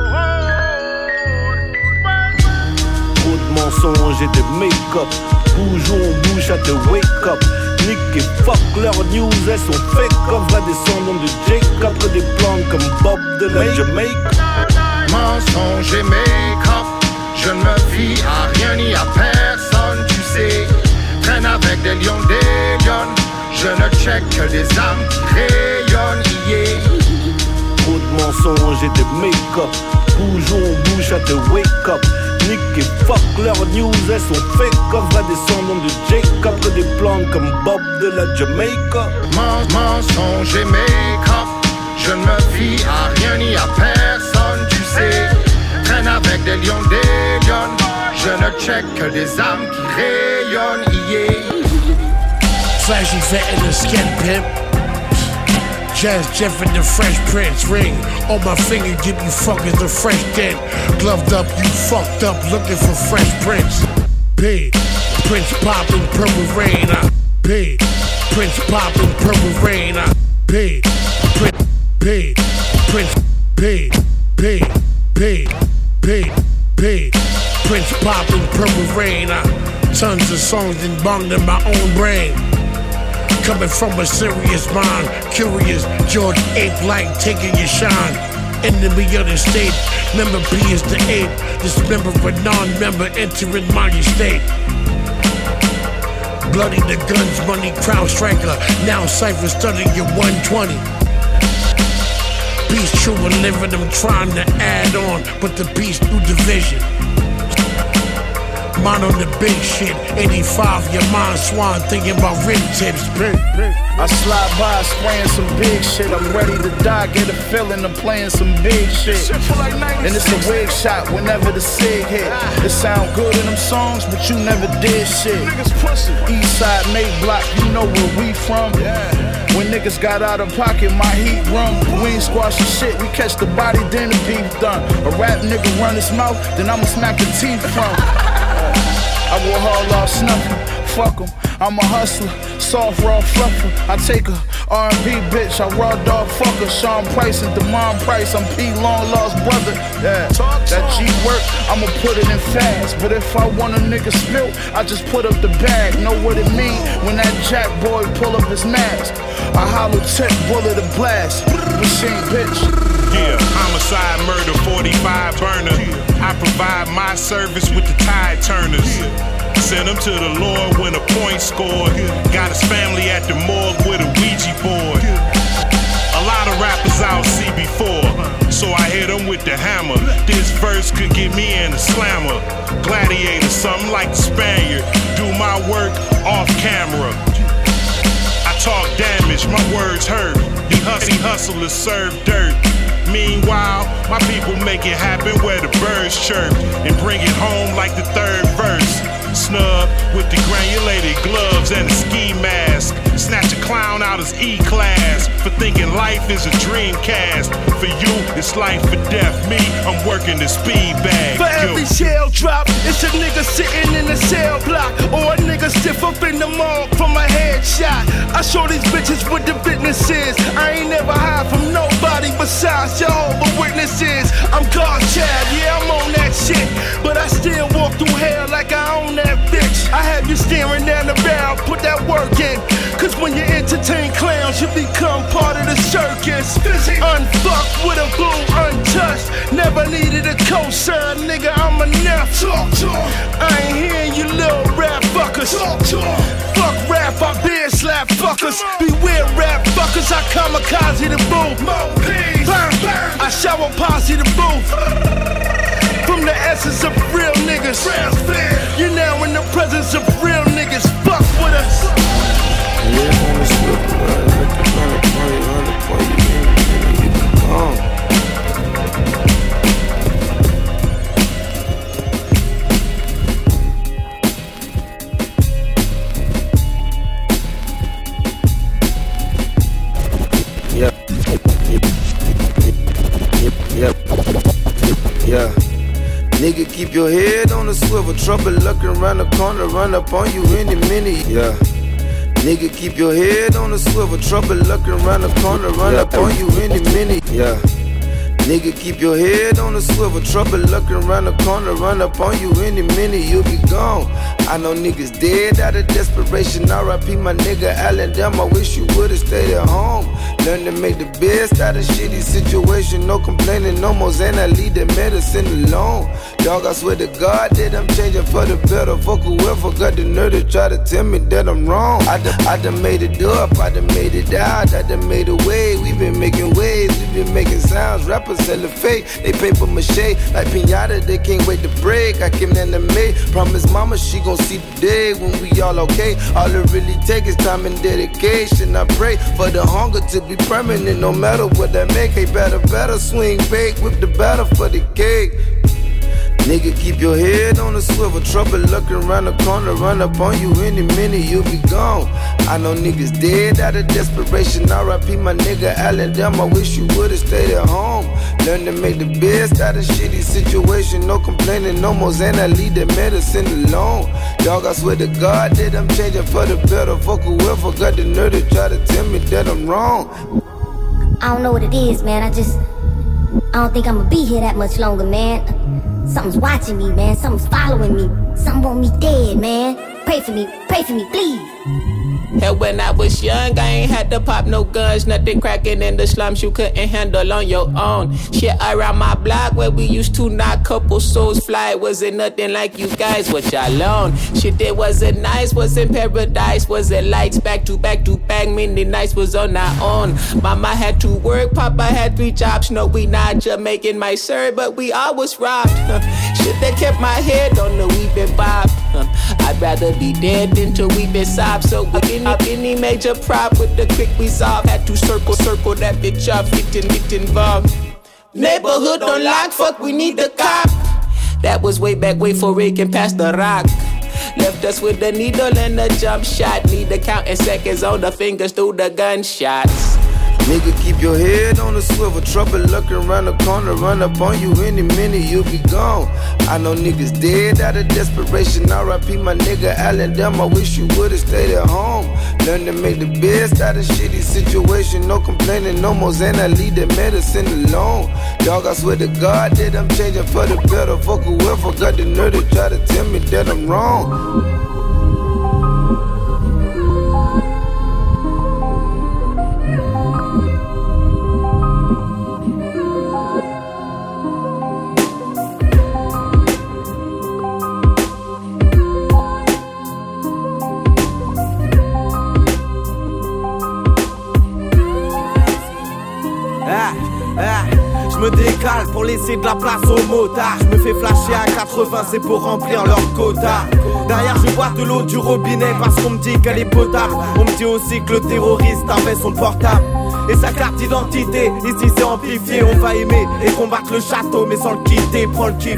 Speaker 15: Trop de mensonges et de make-up. Bougeons, on bouge à te wake up. Nick et fuck leurs news, elles sont fake. Comme va descendant de Jacob, que des plantes comme Bob de la Jamaïque.
Speaker 16: Mensonge et make-up, je ne me fie à rien ni à personne, tu sais. Traîne avec des lions, je ne check que des âmes qui rayonnent, yeah.
Speaker 15: Trop de mensonges et de make-up. Bougeons, on bouge à te wake up. Nick et fuck leurs news, elles sont fake. Comme va descendant de Jacob, que des plantes comme Bob de la Jamaïque.
Speaker 16: Mensonge et make-up, je ne me fie à rien ni à personne, tu sais. Traîne avec des lions, je ne check que des âmes qui rayonnent, yeah.
Speaker 17: Flashy vet in the skin pimp. Jazz Jeff and the Fresh Prince ring on my finger, give you fuckers the fresh dent. Gloved up, you fucked up, looking for Fresh Prince. P. Prince poppin', purple rain. P. Prince poppin', purple rain. P. P. Prince P. P. P. P. P. Prince poppin', purple rain. Tons of songs and bonged in my own brain. Coming from a serious mind, curious, George ape-like, taking your shine. Enemy of the state, member P is the ape. Dismember a non-member entering my estate. Bloody the guns, money, crown striker. Now Cypher studying your 120. Peace true and living, I'm trying to add on, but the peace through division. Mind on the big shit, 85, your mind swan, thinking about rib tips.
Speaker 9: I slide by spraying some big shit. I'm ready to die, get a feeling I'm playing some big shit. And it's a wig shot whenever the cig hit. It sound good in them songs, but you never did shit. East side, May Block, you know where we from. When niggas got out of pocket, my heat run. We ain't squashing shit, we catch the body, then the beef done. A rap nigga run his mouth, then I'ma smack the teeth from. I will haul off snuffin', fuck 'em, I'm a hustler, soft, raw, fluffer. I take a R&B bitch, I raw dog fucker. Sean Price and Demond Price, I'm P. Long lost brother. Yeah, that G work, I'ma put it in fast. But if I want a nigga spilt, I just put up the bag. Know what it mean when that jack boy pull up his mask. A hollow tip, bullet a blast, machine bitch.
Speaker 19: Yeah, homicide, murder, 45 burner. I provide my service with the tide turners. Send him to the Lord when a point scored. Got his family at the morgue with a Ouija board. A lot of rappers I'll see before, so I hit him with the hammer. This verse could get me in a slammer. Gladiator, something like the Spaniard. Do my work off camera. I talk damage, my words hurt. You hustlers serve dirt. Meanwhile, my people make it happen where the birds chirp and bring it home like the third verse. with the granulated gloves and a ski mask. Snatch a clown out his E-class for thinking life is a dream cast. For you, it's life or death. Me, I'm working the speed bag.
Speaker 15: For every shell drop, it's a nigga sitting in a cell block, or a nigga stiff up in the mall from a headshot. I show these bitches what the business is. I ain't never hide from nobody besides Jehovah's Witnesses. I'm God's child, yeah, I'm on that shit, but I still walk through hell like I own that bitch. I have you staring down the barrel, put that work in, cause when you entertain clowns, you become part of the circus. Unfucked with a boo, untouched, never needed a cosign, nigga, I'm enough. I ain't hearing you little rap fuckers. Fuck rap, I beer slap fuckers. Beware rap fuckers, I kamikaze the booth. I shower posse the booth. From the essence of real niggas. You're now in the presence of real niggas. Fuck with us.
Speaker 3: Yeah. Nigga, keep your head on the swivel. Trouble looking around the corner, run up on you any minute. Yeah. Nigga, keep your head on the swivel. Trouble looking around the corner, run up on you any minute. Yeah. Nigga, keep your head on the swivel. Trouble looking around the corner, run up on you any minute, you'll be gone. I know niggas dead out of desperation. R.I.P. my nigga Allen, damn, I wish you would've stayed at home. Learn to make the best out of shitty situation. No complaining, no more Xan, I leave the medicine alone. Dog, I swear to God that I'm changing for the better. Fuck whoever got the nerve to try to tell me that I'm wrong. I done made it up, I done made it out, I done made a way. We been making waves, we been making sounds. Rappers selling fake, they paper mache like pinata, they can't wait to break. I came in the May, promise mama she gon' see the day when we all okay. All it really takes is time and dedication. I pray for the hunger to be permanent, no matter what I make. Hey, better swing bake, whip the batter for the cake. Nigga, keep your head on the swivel. Trouble looking around the corner, run up on you any minute, you'll be gone. I know niggas dead out of desperation. R.I.P. my nigga Allen, damn, I wish you would've stayed at home. Learn to make the best out of shitty situation. No complaining, no more Xan, I leave the medicine alone. Dog, I swear to God that I'm changing for the better. Fuck whoever got the nerve to try to tell me that I'm wrong.
Speaker 7: I don't know what it is, man. I don't think I'ma be here that much longer, man. Something's watching me, man. Something's following me. Something want me dead, man. Pray for me, please.
Speaker 21: Hell, when I was young, I ain't had to pop no guns. Nothing cracking in the slums you couldn't handle on your own. Shit around my block where we used to knock couple souls fly. Wasn't nothing like you guys, what y'all on. Shit, it wasn't nice, wasn't paradise. Wasn't lights back to back to back. Many nights was on our own. Mama had to work, Papa had 3 jobs. No, we not Jamaican, my sir, but we always robbed. Shit, that kept my head on the weeping bob. I'd rather be dead than to weep and sob. So with any major prop with the quick resolve, had to circle that bitch up, get involved. Neighborhood on lock, fuck, we need the cop. That was way back, way for it can pass the rock. Left us with the needle and a jump shot. Need to counting seconds on the fingers through the gunshots.
Speaker 3: Nigga, keep your head on the swivel. Trouble looking around the corner, run up on you any minute, you'll be gone. I know niggas dead out of desperation. R.I.P. my nigga Allen, damn, I wish you would've stayed at home. Learn to make the best out of shitty situation. No complaining, no more Xan, I leave the medicine alone. Dog, I swear to God that I'm changing for the better. Fuck whoever got the nerve to try to tell me that I'm wrong.
Speaker 6: Je me décale pour laisser de la place aux motards. Je me fais flasher à 80, c'est pour remplir leur quota. Derrière je bois de l'eau du robinet parce qu'on me dit qu'elle est potable. On me dit aussi que le terroriste avait son portable et sa carte d'identité. Ici c'est amplifié, on va aimer et combattre le château mais sans le quitter, prends le kiff.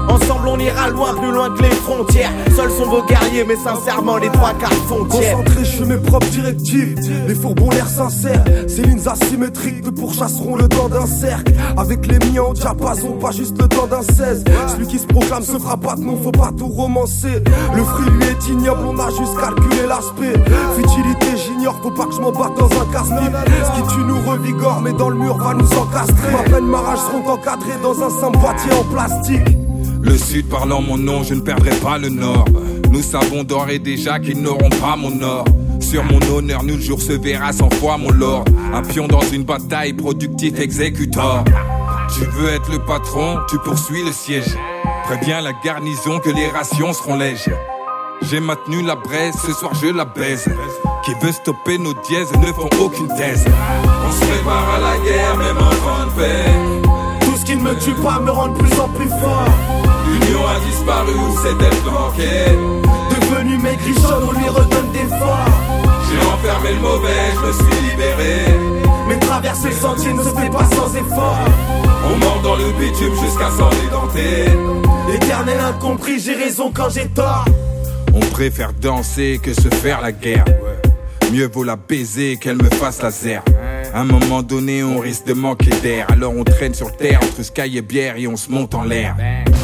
Speaker 23: Ensemble on ira loin, plus loin que les frontières. Seuls sont vos guerriers, mais sincèrement les 3/4 font tiers.
Speaker 1: Concentré, je suis mes propres directives. Les fourbons l'air sincères. Ces lignes asymétriques me pourchasseront le temps d'un cercle. Avec les miens au diapason, pas juste le temps d'un 16. Celui qui se proclame se fera pas de nom, faut pas tout romancer. Le fruit lui est ignoble, on a juste calculé l'aspect. Futilité, j'ignore, faut pas que je m'en batte dans un casse-pipe. Ce qui tue nous revigore, mais dans le mur va nous encastrer. Ma peine, ma rage seront encadrés dans un simple boîtier en plastique.
Speaker 8: Le sud parlant mon nom, je ne perdrai pas le nord. Nous savons d'ores et déjà qu'ils n'auront pas mon or. Sur mon honneur, nul jour se verra 100 fois mon lord. Un pion dans une bataille, productif exécuteur. Tu veux être le patron, tu poursuis le siège. Préviens la garnison que les rations seront lèges. J'ai maintenu la braise, ce soir je la baise. Qui veut stopper nos dièses ne font aucune thèse. On se prépare à la guerre, même en temps de paix.
Speaker 1: Tout ce qui ne me tue pas me rend de plus en plus fort.
Speaker 8: L'union a disparu, où s'est-elle planquée?
Speaker 1: Devenu maigrichonne, on lui redonne des forts.
Speaker 8: J'ai enfermé le mauvais, je me suis libéré.
Speaker 1: Mais traverser le sentier ne se fait pas sans effort.
Speaker 8: On mord dans le bitume jusqu'à s'en édenter.
Speaker 1: Éternel incompris, j'ai raison quand j'ai tort.
Speaker 8: On préfère danser que se faire la guerre. Mieux vaut la baiser qu'elle me fasse la zère. À un moment donné, on risque de manquer d'air. Alors on traîne sur terre entre sky et bière et on se monte en l'air.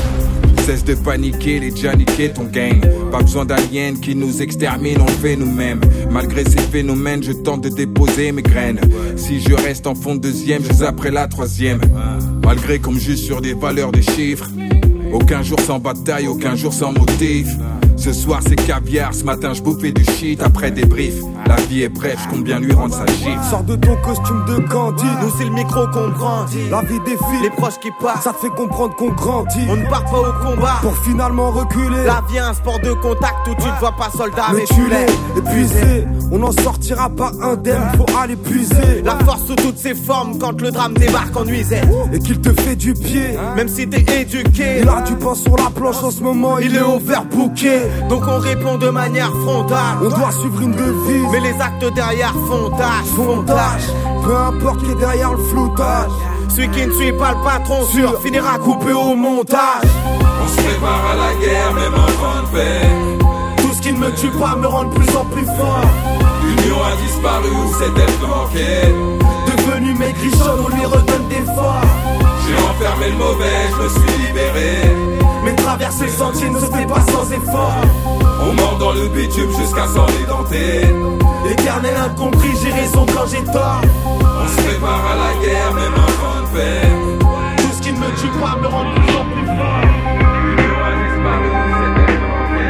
Speaker 8: Cesse de paniquer, les déjà niqué ton gang. Pas besoin d'aliens qui nous exterminent, on le fait nous-mêmes. Malgré ces phénomènes, je tente de déposer mes graines. Si je reste en fond de deuxième, je zapperai la troisième. Malgré qu'on me juge sur des valeurs des chiffres. Aucun jour sans bataille, aucun jour sans motif. Ce soir c'est caviar, ce matin je bouffais du shit après des briefs. La vie est brève, je compte bien lui rendre sa gifle.
Speaker 1: Sors de ton costume de Gandhi.
Speaker 23: Nous c'est le micro qu'on grandit.
Speaker 1: La vie défile,
Speaker 23: les proches qui partent.
Speaker 1: Ça te fait comprendre qu'on grandit.
Speaker 23: On ne part pas au combat
Speaker 1: pour finalement reculer.
Speaker 23: La vie est un sport de contact où tu ne vois pas soldat mais
Speaker 1: tu l'es épuisé. On n'en sortira pas indemne, faut aller puiser.
Speaker 23: La force sous toutes ses formes quand le drame débarque en nuisette.
Speaker 1: Et qu'il te fait du pied,
Speaker 23: même si t'es éduqué.
Speaker 1: Il a du pain sur la planche en ce moment, il est overbooké.
Speaker 23: Donc on répond de manière frontale.
Speaker 1: On doit suivre une devise,
Speaker 23: mais les actes derrière font tâche.
Speaker 1: Peu importe qui est derrière le floutage.
Speaker 23: Celui qui ne suit pas le patron sûr finira coupé au montage.
Speaker 8: On se prépare à la guerre, même en temps de paix.
Speaker 1: Tout ce qui ne me tue pas me rend de plus en plus fort.
Speaker 8: L'union a disparu, où s'est-elle planquée?
Speaker 1: Devenu maigrichonne, on lui redonne des forts.
Speaker 8: J'ai enfermé le mauvais, je me suis libéré.
Speaker 1: Mais traverser le sentier ne se fait pas sans effort.
Speaker 8: On mord dans le bitume jusqu'à s'en édenter.
Speaker 1: Éternel incompris, j'ai raison quand j'ai tort.
Speaker 8: On se prépare à la guerre, même en temps de paix.
Speaker 1: Tout ce qui ne me tue pas me rend de plus en plus fort.
Speaker 8: L'union a disparu, c'était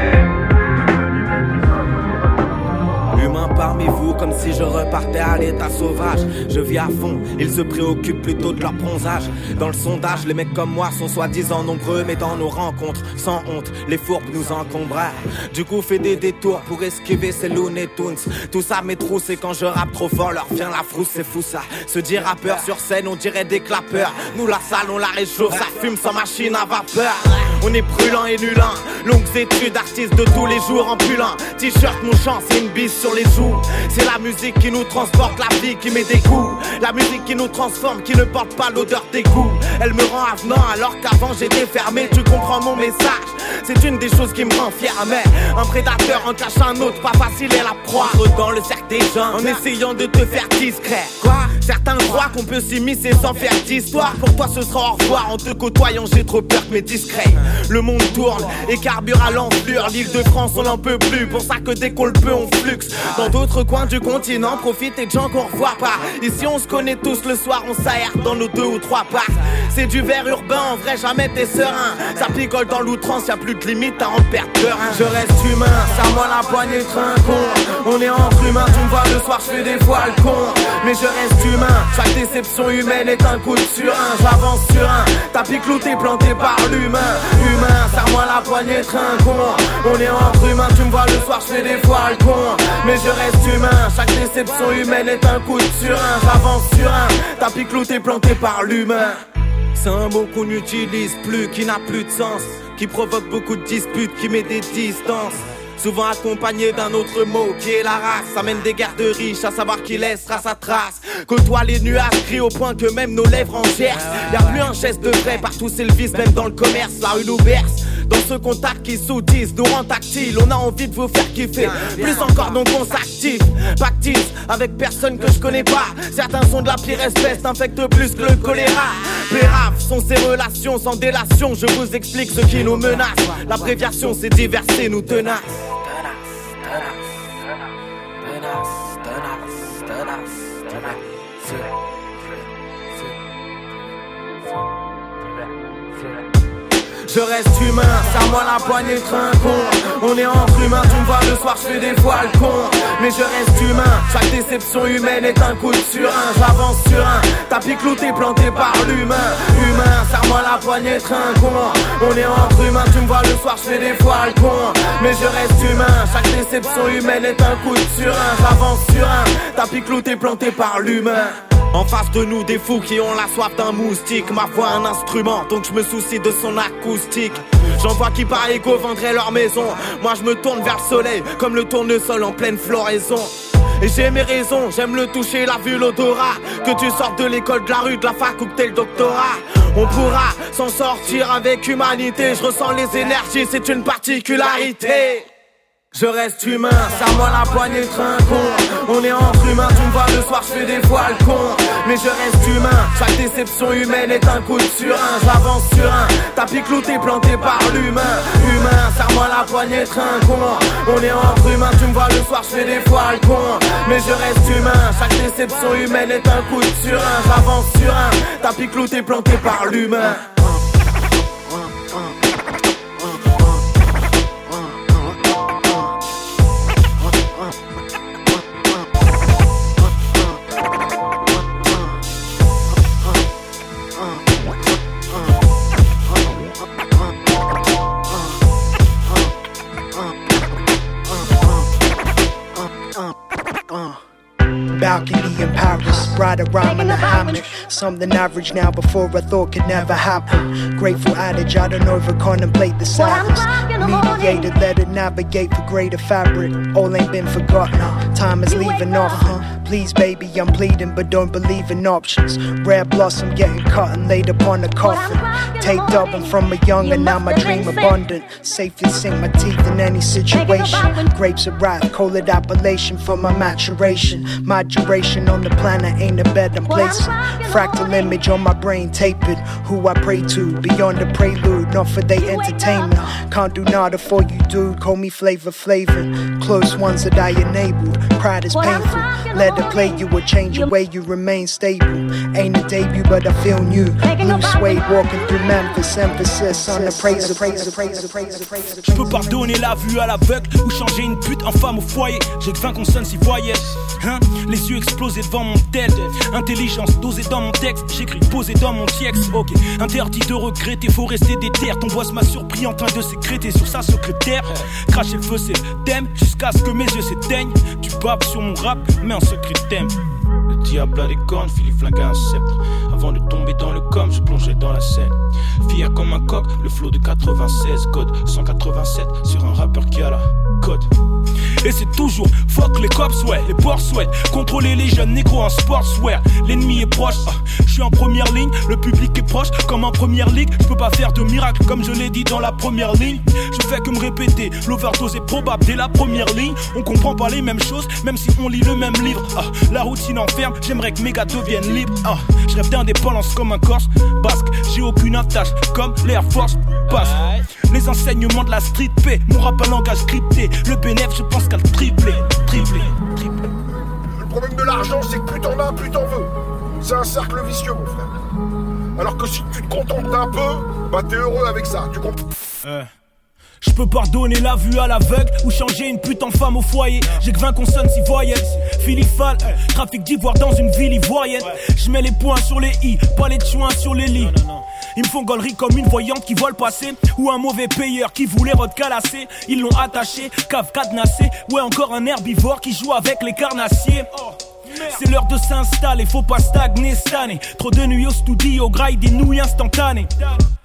Speaker 23: Humain parmi vous, comme si je repartais à l'état sauvage. Je vis à fond, ils se préoccupent plutôt de leur bronzage. Dans le sondage, les mecs comme moi sont soi-disant nombreux, mais dans nos rencontres, sans honte, les fourbes nous encombrent. Du coup, fais des détours pour esquiver ces Looney Tunes. Tout ça m'étrousse et quand je rappe trop fort, leur vient la frousse, c'est fou ça. Se dire rappeur sur scène, on dirait des clapeurs. Nous la salle, on la réchauffe, ça fume sans machine à vapeur. On est brûlant et nulin, longues études, artistes de tous les jours en pulant. T-shirt, mon chant, c'est une bise sur les joues. C'est la musique qui nous transporte, la vie qui met des coups. La musique qui nous transforme, qui ne porte pas l'odeur des goûts. Elle me rend avenant alors qu'avant j'étais fermé. Tu comprends mon message? C'est une des choses qui me rend fier. Mais un prédateur en cache un autre, pas facile est la proie. Dans le cercle des gens, en essayant de te faire discret. Quoi? Certains croient qu'on peut s'immiscer sans faire d'histoire. Pour toi ce sera au revoir, en te côtoyant j'ai trop peur que mes discrets. Le monde tourne et carbure à l'enflure. L'île de France on n'en peut plus, pour ça que dès qu'on le peut on fluxe. Dans d'autres coins du continent, profite des gens qu'on revoit pas. Ici on se connaît tous, le soir on s'aère dans nos 2 ou 3 parcs. C'est du verre urbain, en vrai jamais t'es serein. Ça picole dans l'outrance, y'a plus de limite à en perdre peur. Je reste humain, serre-moi la poignée, trinquons. On est entre humains, tu me vois le soir, je fais des fois le con. Mais je reste humain, chaque déception humaine est un coup de surin. J'avance sur un tapis clouté planté par l'humain. Humain, serre-moi la poignée, trinquons. On est entre humains, tu me vois le soir, je fais des fois le con. Mais je reste humain, chaque déception humaine est un coup de surin. J'avance sur un tapis clouté planté par l'humain. C'est un mot qu'on n'utilise plus, qui n'a plus de sens, qui provoque beaucoup de disputes, qui met des distances.
Speaker 10: souvent accompagné d'un autre mot qui est la race. Amène des guerres de riches, à savoir qui laissera sa trace. Côtoie les nuages, crie au point que même nos lèvres en gercent. Y'a plus un geste de vrai, partout c'est le vice, même dans le commerce. La rue nous berce, dans ce contact qui soutise, nous rend tactile. On a envie de vous faire kiffer, plus encore donc on s'active. Pactise avec personne que je connais pas. Certains sont de la pire espèce, infectent plus que le choléra. Péraves sont ces relations sans délation. Je vous explique ce qui nous menace. L'abréviation c'est diverser, nous tenace. Je reste humain, serre-moi la poignée trinquon. On est entre humains, tu me vois le soir, je fais des fois le con. Mais je reste humain, chaque déception humaine est un coup de surin. J'avance sur un tapis clouté planté par l'humain. Humain, serre-moi la poignée trinquon. On est entre humains, tu me vois le soir, je fais des fois le con. Mais je reste humain, chaque déception humaine est un coup de surin. J'avance sur un tapis clouté planté par l'humain. En face de nous des fous qui ont la soif d'un moustique. Ma voix un instrument, donc je me soucie de son acoustique. J'en vois qui par égo vendraient leur maison. Moi je me tourne vers le soleil comme le tournesol en pleine floraison. Et j'ai mes raisons, j'aime le toucher, la vue, l'odorat. Que tu sortes de l'école, de la rue, de la fac ou que t'aies le doctorat, on pourra s'en sortir avec humanité. Je ressens les énergies, c'est une particularité. Je reste humain, serre-moi la poignée trinquon. On est entre humains, tu me vois le soir, je fais des fois le con. Mais je reste humain, chaque déception humaine est un coup de surin. J'avance sur un tapis clouté planté par l'humain. Humain, serre-moi la poignée trinquon. On est entre humains, tu me vois le soir, je fais des fois le con. Mais je reste humain, chaque déception humaine est un coup de surin. J'avance sur un tapis clouté planté par l'humain.
Speaker 11: Balcony in Paris, ride around in a hammock. Something average now before I thought could never happen. Grateful adage, I don't over contemplate the sadness. Mediated, let it navigate for greater fabric. All ain't been forgotten, time is leaving off. Please baby, I'm pleading, but don't believe in options. Rare blossom getting cut and laid upon a coffin. Taped up, I'm from a young and now my dream abundant. Safely sink my teeth in any situation. Grapes of wrath, call it appellation for my maturation. My duration on the planet ain't a bed I'm placing. Fractal image on my brain, tape it. Who I pray to, beyond the prelude, not for they entertainment. Can't do nada for you, dude. Call me Flavor Flavin. Close ones that I enabled. Pride is painful. Let it play you or change your way, you remain stable. Ain't a debut, but I feel new. Blue suede walking through Memphis. Emphasis on the praise.
Speaker 15: Je peux pardonner la vue à l'aveugle ou changer une pute en femme au foyer. J'ai que 20 consonnes s'y voyaient. Hein? Les yeux explosés devant mon tête. Intelligence dosée dans mon texte. J'écris posé dans mon texte. Ok, interdit de regretter, faut rester déter. Ton boss m'a surpris en train de sécréter sur sa secrétaire. Cracher le feu, c'est le thème. Jusqu'à ce que mes yeux s'éteignent. Tu babes sur mon rap, mais en secret thème. Le diable a des cornes, Philippe flingue un sceptre. Avant de tomber dans le com, je plongeais dans la scène. Fier comme un coq, le flow de 96, code 187 sur un rappeur qui a la code. Et c'est toujours fuck les cops, ouais, les boss, ouais. Contrôler les jeunes négros en sportswear. L'ennemi est proche, je suis en première ligne. Le public est proche, comme en première ligue. Je peux pas faire de miracle, comme je l'ai dit dans la première ligne. Je fais que me répéter, l'overdose est probable dès la première ligne. On comprend pas les mêmes choses, même si on lit le même livre. La routine enferme, j'aimerais que mes gars deviennent libres. Je rêve d'indépendance comme un Corse basque. J'ai aucune attache, comme l'Air Force passe. Les enseignements de la street P, mon rap à langage scripté. Le bénéf, je pense qu'à le tripler.
Speaker 16: Le problème de l'argent, c'est que plus t'en as, plus t'en veux. C'est un cercle vicieux, mon frère. Alors que si tu te contentes d'un peu, bah t'es heureux avec ça, tu comprends?
Speaker 15: Je peux pardonner la vue à l'aveugle ou changer une pute en femme au foyer. J'ai que 20 consonnes s'y voyaient. Philippal, trafic d'ivoire dans une ville ivoirienne. Je mets les points sur les i, pas les chouins sur les lits. Ils me font gaulerie comme une voyante qui voit le passé. Ou un mauvais payeur qui voulait recalasser. Ils l'ont attaché, cave cadenassé. Ouais, encore un herbivore qui joue avec les carnassiers. C'est l'heure de s'installer, faut pas stagner cette année. Trop de nuits au studio, graille des nouilles instantanées.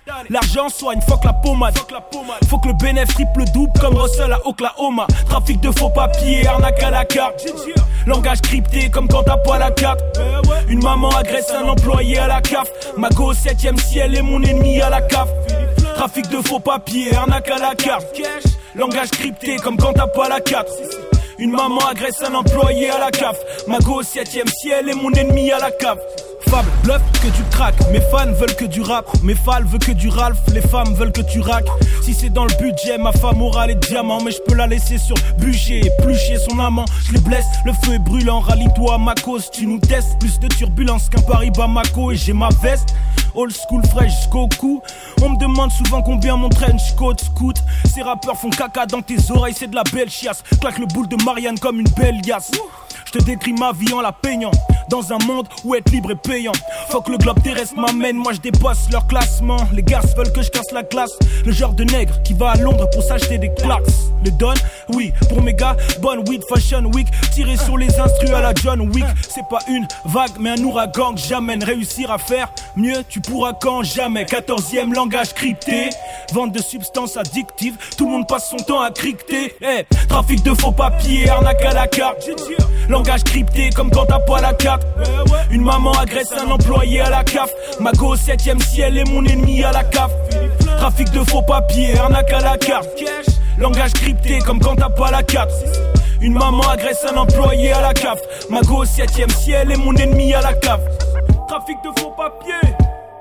Speaker 5: L'argent soigne, fuck la pommade. Faut que le bénéfice triple double comme Russell à Oklahoma. Trafic de faux papiers, arnaque à la carte. Langage crypté comme quand t'as pas la carte. Une maman agresse un employé à la CAF. Ma go au 7ème ciel est mon ennemi à la CAF. Trafic de faux papiers, arnaque à la carte. Langage crypté comme quand t'as pas la carte. Une maman agresse un employé à la CAF. Ma go au 7ème ciel est mon ennemi à la CAF. Fable, bluff, que du crack. Mes fans veulent que du rap. Mes fals veulent que du Ralph. Les femmes veulent que tu raques. Si c'est dans le budget, ma femme aura les diamants. Mais je peux la laisser sur budget. Éplucher son amant. Je les blesse, le feu est brûlant. Rallie-toi à ma cause, tu nous testes. Plus de turbulence qu'un Paris Bamako. Et j'ai ma veste. Old school fraîche jusqu'au cou. On me demande souvent combien mon trench coat scoot. Ces rappeurs font caca dans tes oreilles, c'est de la belle chiasse. Claque le boule de Marianne comme une belle liasse. Je te décris ma vie en la peignant. Dans un monde où être libre est payant. Faut que le globe terrestre m'amène, moi je dépasse leur classement. Les gars veulent que je casse la glace. Le genre de nègre qui va à Londres pour s'acheter des claques. Les donne, oui, pour mes gars, bonne weed fashion week. Tirer sur les instrus à la John Wick. C'est pas une vague mais un ouragan que j'amène. Réussir à faire mieux, tu pourras quand jamais. 14e langage crypté. Vente de substances addictives. Tout le monde passe son temps à cricter. Hey, trafic de faux papiers, arnaque à la carte. Langage crypté comme quand t'as pas la carte. Une maman agresse un employé à la CAF. Ma go au 7ème ciel est mon ennemi à la CAF. Trafic de faux papiers, arnaque à la carte. Langage crypté comme quand t'as pas la carte. Une maman agresse un employé à la CAF. Ma go au 7ème ciel est mon ennemi à la CAF. Trafic de faux papiers.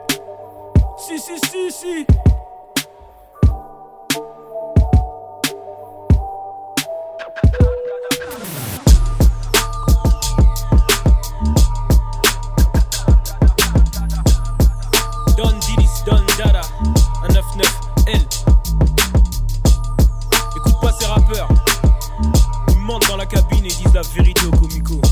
Speaker 5: Si. Don Didis, Don Dada, un 9-9L. Écoute pas ces rappeurs. Ils mentent dans la cabine et disent la vérité au comico.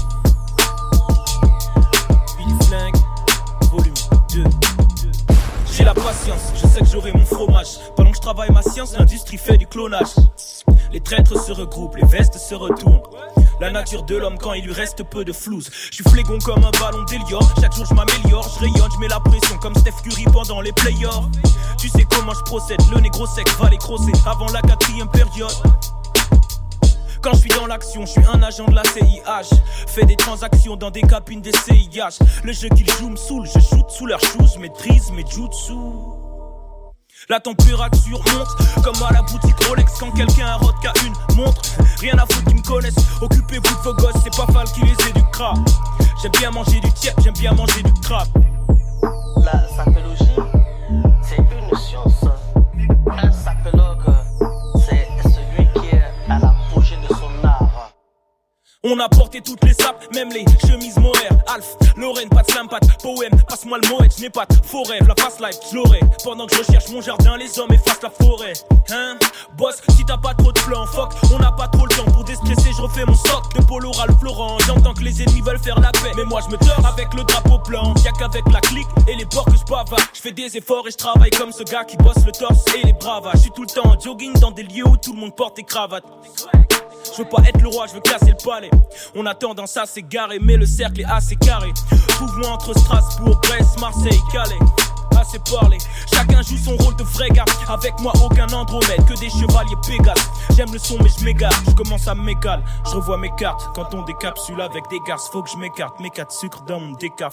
Speaker 5: Billy Flingue, volume 2. J'ai la patience, je sais que j'aurai mon fromage. Pendant que je travaille ma science, l'industrie fait du clonage. Les traîtres se regroupent, les vestes se retournent. La nature de l'homme quand il lui reste peu de flouze. Je suis flégon comme un ballon d'Elior. Chaque jour je m'améliore, je rayonne, je mets la pression comme Steph Curry pendant les playoffs. Tu sais comment je procède, le négro sec va les crosser avant la 4ème période. Quand je suis dans l'action, je suis un agent de la CIH. Fais des transactions dans des cabines des CIH. Le jeu qu'ils jouent me saoule, je shoot sous leurs shoes. Je maîtrise mes jutsu. La température monte comme à la boutique Rolex quand quelqu'un a qu'à une montre. Rien à foutre qu'ils me connaissent. Occupez-vous de vos gosses, c'est pas Fal qui les éduquera. J'aime bien manger du tiep, j'aime bien manger du crabe.
Speaker 12: La sapélogie, c'est une science. Un sapélogue, c'est celui qui est à l'apogée de son art.
Speaker 5: On a porté toutes les sapes, même les chemises Mohair. Alf, Lorraine, pas de slam, pas de poème. Passe-moi le moët, je n'ai pas de faux rêve. La fast life, je l'aurai. Pendant que je recherche mon jardin, les hommes effacent la forêt. Hein? Boss, si t'as pas trop de plans, fuck, on n'a pas trop le temps pour déstresser. Je refais mon stock de Polo Ralph Lauren. J'entends que les ennemis veulent faire la paix, mais moi je me tords avec le drapeau blanc. Y'a qu'avec la clique et les bords que je bavard. Je fais des efforts et je travaille comme ce gars qui bosse le torse et les bravas. Je suis tout le temps en jogging dans des lieux où tout le monde porte des cravates. Je veux pas être le roi, je veux casser le palais. On a tendance à s'égarer, mais le cercle est assez carré. Trouve-moi entre Strasbourg, Brest, Marseille, Calais. Assez parlé, chacun joue son rôle de vrai gars. Avec moi aucun Andromède, que des chevaliers Pégases. J'aime le son mais je m'égare, je commence à m'égaler. Je revois mes cartes, quand on décapsule avec des garces. Faut que je m'écarte, mes 4 sucres dans mon décaf.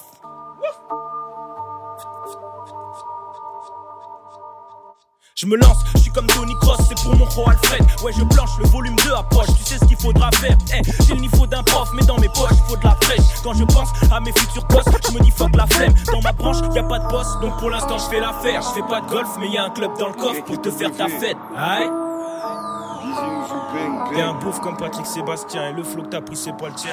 Speaker 5: Je me lance, je suis comme Tony Cross, c'est pour mon roi Alfred. Ouais, je planche le volume 2 à poche, tu sais ce qu'il faudra faire. J'ai le niveau d'un prof, mais dans mes poches, il faut de la fraîche. Quand je pense à mes futurs postes, je me dis fuck la flemme. Dans ma branche, y a pas de boss, donc pour l'instant je fais l'affaire. Je fais pas de golf, mais y a un club dans le coffre pour te faire ta fête. Aïe. T'es un beauf comme Patrick Sébastien, et le flow que t'as pris, c'est pas le tien.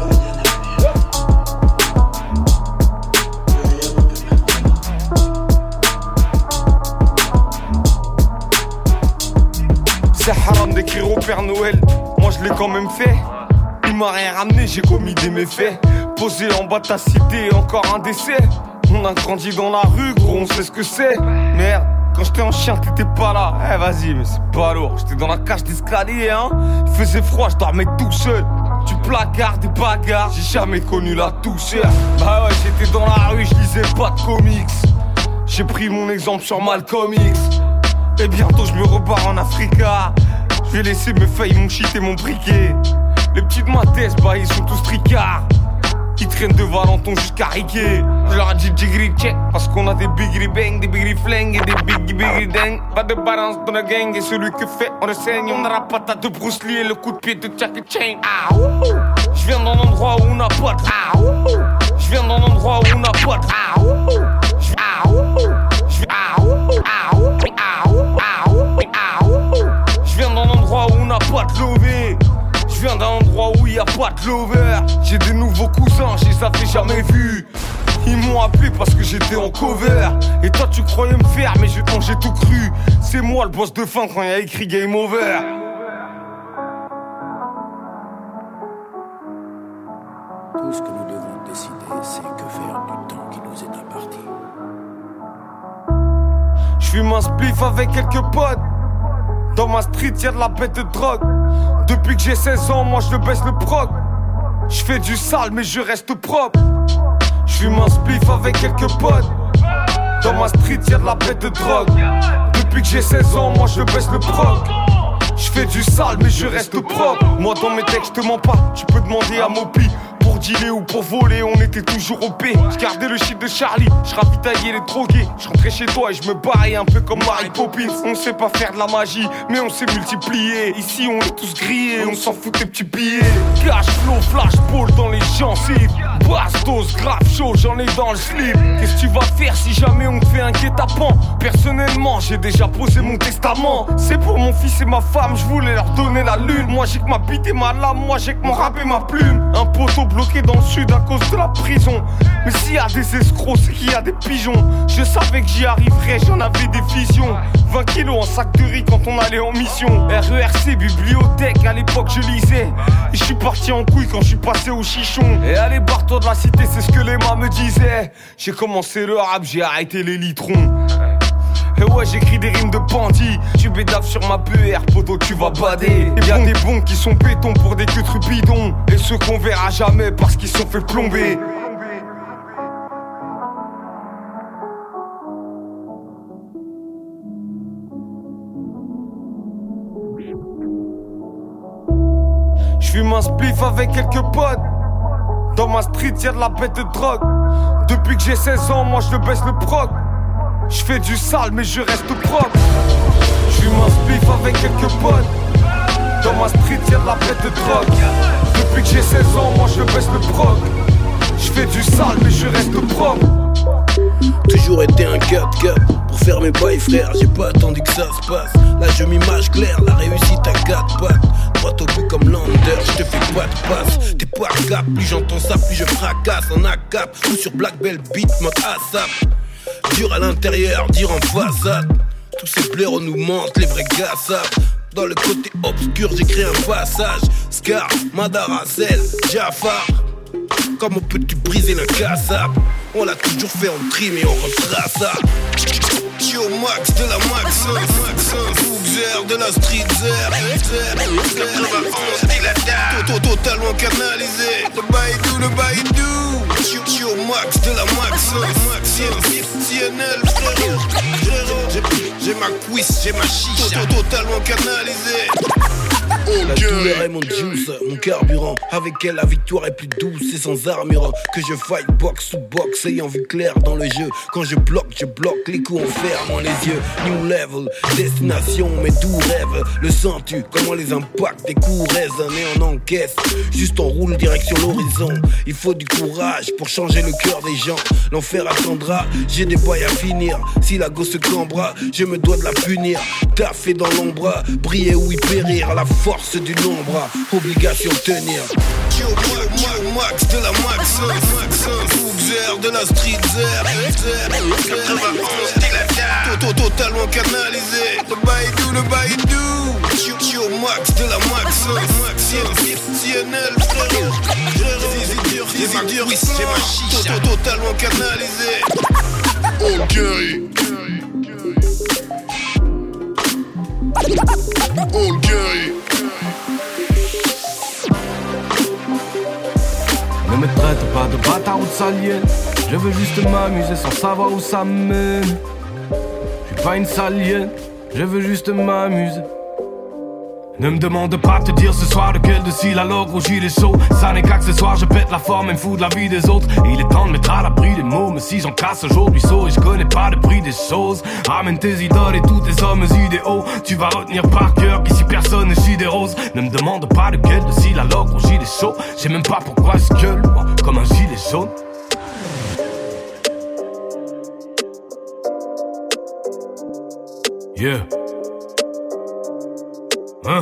Speaker 14: C'est haram d'écrire au Père Noël, moi je l'ai quand même fait. Il m'a rien ramené, j'ai commis des méfaits. Posé en bas de ta cité, encore un décès. On a grandi dans la rue, gros, on sait ce que c'est. Merde, quand j'étais en chien, t'étais pas là. Eh vas-y, mais c'est pas lourd. J'étais dans la cage d'escalier, hein. Il faisait froid, je dormais tout seul. Du placard, des bagarres, j'ai jamais connu la douceur. Bah ouais, j'étais dans la rue, je lisais pas de comics. J'ai pris mon exemple sur Malcolm X. Et bientôt je me repars en Africa. Je vais laisser mes feuilles, mon shit et mon briquet. Les petites mathèses, bah ils sont tous tricards. Ils traînent de Valenton jusqu'à Riquet. Je leur ai dit jigri check parce qu'on a des bigri bang, des bigri flingues et des bigri dang. Pas de balance dans la gang et celui que fait on le saigne. On a la patate de Bruce Lee et le coup de pied de Jackie Chan. Ah wouhou. Je viens d'un endroit où on n'a pas de. Ah wouhou. Je viens d'un endroit où on n'a pas de. Ah wouhou. Ah wouhou. Ah wouhou. Ah wouhou. Ah wouhou. Ah wouhou. Ah wouhou. Je viens d'un endroit où on n'a pas de lové. Je viens d'un endroit où y a pas de lover. J'ai des nouveaux cousins, je les avais jamais vus. Ils m'ont appelé parce que j'étais en cover. Et toi tu croyais me faire, mais j'ai tout cru. C'est moi le boss de fin quand y a écrit Game Over.
Speaker 18: Tout ce que nous devons décider, c'est que faire du temps qui nous est imparti.
Speaker 14: J'fume un spliff avec quelques potes. Dans ma street y'a de la bête de drogue. Depuis que j'ai 16 ans, moi je baisse le proc. J'fais du sale mais je reste propre. J'fume un spliff avec quelques potes. Dans ma street y'a de la bête de drogue. Depuis que j'ai 16 ans, moi je baisse le proc. J'fais du sale mais je reste propre. Moi dans mes textes je te mens pas, tu peux demander à Mopi. Pour dealer ou pour voler, on était toujours au P. J'gardais le shit de Charlie, j'ravitaillais les drogués. J'rentrais chez toi et j'me barrais un peu comme Mary Poppins. On sait pas faire de la magie, mais on sait multiplier. Ici on est tous grillés, on s'en fout des petits billets. Cash flow, flashball dans les gencives. Bastos, grave chaud, j'en ai dans le slip. Qu'est-ce que tu vas faire si jamais on te fait un guet-apens? Personnellement, j'ai déjà posé mon testament. C'est pour mon fils et ma femme, j'voulais leur donner la lune. Moi j'ai que ma bite et ma lame, moi j'ai que mon rap et ma plume. Un poteau bloqué dans le sud à cause de la prison. Mais s'il y a des escrocs, c'est qu'il y a des pigeons. Je savais que j'y arriverais, j'en avais des visions. 20 kilos en sac de riz quand on allait en mission. RERC, bibliothèque, à l'époque je lisais. Et je suis parti en couille quand je suis passé au chichon. Et allez barre-toi de la cité, c'est ce que les mâts me disaient. J'ai commencé le rap, j'ai arrêté les litrons. Et ouais, j'écris des rimes de bandits. Tu bédaves sur ma PR, poto, tu vas bader. Et y'a des bons qui sont béton pour des queues trupidons. Et ceux qu'on verra jamais parce qu'ils sont fait plomber. J'fume un spliff avec quelques potes. Dans ma street y'a de la bête de drogue. Depuis que j'ai 16 ans, moi je baisse le proc. J'fais du sale mais je reste propre. J'fume un spliff avec quelques potes. Dans ma street y'a de la bête de drogue. Depuis que j'ai 16 ans, moi je baisse le proc. J'fais du sale mais je reste propre.
Speaker 18: Toujours été un cut pour faire mes bails frère. J'ai pas attendu que ça se passe. Là je m'image claire, la réussite à 4 pattes. Droit au but comme Lander, je te fais pas de passe. T'es pas cap, plus j'entends ça, plus je fracasse. En ACAP ou sur Black Belt Beat, mode ASAP. Dur à l'intérieur, dire en façade. Tous ces blaireaux nous mentent, les vrais gars savent. Dans le côté obscur, j'écris un passage. Scar, Madarazel, Jafar. Comment peux-tu briser le cassable? On l'a toujours fait en trim et on retrace ça. Yo max de la max, Fougzer de la street zer. Totalement canalisé. Le baïdou. Yo max de la max, CNL frérot. J'ai ma cuisse, j'ai ma chicha. Totalement canalisé. La douleur est mon juice, mon carburant. Avec elle la victoire est plus douce et sans armure. Que je fight box ou box, ayant vu clair dans le jeu. Quand je bloque, les coups en fermant les yeux. New level, destination, mes doux rêves. Le sens-tu, comment les impacts des coups résonnent et on encaisse. Juste on roule direction l'horizon. Il faut du courage pour changer le cœur des gens. L'enfer attendra, j'ai des bails à finir. Si la gosse se cambra, je me dois de la punir. Taffer dans l'ombre, briller ou y périr. À la force du nombre, obligation tenir. Yo max de la max, Fougzer de la street zer. 91 totalement canalisé. Le baïdou. Yo max de la max, CNL frérot. J'ai ma cuisse, j'ai ma chicha. Totalement canalisé. Okay.
Speaker 20: Ne me traite pas de bâtard ou de saliel.
Speaker 23: Je veux juste m'amuser sans savoir où ça mène. Je suis pas une salienne, je veux juste m'amuser. Ne me demande pas de te dire ce soir lequel de cils alors gros gilet chaud. Ça n'est qu'accessoire, je pète la forme et me fous de la vie des autres. Et il est temps de mettre à l'abri des mots. Mais si j'en casse aujourd'hui saut et je connais pas le prix des choses. Ramène tes idoles et tous tes hommes idéaux. Tu vas retenir par cœur qu'ici personne ne chie des roses. Ne me demande pas lequel de cils alors gros gilet chaud. Je sais même pas pourquoi je gueule, moi, comme un gilet jaune. Yeah. Hein?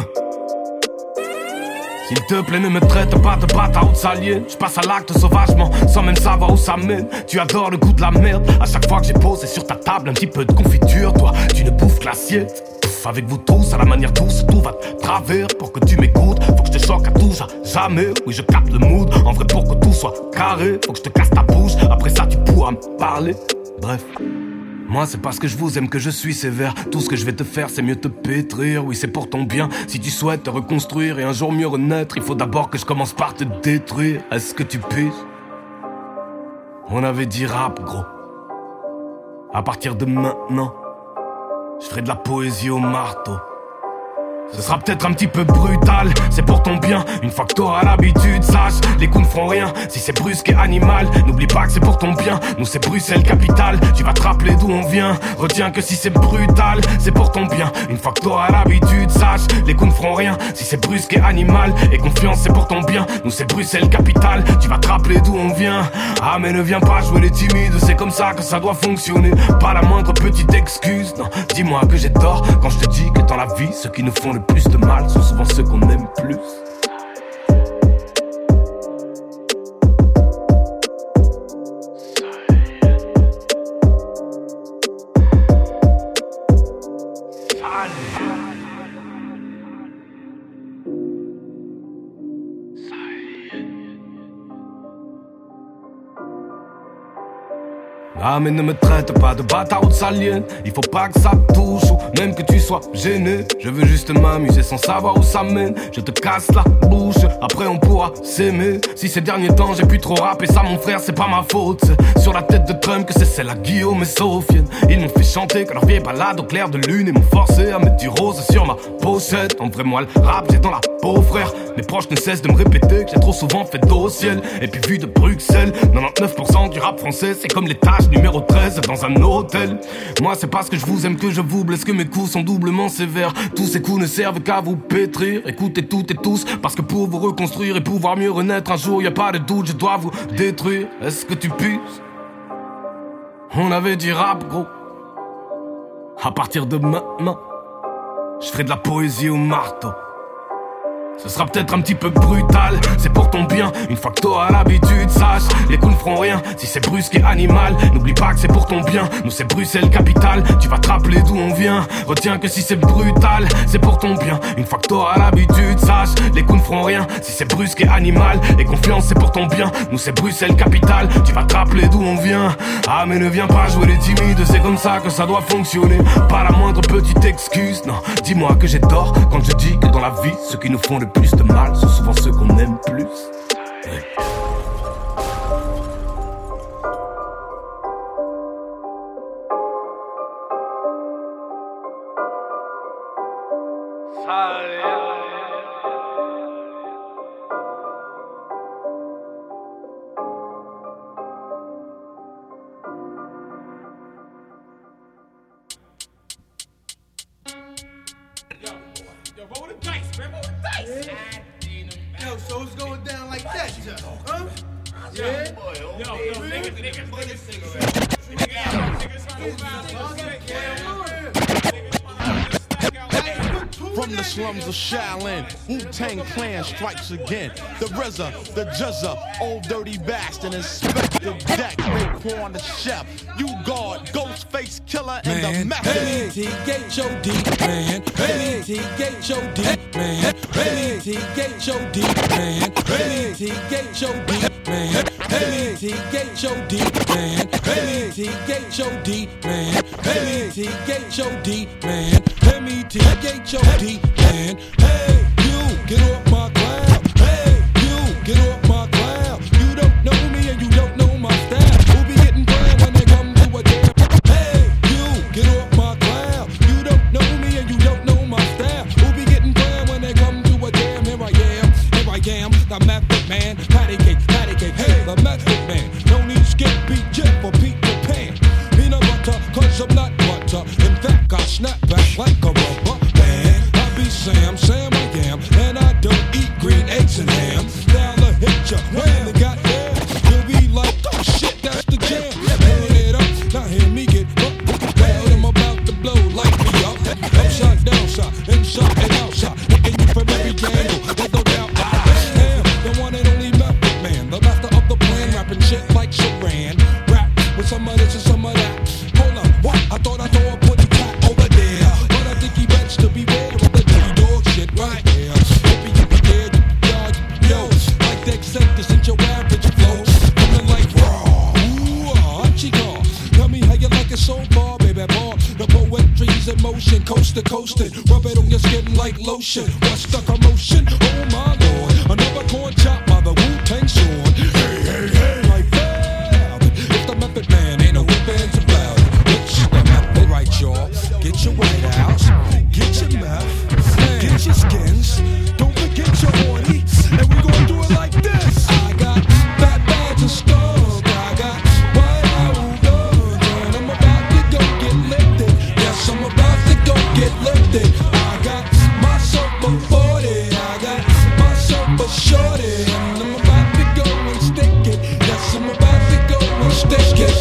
Speaker 23: S'il te plaît ne me traite pas de bâtard ou de salienne. Je passe à l'acte sauvagement sans même savoir où ça mène. Tu adores le goût de la merde. À chaque fois que j'ai posé sur ta table un petit peu de confiture, toi tu ne bouffes que l'assiette. Avec vous tous, à la manière douce, tout va de travers. Pour que tu m'écoutes, faut que je te choque à tout jamais. Oui je capte le mood, en vrai pour que tout soit carré. Faut que je te casse ta bouche, après ça tu pourras me parler. Bref, moi c'est parce que je vous aime que je suis sévère. Tout ce que je vais te faire c'est mieux te pétrir. Oui c'est pour ton bien, si tu souhaites te reconstruire et un jour mieux renaître, il faut d'abord que je commence par te détruire. Est-ce que tu piges? On avait dit rap gros. À partir de maintenant, je ferai de la poésie au marteau. Ce sera peut-être un petit peu brutal, c'est pour ton bien. Une fois que t'auras l'habitude, sache, les coups ne feront rien si c'est brusque et animal. N'oublie pas que c'est pour ton bien, nous c'est Bruxelles capitale. Tu vas te rappeler d'où on vient, retiens que si c'est brutal, c'est pour ton bien. Une fois que t'auras l'habitude, sache, les coups ne feront rien si c'est brusque et animal. Et confiance c'est pour ton bien, nous c'est Bruxelles capitale. Tu vas te rappeler d'où on vient. Ah mais ne viens pas jouer les timides, c'est comme ça que ça doit fonctionner. Pas la moindre petite excuse, non, dis-moi que j'ai tort quand je te dis que dans la vie, ceux qui nous font le plus de mal sont souvent ceux qu'on aime plus. Ah mais ne me traite pas de bâtard ou de salienne. Il faut pas que ça te touche ou même que tu sois gêné. Je veux juste m'amuser sans savoir où ça mène. Je te casse la bouche, après on pourra s'aimer. Si ces derniers temps j'ai pu trop rapper, ça mon frère c'est pas ma faute. C'est sur la tête de Trump que c'est celle à Guillaume et Sofiane. Ils m'ont fait chanter que leur vieille balade au clair de lune. Et m'ont forcé à mettre du rose sur ma pochette. En vrai moi le rap j'ai dans la peau frère. Mes proches ne cessent de me répéter que j'ai trop souvent fait dos au ciel. Et puis vu de Bruxelles, 99% du rap français c'est comme les tâches numéro 13 dans un hôtel. Moi c'est parce que je vous aime que je vous blesse, que mes coups sont doublement sévères. Tous ces coups ne servent qu'à vous pétrir. Écoutez toutes et tous, parce que pour vous reconstruire et pouvoir mieux renaître un jour, y a pas de doute, je dois vous détruire. Est-ce que tu piges? On avait dit rap gros. À partir de maintenant, je ferai de la poésie au marteau. Ce sera peut-être un petit peu brutal, c'est pour ton bien. Une fois que t'auras l'habitude, sache, les coups ne feront rien si c'est brusque et animal. N'oublie pas que c'est pour ton bien, nous c'est Bruxelles capitale. Tu vas te rappeler d'où on vient, retiens que si c'est brutal, c'est pour ton bien. Une fois que t'auras l'habitude, sache, les coups ne feront rien si c'est brusque et animal. Et confiance c'est pour ton bien, nous c'est Bruxelles capitale. Tu vas te rappeler d'où on vient. Ah mais ne viens pas jouer les timides, c'est comme ça que ça doit fonctionner. Pas la moindre petite excuse, non, dis-moi que j'ai tort quand je dis que dans la vie, ceux qui nous font le plus de mal sont souvent ceux qu'on aime plus. Ouais.
Speaker 13: So it's going down like that, huh? Yeah.
Speaker 20: From the slums of Shaolin, Wu-Tang Clan strikes again. The RZA, the Juzza, Old Dirty Bastard, Inspector Deck, Raekwon the Chef, You Guard, Ghostface Killer, and the Method.
Speaker 5: M-E-T-H-O-D, man. M-E-T-H-O-D, man. M-E-T-H-O-D, man. M-E-T-H-O-D, man. M-E-T-H-O-D, man. M-E-T-H-O-D, man. M-E-T-H-O-D, man. M-E-T-H-O-D, man. Hey, you, get off my cloud. Hey, you, get off my cloud. You don't know me and you don't know my style. Who be
Speaker 2: it on your skin like lotion. What's the commotion? Oh my lord, another corn chop by the Wu-Tang Sword. Hey, hey, hey, like that. If the Method Man ain't no whip-ins about it. It's the method, right, y'all? Get your White House, get your meth, get your skins. Don't forget your horny, and we gon' do it like this. I got fat bags of stuff, I got White House guns, and I'm about to go get lifted. Yes, I'm about to go get lifted. I got myself a 40, I got myself a shorty, and I'm about to go and stick it. Yes, I'm about to go and stick it.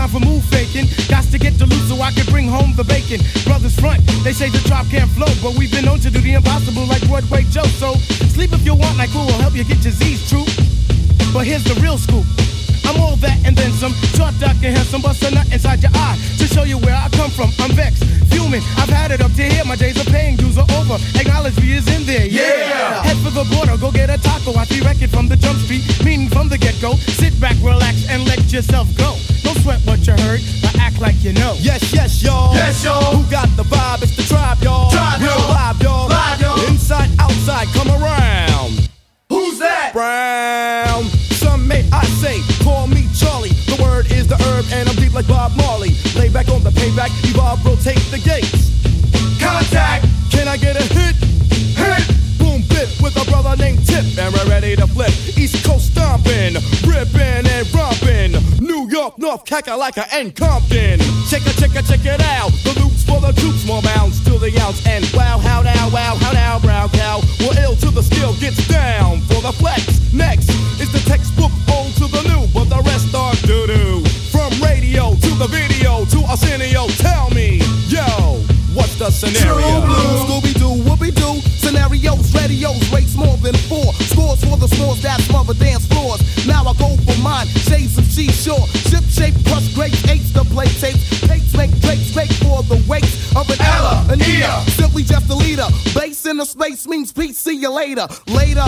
Speaker 23: time for move faking. Got to get to loose so I can bring home the bacon. Brothers front, they say the drop can't flow, but we've been known to do the impossible like Broadway Joe. So sleep if you want, like who will help you get your Z's true. But here's the real scoop. I'm all that and then some. Short, dark, and handsome, bust a nut inside your eye to show you where I come from. I'm vexed, fuming. I've had it up to here. My days of paying dues are over. Acknowledge me is in there. Yeah. Head for the border, go get a taco. I direct it from the jump street, meaning from the get go. Sit back, relax, and let yourself go. Don't sweat what you heard, but act like you know.
Speaker 15: Yes, yes, y'all.
Speaker 23: Yes, y'all.
Speaker 15: Who got the vibe? It's the tribe, y'all.
Speaker 23: Tribe,
Speaker 15: real
Speaker 23: y'all.
Speaker 15: live, y'all.
Speaker 23: Live, y'all.
Speaker 15: Inside, outside, come around.
Speaker 23: Who's that?
Speaker 15: Brown. Some may I say, call me Charlie. The word is the herb, and I'm deep like Bob Marley. Lay back on the payback, evolve, rotate the gates.
Speaker 23: Contact.
Speaker 15: Can I get a hit?
Speaker 23: Hit.
Speaker 15: Boom, bit with a brother named Tip, and we're ready to flip. East Coast stomping, ripping and romping. New York, North, Kakalaka, and Compton. Check it out. The loops for the troops, more bounds to the ounce. And wow, how now, brown cow. We're ill till the skill gets down for the flex. Next is the textbook old to the new, but the rest are doo-doo. From radio to the video to Arsenio, tell me, yo, what's the scenario?
Speaker 16: Scooby-Doo, whoopie-doo. Scenarios, radios, rates more than 4. Scores for the scores that smother dance floors. Now I go for mine, shades of seashore. Ship shape, crush grapes, eights to play tapes. Pates make drapes, fake for the weights of an Ella, an Ea. Simply just a leader. Base in the space means peace, see you later. Later,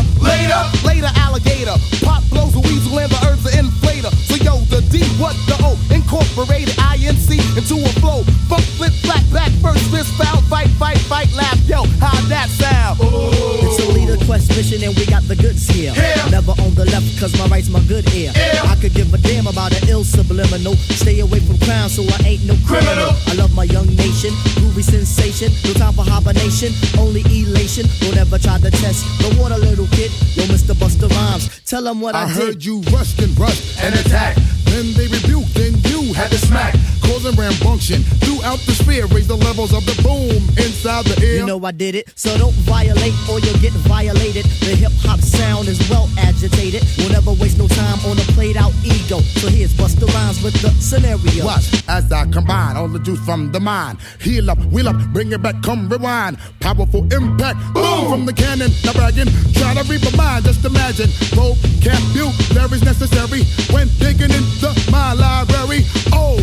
Speaker 16: alligator. Pop blows a weasel and the herbs are inflator. So yo, the D, what the O? Incorporated INC into a flow. Funk, flip, flat, back, first fist, foul, fight, laugh. Yo, how'd that sound?
Speaker 4: It's a leader quest mission and we got the goods here. Never on the left cause my right's my good ear. I could give a damn about an ill subliminal. Stay away from crime so I ain't no criminal. I love my young nation, groovy sensation. No time for hibernation, only elation. Don't ever try to test the water, little kid. Yo, Mr. Busta Rhymes, tell them what I did.
Speaker 16: Heard you rushed and attack. Then they rebuked, then you had to smack. Causing rambunction throughout the sphere. Raise the levels of the boom inside the ear.
Speaker 4: You know I did it, so don't violate or you'll get violated. The hip-hop sound is well agitated. We'll never waste no time on a played-out ego. So here's Busta Rhymes with the scenario.
Speaker 16: Watch as I combine all the juice from the mind. Heal up, wheel up, bring it back, come rewind. Powerful impact, boom from the cannon. Not bragging, try to read my mind. Just imagine, vocabulary's necessary when digging into my library. Oh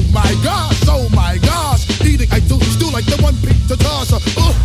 Speaker 16: my gosh, eating I do stew like the one pizza tosser.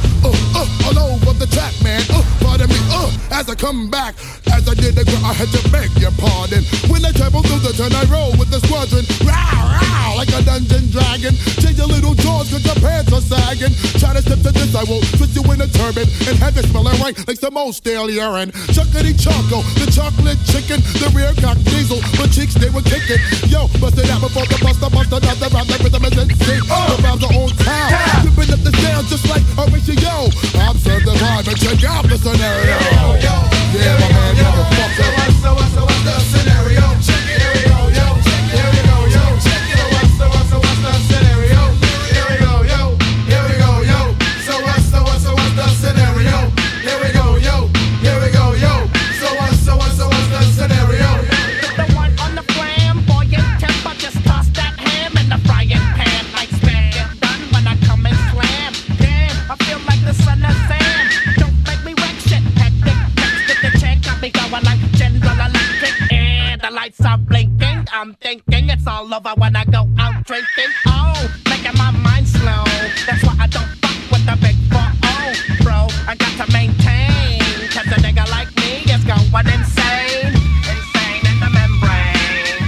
Speaker 16: All over the track, man. Pardon me, as I come back, as I did the girl, I had to beg your pardon. When I travel through the turn, I roll with the squadron. Row, like a dungeon dragon. Change your little jaws cause your pants are sagging. Try to step to this, I will twist you in a turban and have it smelling right like some old stale urine. Chuckity choco, the chocolate chicken, the rear cock diesel, the cheeks they were kicking. Yo, bust it out before the buster, another round, the rhythm is insane. The rhymes are on town, ripping up the sound just like Horatio. Observe the vibe and check out the scenario. Yeah, my man, motherfucker. So what's the scenario? Check it, here we go, yo. Check it, here we go, yo. Check it, so what's the scenario? Here we go, yo. Here we go, yo. So what's the scenario? Here we go, yo. Here we go, yo. So what's the scenario?
Speaker 17: The one on the flamboyant temper, just toss that ham in the frying pan like spam. Get done when I come and slam. Damn, I feel like the son of Sam. Don't make me wreck shit, hectic. Next to the check, got me going like General Electric. And the lights are blinking. I'm thinking it's all over when I go out drinking. Oh, making my mind slow. That's why I don't fuck with the big 4-0, bro. I got to maintain, cause a nigga like me is going insane. Insane in the membrane.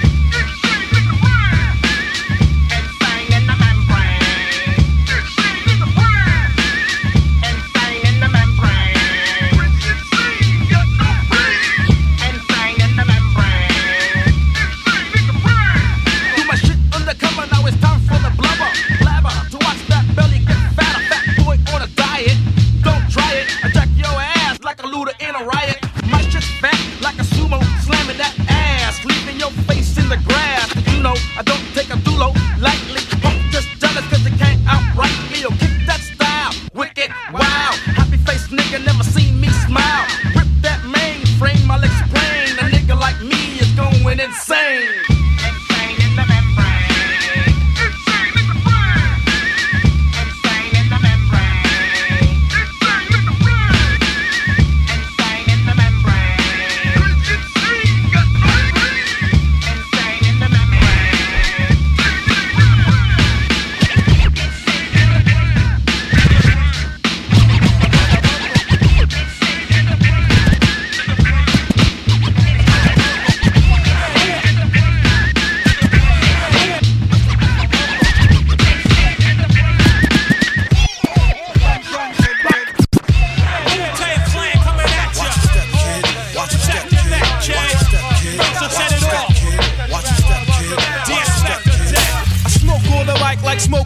Speaker 17: Insane in the membrane. Insane in the membrane. Insane in the membrane. Do my shit undercover, now it's time for the blubber. Blabber, to watch that belly get fat. A fat boy on a diet. Don't try it, attack your ass like a looter in a riot. My shit's fat like a sumo, slamming that ass, leaving your face in the grass. You know, I don't take a dulo lightly. Punk just jealous cause they can't outright me. Yo, kick that style, wicked, wow. Happy face nigga, never seen me smile. Rip that mainframe, I'll explain. A nigga like me is going insane. Insane in the membrane.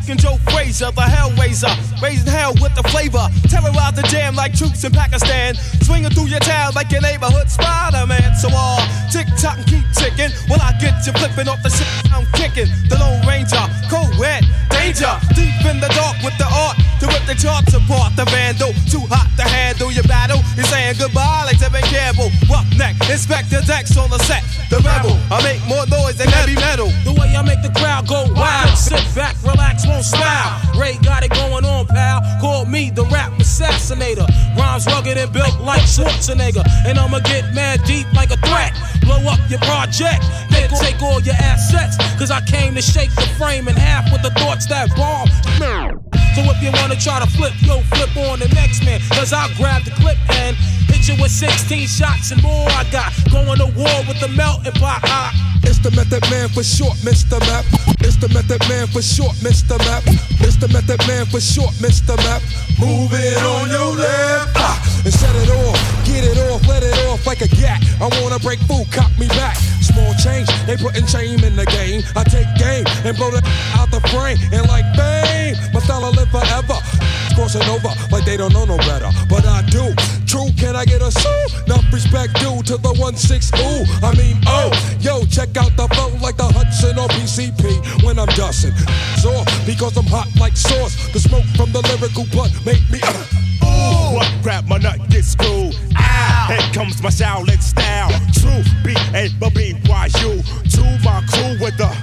Speaker 9: fucking Joe Frazier, the Hellraiser, raising hell with the flavor. Terrorize the jam like troops in Pakistan, swinging through your town like your neighborhood Spider-Man. So tick tock and keep ticking, while I get you flipping off the shit I'm kicking. The Lone Ranger, cold red, danger, deep in the dark with the art to rip the charts apart. The vandal, too hot to handle your battle. You're saying goodbye like Tevin Campbell. Roughneck, Inspector Dex on the set. The rebel, I make more noise than heavy metal.
Speaker 5: The way I make the crowd go wild. Sit back, relax, won't smile. Ray got it going on, pal. Call me the rap assassinator. Rhymes rugged and built like Schwarzenegger. And I'ma get mad deep like a threat. Blow up your project, then take all your assets. Cause I came to shake the frame in half with the thoughts that bomb. So if you wanna try to flip, yo, flip on the next man. Cause I'll grab the clip and hit you with 16 shots and more. I got going to war with the melting pot.
Speaker 2: It's the Method Man for short, Mr. Map. It's the Method Man for short, Mr. Map. It's the Method Man for short, Mr. Map. Move it on your left and set it off. Get it off, let it off like a gat. I wanna break food, cop me back. Small change, they putting shame in the game. I take game and blow the out the frame. And like bang, my style will live forever. Crossing over like they don't know no better, but I do. True, can I get a sue? Enough respect due to the 1-6, ooh. I mean, oh, yo, check out the flow like the Hudson or PCP when I'm dusting. So, because I'm hot like sauce, the smoke from the lyrical blood make me
Speaker 19: ooh, what grab my nut, get screwed. Ow. Here comes my Shaolin style. True, B-A-B-Y-U. To my crew with the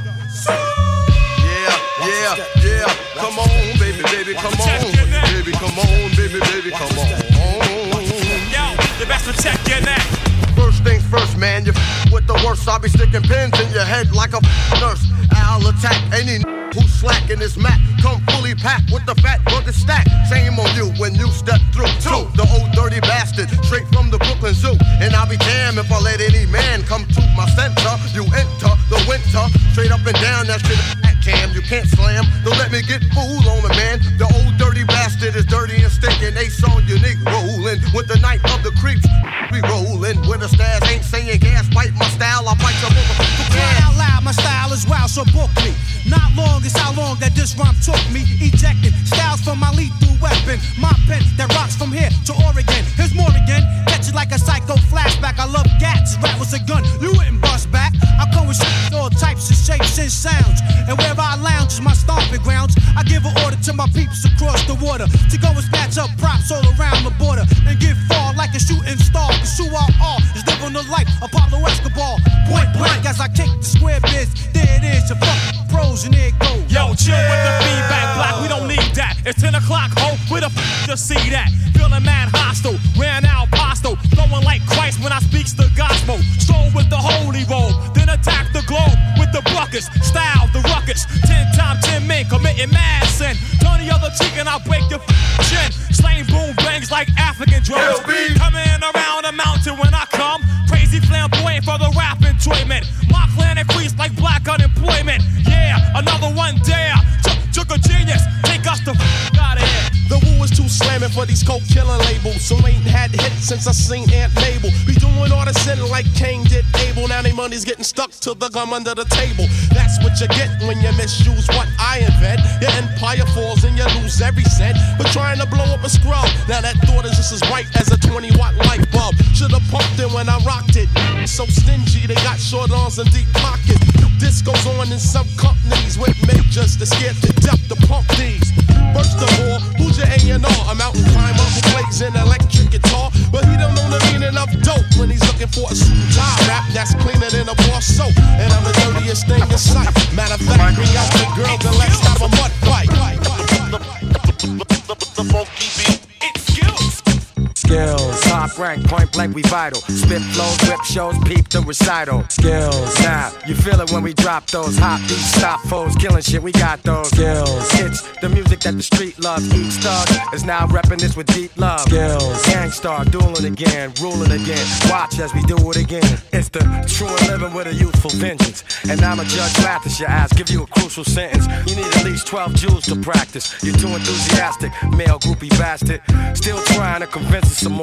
Speaker 18: yeah. Come on, baby, come on. Baby, come on, baby, come on.
Speaker 9: Yo, the best to check your neck.
Speaker 18: First things first, man, you with the worst. I'll be sticking pins in your head like a nurse. I'll attack any who's slacking this mat. Come fully packed with the fat burger stack. Shame on you when you step through. Two, the old dirty bastard, straight from the Brooklyn Zoo. And I'll be damned if I let any man come to my center. You enter the winter, straight up and down that shit. Cam, you can't slam. Don't let me get fooled on the man. The old dirty bastard is dirty and stinking. Ace on unique rolling with the night of the creeps. We rolling with a stash. Ain't saying gas. Bite my style. I bite your motherfucker.
Speaker 22: Cry out loud. My style is wild, so book me. Not long is how long that this rhyme took me. Ejecting styles from my lethal weapon. My pen that rocks from here to Oregon. Here's more again. Catch it like a psycho flashback. I love gats. Rap was a gun. You wouldn't bust back. I come with all types of shapes and sounds. And wherever I lounge is my stomping grounds. I give an order to my peeps across the water to go and snatch up props all around the border and get far like a shooting star. Cause who I are is living the life of Pablo Escobar. Point blank as I kick the square biz. There it is, your fucking pros and there it goes.
Speaker 9: Yo, chill with the feedback block, we don't need that. It's 10 o'clock, ho, where the to see that? Feeling mad hostile, ran out postal, flowing like Christ when I speaks the gospel. Stroll with the holy roll, then attack the globe with the buckets. Style the ruckus, 10 times 10 men committing mad sin. Turn the other cheek and I'll break your chin. Slaying boom bangs like African drums. Coming around the mountain when I come. Crazy flamboyant for the rap enjoyment. My clan increased like black unemployment. Yeah, another one dare. Took a genius, take us the out of here.
Speaker 19: The woo is too slamming for these coke killing labels. So ain't had hits since I seen Aunt Mabel. Be doing all the sinning like Cain did Abel. Now they money's getting stuck to the gum under the table. That's what you get when you misuse what I invent. Your empire falls and you lose every cent. But trying to blow up a scrub, now that thought is just as bright as a 20-watt light bulb. Should've pumped it when I rocked it. So stingy, they got short arms and deep pockets. This goes on in some companies with majors that scared to death to pump these. First of all, who's your A&R? A mountain climber who plays an electric guitar, but he don't know the meaning of dope when he's looking for a suit tie rap that's cleaner than a bar soap. And I'm the dirtiest thing in sight. Matter of fact, bring out the girls and let's have a mud fight.
Speaker 18: The funky beat.
Speaker 24: Skills, top rank, point blank, we vital. Spit flows, whip shows, peep the recital. Skills, now you feel it when we drop those hot beats, stop foes, killing shit. We got those skills. It's the music that the street loves. Each thug is now repping this with deep love. Skills, gangstar, dueling again, ruling again. Watch as we do it again. It's the true and living with a youthful vengeance. And I'm a judge, Mathis your ass, give you a crucial sentence. You need at least 12 joules to practice. You're too enthusiastic, male groupie bastard. Still trying to convince us some more. Pretend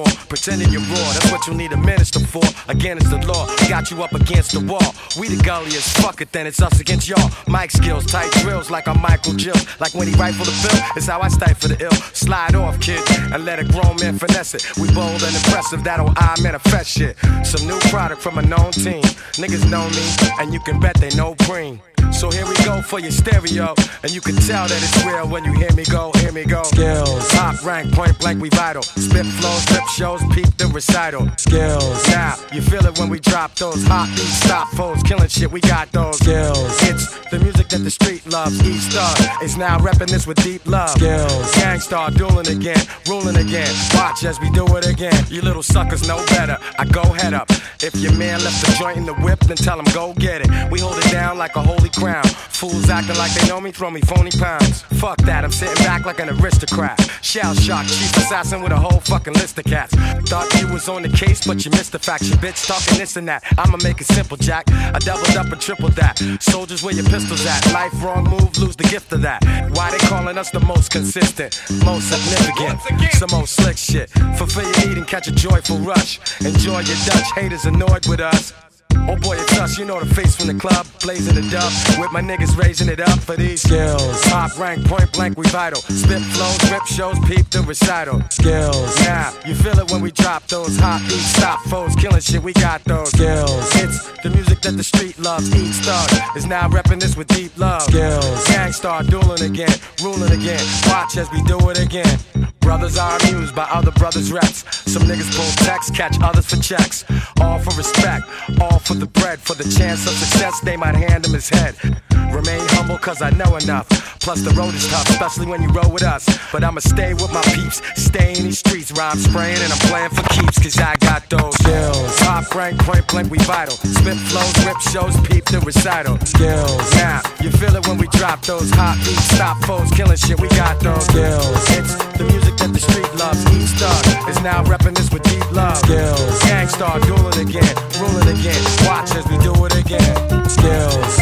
Speaker 24: sending you raw. That's what you need a minister for. Again, it's the law. Got you up against the wall. We the gulliest. Fuck it, then it's us against y'all. Mic skills, tight drills like I'm Michael Jill. Like when he rifle the bill, it's how I stifle the ill. Slide off, kid, and let a grown man finesse it. We bold and impressive, that'll I manifest shit. Some new product from a known team. Niggas know me, and you can bet they know Green. So here we go for your stereo, and you can tell that it's real when you hear me go, hear me go. Skills, top rank, point blank, we vital. Spit flows, rip shows, peep the recital. Skills, now you feel it when we drop those hot beats, stop foes, killing shit, we got those. Skills, it's the music that the street loves. East Star is now repping this with deep love. Skills, Gangstar dueling again, ruling again. Watch as we do it again. You little suckers know better. I go head up. If your man left the joint in the whip, then tell him go get it. We hold it down like a holy crown. Fools acting like they know me, throw me phony pounds. Fuck that, I'm sitting back like an aristocrat. Shell shock, chief assassin with a whole fucking list of cats. Thought you was on the case, but you missed the fact. You bitch talking this and that. I'ma make it simple, Jack. I doubled up and tripled that. Soldiers, where your pistols at? Life wrong move, lose the gift of that. Why they calling us the most consistent, most significant, some old slick shit. Fulfill your need and catch a joyful rush. Enjoy your Dutch, haters annoyed with us. Oh boy, it's us, you know the face from the club, blazing the dub, with my niggas raising it up for these skills. Top rank, point blank, we vital. Spit flows, rip shows, peep the recital. Skills, now you feel it when we drop those hot beats, stop foes, killing shit, we got those. Skills, it's the music that the street loves. Each Star is now repping this with deep love. Skills, Gangstar dueling again, ruling again. Watch as we do it again. Brothers are amused by other brothers' reps. Some niggas pull texts, catch others for checks. All for respect, all for the bread. For the chance of success, they might hand him his head. Remain humble cause I know enough. Plus the road is tough, especially when you roll with us. But I'ma stay with my peeps, stay in these streets. Rhyme spraying and I'm playing for keeps, cause I got those skills. Top rank, point blank, we vital. Spit flows, rip shows, peep the recital. Skills, now you feel it when we drop those hot beats, stop foes, killing shit, we got those skills. It's the music that the street loves. Each Star is now repping this with deep love. Skills, Gangstar dueling again, ruling again. Watch as we do it again. Skills.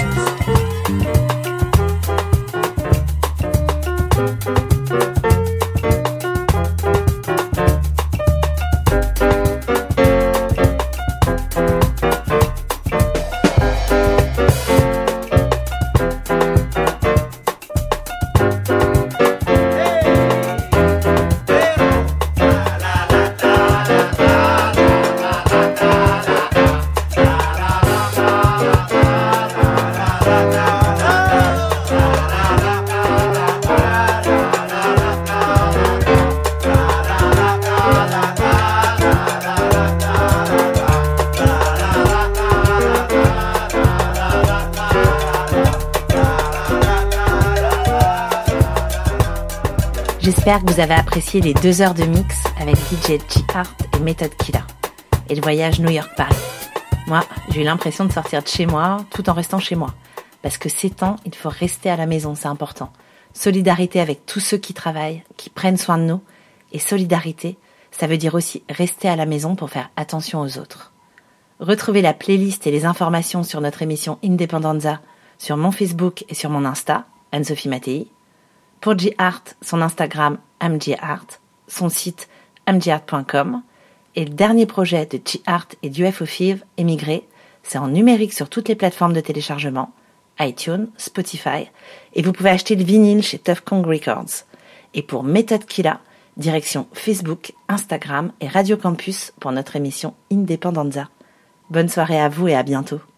Speaker 3: J'espère que vous avez apprécié les 2 heures de mix avec DJ G-Art et Method Killa et le voyage New York-Paris. Moi, j'ai eu l'impression de sortir de chez moi tout en restant chez moi. Parce que ces temps, il faut rester à la maison, c'est important. Solidarité avec tous ceux qui travaillent, qui prennent soin de nous. Et solidarité, ça veut dire aussi rester à la maison pour faire attention aux autres. Retrouvez la playlist et les informations sur notre émission Independenza sur mon Facebook et sur mon Insta, Anne-Sophie Mattei. Pour G-Art, son Instagram amgart, son site amgart.com. Et le dernier projet de G-Art et du FOFIV, Émigré, c'est en numérique sur toutes les plateformes de téléchargement, iTunes, Spotify, et vous pouvez acheter le vinyle chez Tough Kong Records. Et pour Method Killa, direction Facebook, Instagram et Radio Campus pour notre émission Independenza. Bonne soirée à vous et à bientôt.